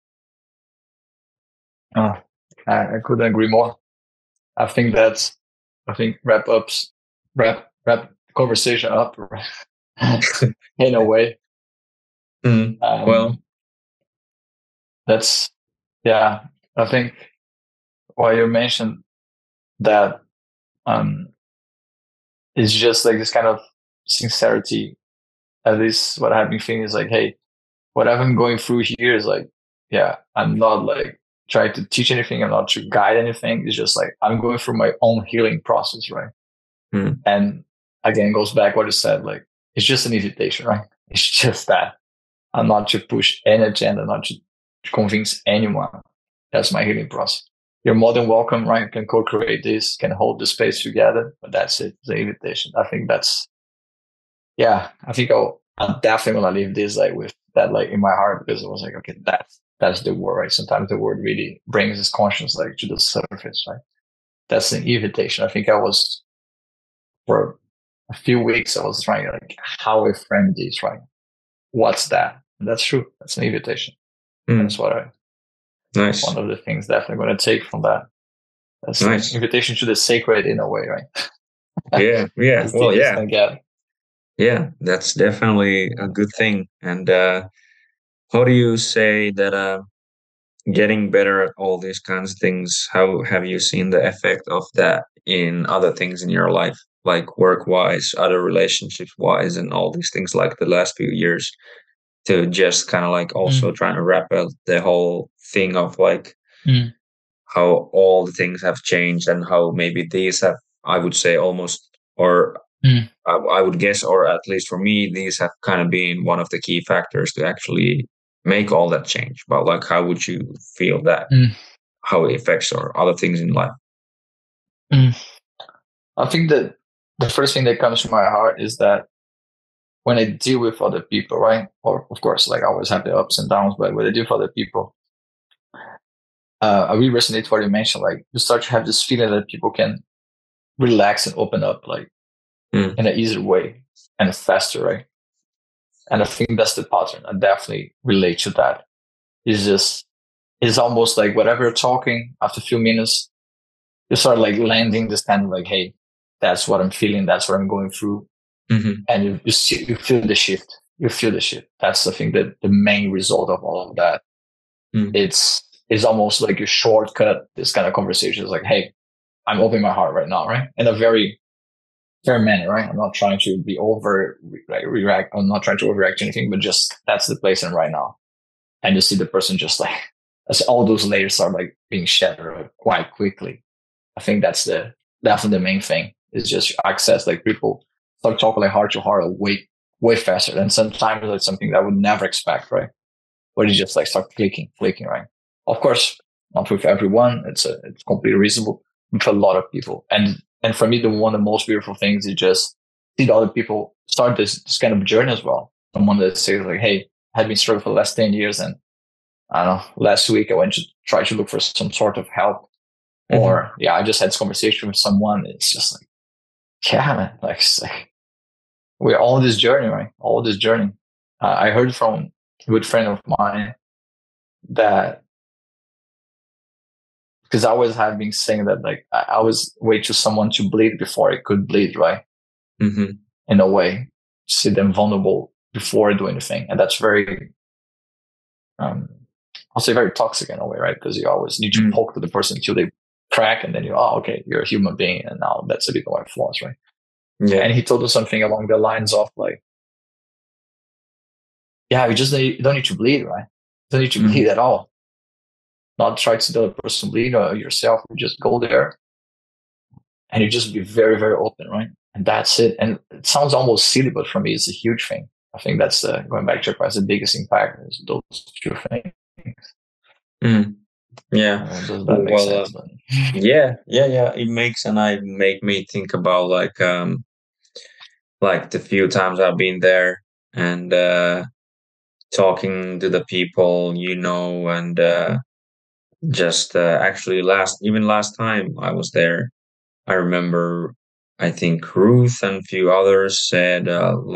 [SPEAKER 2] Oh, I couldn't agree more. I think that's, I think wrap conversation up in a way.
[SPEAKER 1] Mm. Well,
[SPEAKER 2] Um, that's, yeah. I think why you mentioned that um, it's just like this kind of sincerity. At least what I've been feeling is like, hey, whatever I'm going through here is like, yeah, I'm not like trying to teach anything. I'm not to guide anything. It's just like I'm going through my own healing process, right?
[SPEAKER 1] mm,
[SPEAKER 2] And again, goes back what you said, like it's just an invitation, right? It's just that I'm not to push any agenda, not to convince anyone. That's my healing process. You're more than welcome, right? You can co-create this, can hold the space together, but that's it. The invitation. I think that's, yeah. I think I'm definitely gonna leave this like with that like in my heart, because I was like, okay, that's the word, right? Sometimes the word really brings this conscience like to the surface, right? That's an invitation. I think I was for a few weeks, I was trying like how I frame this, right? What's that? And that's true. That's an invitation. That's
[SPEAKER 1] mm,
[SPEAKER 2] what I,
[SPEAKER 1] nice,
[SPEAKER 2] one of the things definitely going to take from that. That's an
[SPEAKER 1] nice.
[SPEAKER 2] invitation to the sacred in a way, right?
[SPEAKER 1] Yeah, yeah.
[SPEAKER 2] As
[SPEAKER 1] Well,
[SPEAKER 2] deep as
[SPEAKER 1] yeah,
[SPEAKER 2] can get.
[SPEAKER 1] Yeah, that's definitely a good thing. And how do you say that getting better at all these kinds of things, how have you seen the effect of that in other things in your life, like work wise, other relationships wise, and all these things like the last few years, to just kind of like
[SPEAKER 2] Mm,
[SPEAKER 1] also trying to wrap up the whole thing of like
[SPEAKER 2] mm,
[SPEAKER 1] how all the things have changed and how maybe these have, I would say, almost, or
[SPEAKER 2] mm,
[SPEAKER 1] I would guess, or at least for me, these have kind of been one of the key factors to actually make all that change. But like, how would you feel that,
[SPEAKER 2] mm,
[SPEAKER 1] how it affects or other things in life?
[SPEAKER 2] mm. I think that the first thing that comes to my heart is that when I deal with other people, right? Or of course, like I always have the ups and downs, but when I deal with other people, I really resonate with what you mentioned. Like you start to have this feeling that people can relax and open up, like
[SPEAKER 1] Mm,
[SPEAKER 2] in an easier way and faster, right? And I think that's the pattern. I definitely relate to that. It's just, it's almost like whatever you're talking after a few minutes, you start like landing this kind of like, hey, that's what I'm feeling. That's what I'm going through.
[SPEAKER 1] hmm
[SPEAKER 2] And you feel the shift. You feel the shift. That's, I think, that the main result of all of that.
[SPEAKER 1] mm,
[SPEAKER 2] It's almost like you shortcut this kind of conversation. It's like, hey, I'm opening my heart right now, right? In a very fair manner, right? I'm not trying to be over like react. I'm not trying to overreact to anything, but just that's the place I'm right now. And you see the person just like as all those layers are like being shattered quite quickly. I think that's definitely the main thing is just access. Like people start talking like heart to heart way faster. And sometimes it's something that I would never expect, right? Where you just like start clicking, right? Of course, not with everyone. It's completely reasonable with a lot of people. And for me, the one of the most beautiful things is just see the other people start this kind of journey as well. Someone that says like, hey, I have been struggling for the last 10 years and I don't know, last week I went to try to look for some sort of help.
[SPEAKER 1] hmm
[SPEAKER 2] Or yeah, I just had this conversation with someone. It's just like, yeah, man, like, it's like we're all on this journey, right? All this journey. I heard from a good friend of mine that because I always have been saying that like I always wait for someone to bleed before I could bleed, right?
[SPEAKER 1] hmm
[SPEAKER 2] In a way, see them vulnerable before I do anything, and that's very, um, I'll say very toxic in a way, right? Because you always need to
[SPEAKER 1] mm
[SPEAKER 2] poke to the person until they crack, and then you, oh, okay, you're a human being, and now that's a bit of my flaws, right?
[SPEAKER 1] Yeah.
[SPEAKER 2] And he told us something along the lines of like, yeah, you don't need to bleed, right? You don't need to bleed
[SPEAKER 1] hmm
[SPEAKER 2] at all. Not try to see the other person bleed or yourself. You just go there and you just be very, very open, right? And that's it. And it sounds almost silly, but for me, it's a huge thing. I think that's going back to your question, the biggest impact is those two things.
[SPEAKER 1] mm Yeah.
[SPEAKER 2] Does that make
[SPEAKER 1] Well,
[SPEAKER 2] sense? But,
[SPEAKER 1] yeah. It makes, and I make me think about like the few times I've been there and talking to the people, and just actually last time I was there, I remember I think Ruth and a few others said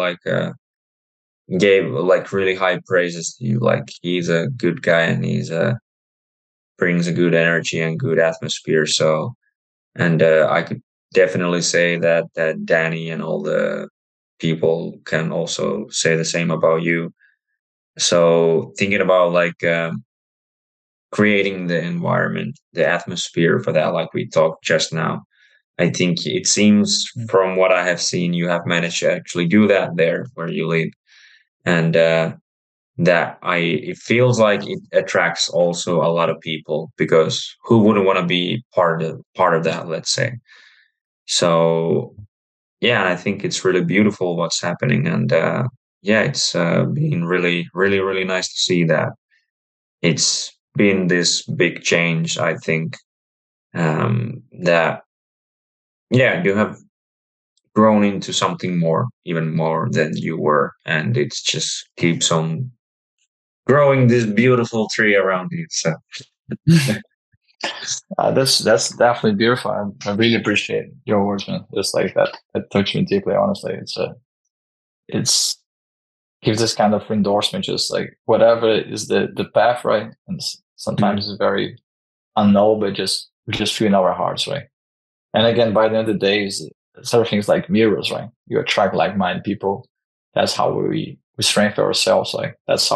[SPEAKER 1] gave like really high praises to you. Like he's a good guy and he's brings a good energy and good atmosphere. So and I could definitely say that Danny and all the people can also say the same about you. So thinking about like creating the environment, the atmosphere for that, like we talked just now. I think it seems from what I have seen, you have managed to actually do that there where you live, and it feels like it attracts also a lot of people because who wouldn't want to be part of that? Let's say so. Yeah, and I think it's really beautiful what's happening, and yeah, it's been really, really, really nice to see that it's been this big change. I think that yeah, you have grown into something more, even more than you were, and it just keeps on growing this beautiful tree around you. So
[SPEAKER 2] that's definitely beautiful. I really appreciate your words, man. Just like that, that touched me deeply. Honestly, it's gives this kind of endorsement, just like whatever is the path, right? And
[SPEAKER 1] mm,
[SPEAKER 2] sometimes it's very unknown, but just we just feel in our hearts, right? And again, by the end of the day, is sort of things like mirrors, right? You attract like-minded people. That's how we strengthen ourselves. Like that's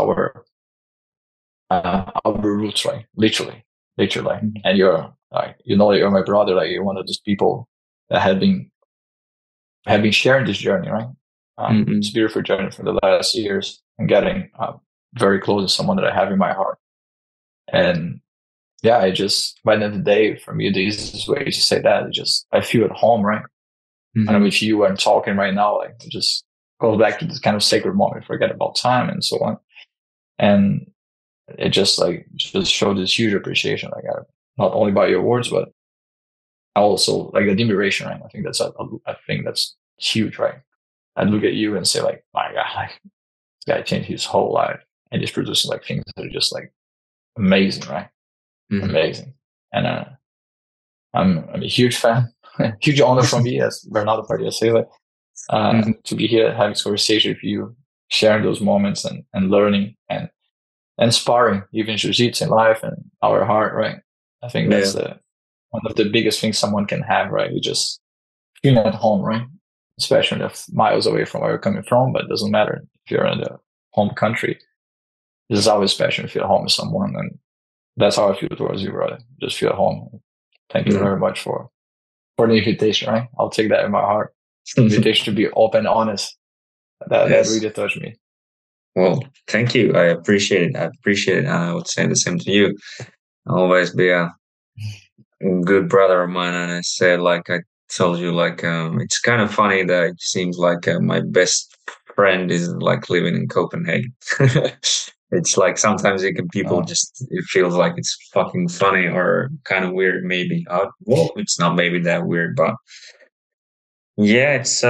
[SPEAKER 2] our roots, right? Literally. And you're like, you're my brother. Like you're one of those people that have been sharing this journey, right? It's a
[SPEAKER 1] Mm-mm.
[SPEAKER 2] beautiful journey for the last years and getting very close to someone that I have in my heart. And yeah, I just by the end of the day, for me, the easiest way to say that is just I feel at home, right? And I'm
[SPEAKER 1] Mm-hmm.
[SPEAKER 2] with you and talking right now, like it just goes back to this kind of sacred moment, forget about time and so on. And it just showed this huge appreciation, like not only by your words, but also like admiration, right? I think that's a thing that's huge, right? I look at you and say like, my God, like this guy changed his whole life and he's producing like things that are just like amazing, right?
[SPEAKER 1] Mm-hmm.
[SPEAKER 2] Amazing. And I'm a huge fan, huge honor for me as Bernardo Padilla say that
[SPEAKER 1] Mm-hmm.
[SPEAKER 2] to be here having this conversation with you, sharing those moments and learning and sparring even jiu-jitsu in life and our heart, right? I think
[SPEAKER 1] Yeah.
[SPEAKER 2] that's one of the biggest things someone can have, right? You just feeling at home, right? Especially if miles away from where you're coming from, but it doesn't matter if you're in the home country. It's always special to feel at home with someone, and that's how I feel towards you, brother. Just feel at home. Thank you
[SPEAKER 1] Yeah.
[SPEAKER 2] very much for the invitation, right? I'll take that in my heart. Invitation to be open and honest. That
[SPEAKER 1] Yes.
[SPEAKER 2] really touched me.
[SPEAKER 1] Well, thank you. I appreciate it. I appreciate it. And I would say the same to you. I'll always be a good brother of mine. And I said, like I told you, like it's kind of funny that it seems like my best friend is like living in Copenhagen. It's like sometimes it can people
[SPEAKER 2] Oh,
[SPEAKER 1] just it feels like it's fucking funny or kind of weird. Maybe well, it's not maybe that weird, but yeah, it's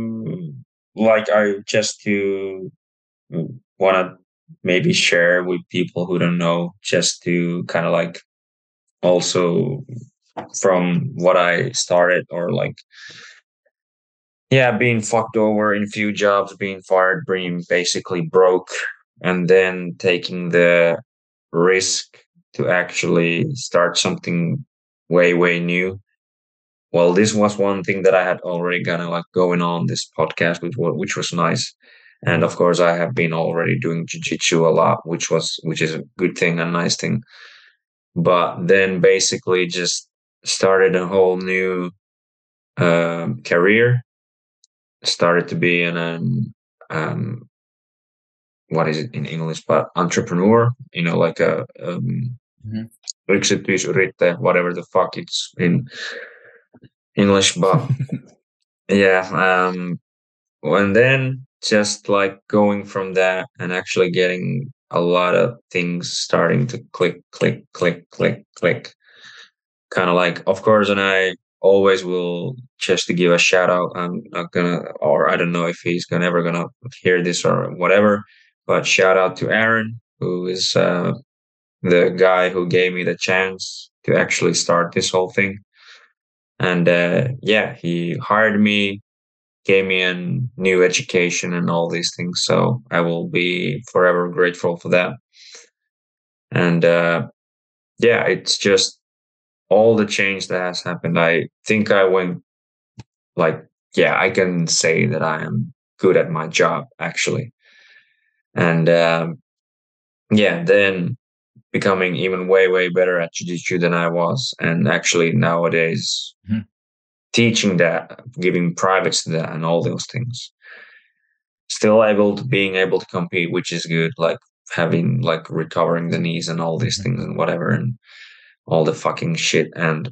[SPEAKER 1] like I just to want to maybe share with people who don't know, just to kind of like also from what I started or like yeah, being fucked over in few jobs, being fired, being basically broke, and then taking the risk to actually start something way new. Well, this was one thing that I had already kind of like going on this podcast, which was nice. And of course, I have been already doing jiu-jitsu a lot, which is a good thing, a nice thing. But then basically just started a whole new career. Started to be um, what is it in English? But entrepreneur, like a
[SPEAKER 2] mhm.
[SPEAKER 1] yksityisyrittäjä, whatever the fuck it's in English. But yeah, and then just like going from that and actually getting a lot of things starting to click, kind of like, of course, and I always will just to give a shout out. I'm not gonna, or I don't know if he's gonna ever gonna hear this or whatever, but shout out to Aaron, who is the guy who gave me the chance to actually start this whole thing. And yeah, he hired me, gave me a new education and all these things. So I will be forever grateful for that. And yeah, it's just all the change that has happened. I think I went like, yeah, I can say that I am good at my job actually. And yeah, then becoming even way better at jiu-jitsu than I was. And actually nowadays
[SPEAKER 2] Mhm.
[SPEAKER 1] teaching that, giving privates to that and all those things. Still being able to compete, which is good, like having like recovering the knees and all these
[SPEAKER 2] Mhm.
[SPEAKER 1] things and whatever and all the fucking shit. And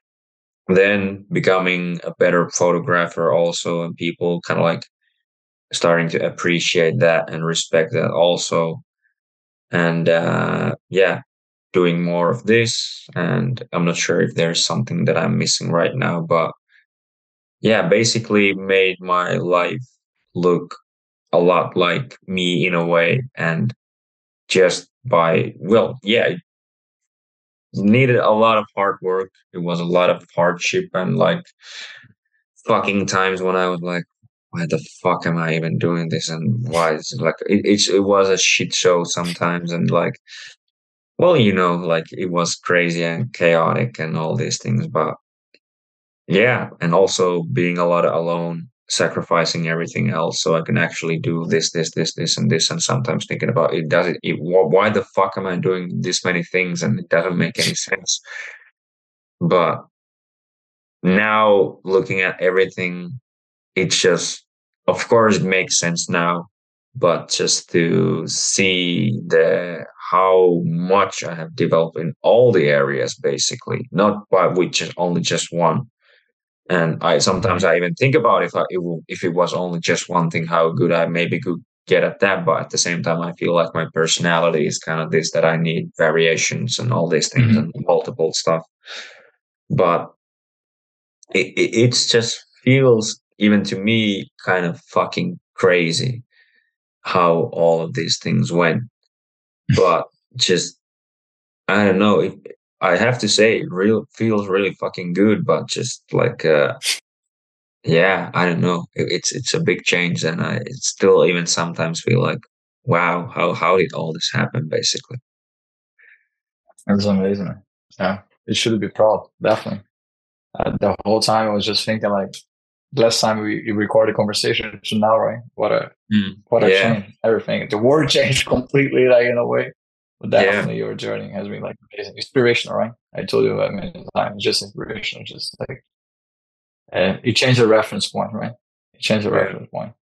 [SPEAKER 1] then becoming a better photographer also, and people kind of like starting to appreciate that and respect that also. And yeah, doing more of this. And I'm not sure if there's something that I'm missing right now, but yeah, basically made my life look a lot like me in a way. And just by, well, yeah, it needed a lot of hard work. It was a lot of hardship and like fucking times when I was like, why the fuck am I even doing this? And why is it like it was a shit show sometimes, and like, well, like it was crazy and chaotic and all these things. But yeah, and also being a lot alone, sacrificing everything else so I can actually do this, and this, and sometimes thinking about it, does it, why the fuck am I doing this many things and it doesn't make any sense? But now looking at everything, it's just, of course, it makes sense now, but just to see the how much I have developed in all the areas, basically, not by with just only just one. And I sometimes I even think about if it was only just one thing, how good I maybe could get at that. But at the same time, I feel like my personality is kind of this, that I need variations and all these things
[SPEAKER 2] Mhm.
[SPEAKER 1] and multiple stuff. But it's just feels, even to me, kind of fucking crazy how all of these things went. But just, I don't know. I have to say, it real feels really fucking good. But just like, yeah, I don't know. It's a big change, and I still even sometimes feel like, wow, how did all this happen? Basically,
[SPEAKER 2] It's amazing. Yeah, you should be proud, definitely. The whole time I was just thinking like, last time we recorded conversation to now, right? What a
[SPEAKER 1] yeah,
[SPEAKER 2] change! Everything, the world changed completely, like in a way. But
[SPEAKER 1] yeah,
[SPEAKER 2] definitely, your journey has been like amazing, inspirational, right? I told you that many times, just inspirational, just like you change the reference point, right? You change the
[SPEAKER 1] yeah,
[SPEAKER 2] reference point.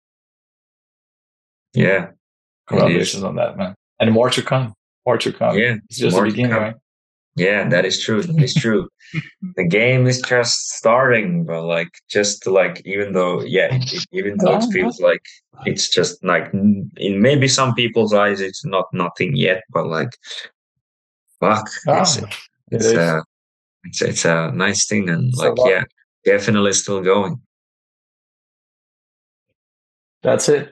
[SPEAKER 1] yeah. It is.
[SPEAKER 2] Congratulations on that, man. And more to come. More to come.
[SPEAKER 1] Yeah,
[SPEAKER 2] It's just the
[SPEAKER 1] more to
[SPEAKER 2] beginning,
[SPEAKER 1] come.
[SPEAKER 2] right?
[SPEAKER 1] Yeah, that is true. That is true. The game is just starting, but like, just like, even though, yeah, even though it
[SPEAKER 2] Ah,
[SPEAKER 1] feels like it's just like, in maybe some people's eyes it's not nothing yet, but like, fuck,
[SPEAKER 2] ah, it
[SPEAKER 1] it's
[SPEAKER 2] is.
[SPEAKER 1] uh it's a nice thing, and
[SPEAKER 2] It's a
[SPEAKER 1] like,
[SPEAKER 2] lot.
[SPEAKER 1] yeah, definitely still going.
[SPEAKER 2] That's it.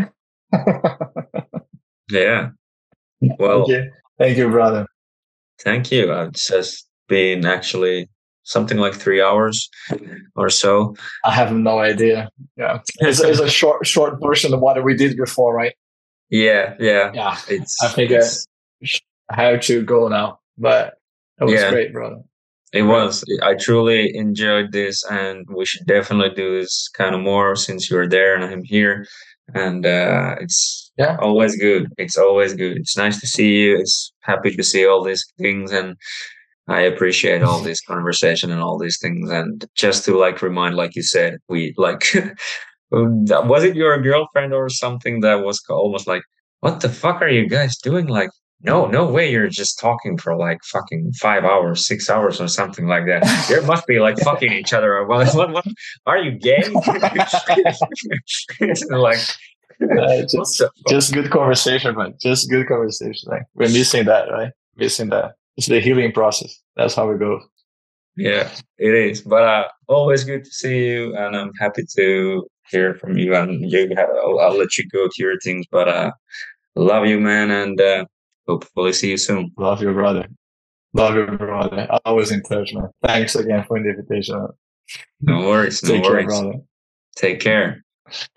[SPEAKER 1] Yeah. Well,
[SPEAKER 2] Okay. Thank you, brother.
[SPEAKER 1] thank you. It's just been actually something like 3 hours or so.
[SPEAKER 2] I have no idea. Yeah. It's a short version of what we did before, right?
[SPEAKER 1] Yeah, yeah.
[SPEAKER 2] Yeah. I
[SPEAKER 1] It's
[SPEAKER 2] think
[SPEAKER 1] it's
[SPEAKER 2] I have to go now. But it was
[SPEAKER 1] yeah,
[SPEAKER 2] great, brother.
[SPEAKER 1] it
[SPEAKER 2] Great.
[SPEAKER 1] was. I truly enjoyed this, and we should definitely do this kind of more since you're there and I'm here. And it's
[SPEAKER 2] Yeah.
[SPEAKER 1] always good. It's always good. It's nice to see you. It's happy to see all these things, and I appreciate all this conversation and all these things. And just to like remind, like you said, we like, was it your girlfriend or something that was almost like, what the fuck are you guys doing? Like, no, no way, you're just talking for like fucking 5 hours, 6 hours, or something like that. There must be like fucking each other. Or what are you gay? Like, what the fuck?
[SPEAKER 2] Just good conversation, man. Just good conversation. Like we're missing that, right? Missing that. It's the healing process. That's how it goes.
[SPEAKER 1] Yeah, it is. But always good to see you, and I'm happy to hear from you. And I'll let you go to your things, but love you, man, and hopefully see you soon.
[SPEAKER 2] Love your brother. Love your brother. Always in touch, man. Thanks again for the invitation.
[SPEAKER 1] No worries, no
[SPEAKER 2] Take care,
[SPEAKER 1] worries.
[SPEAKER 2] brother.
[SPEAKER 1] Take care.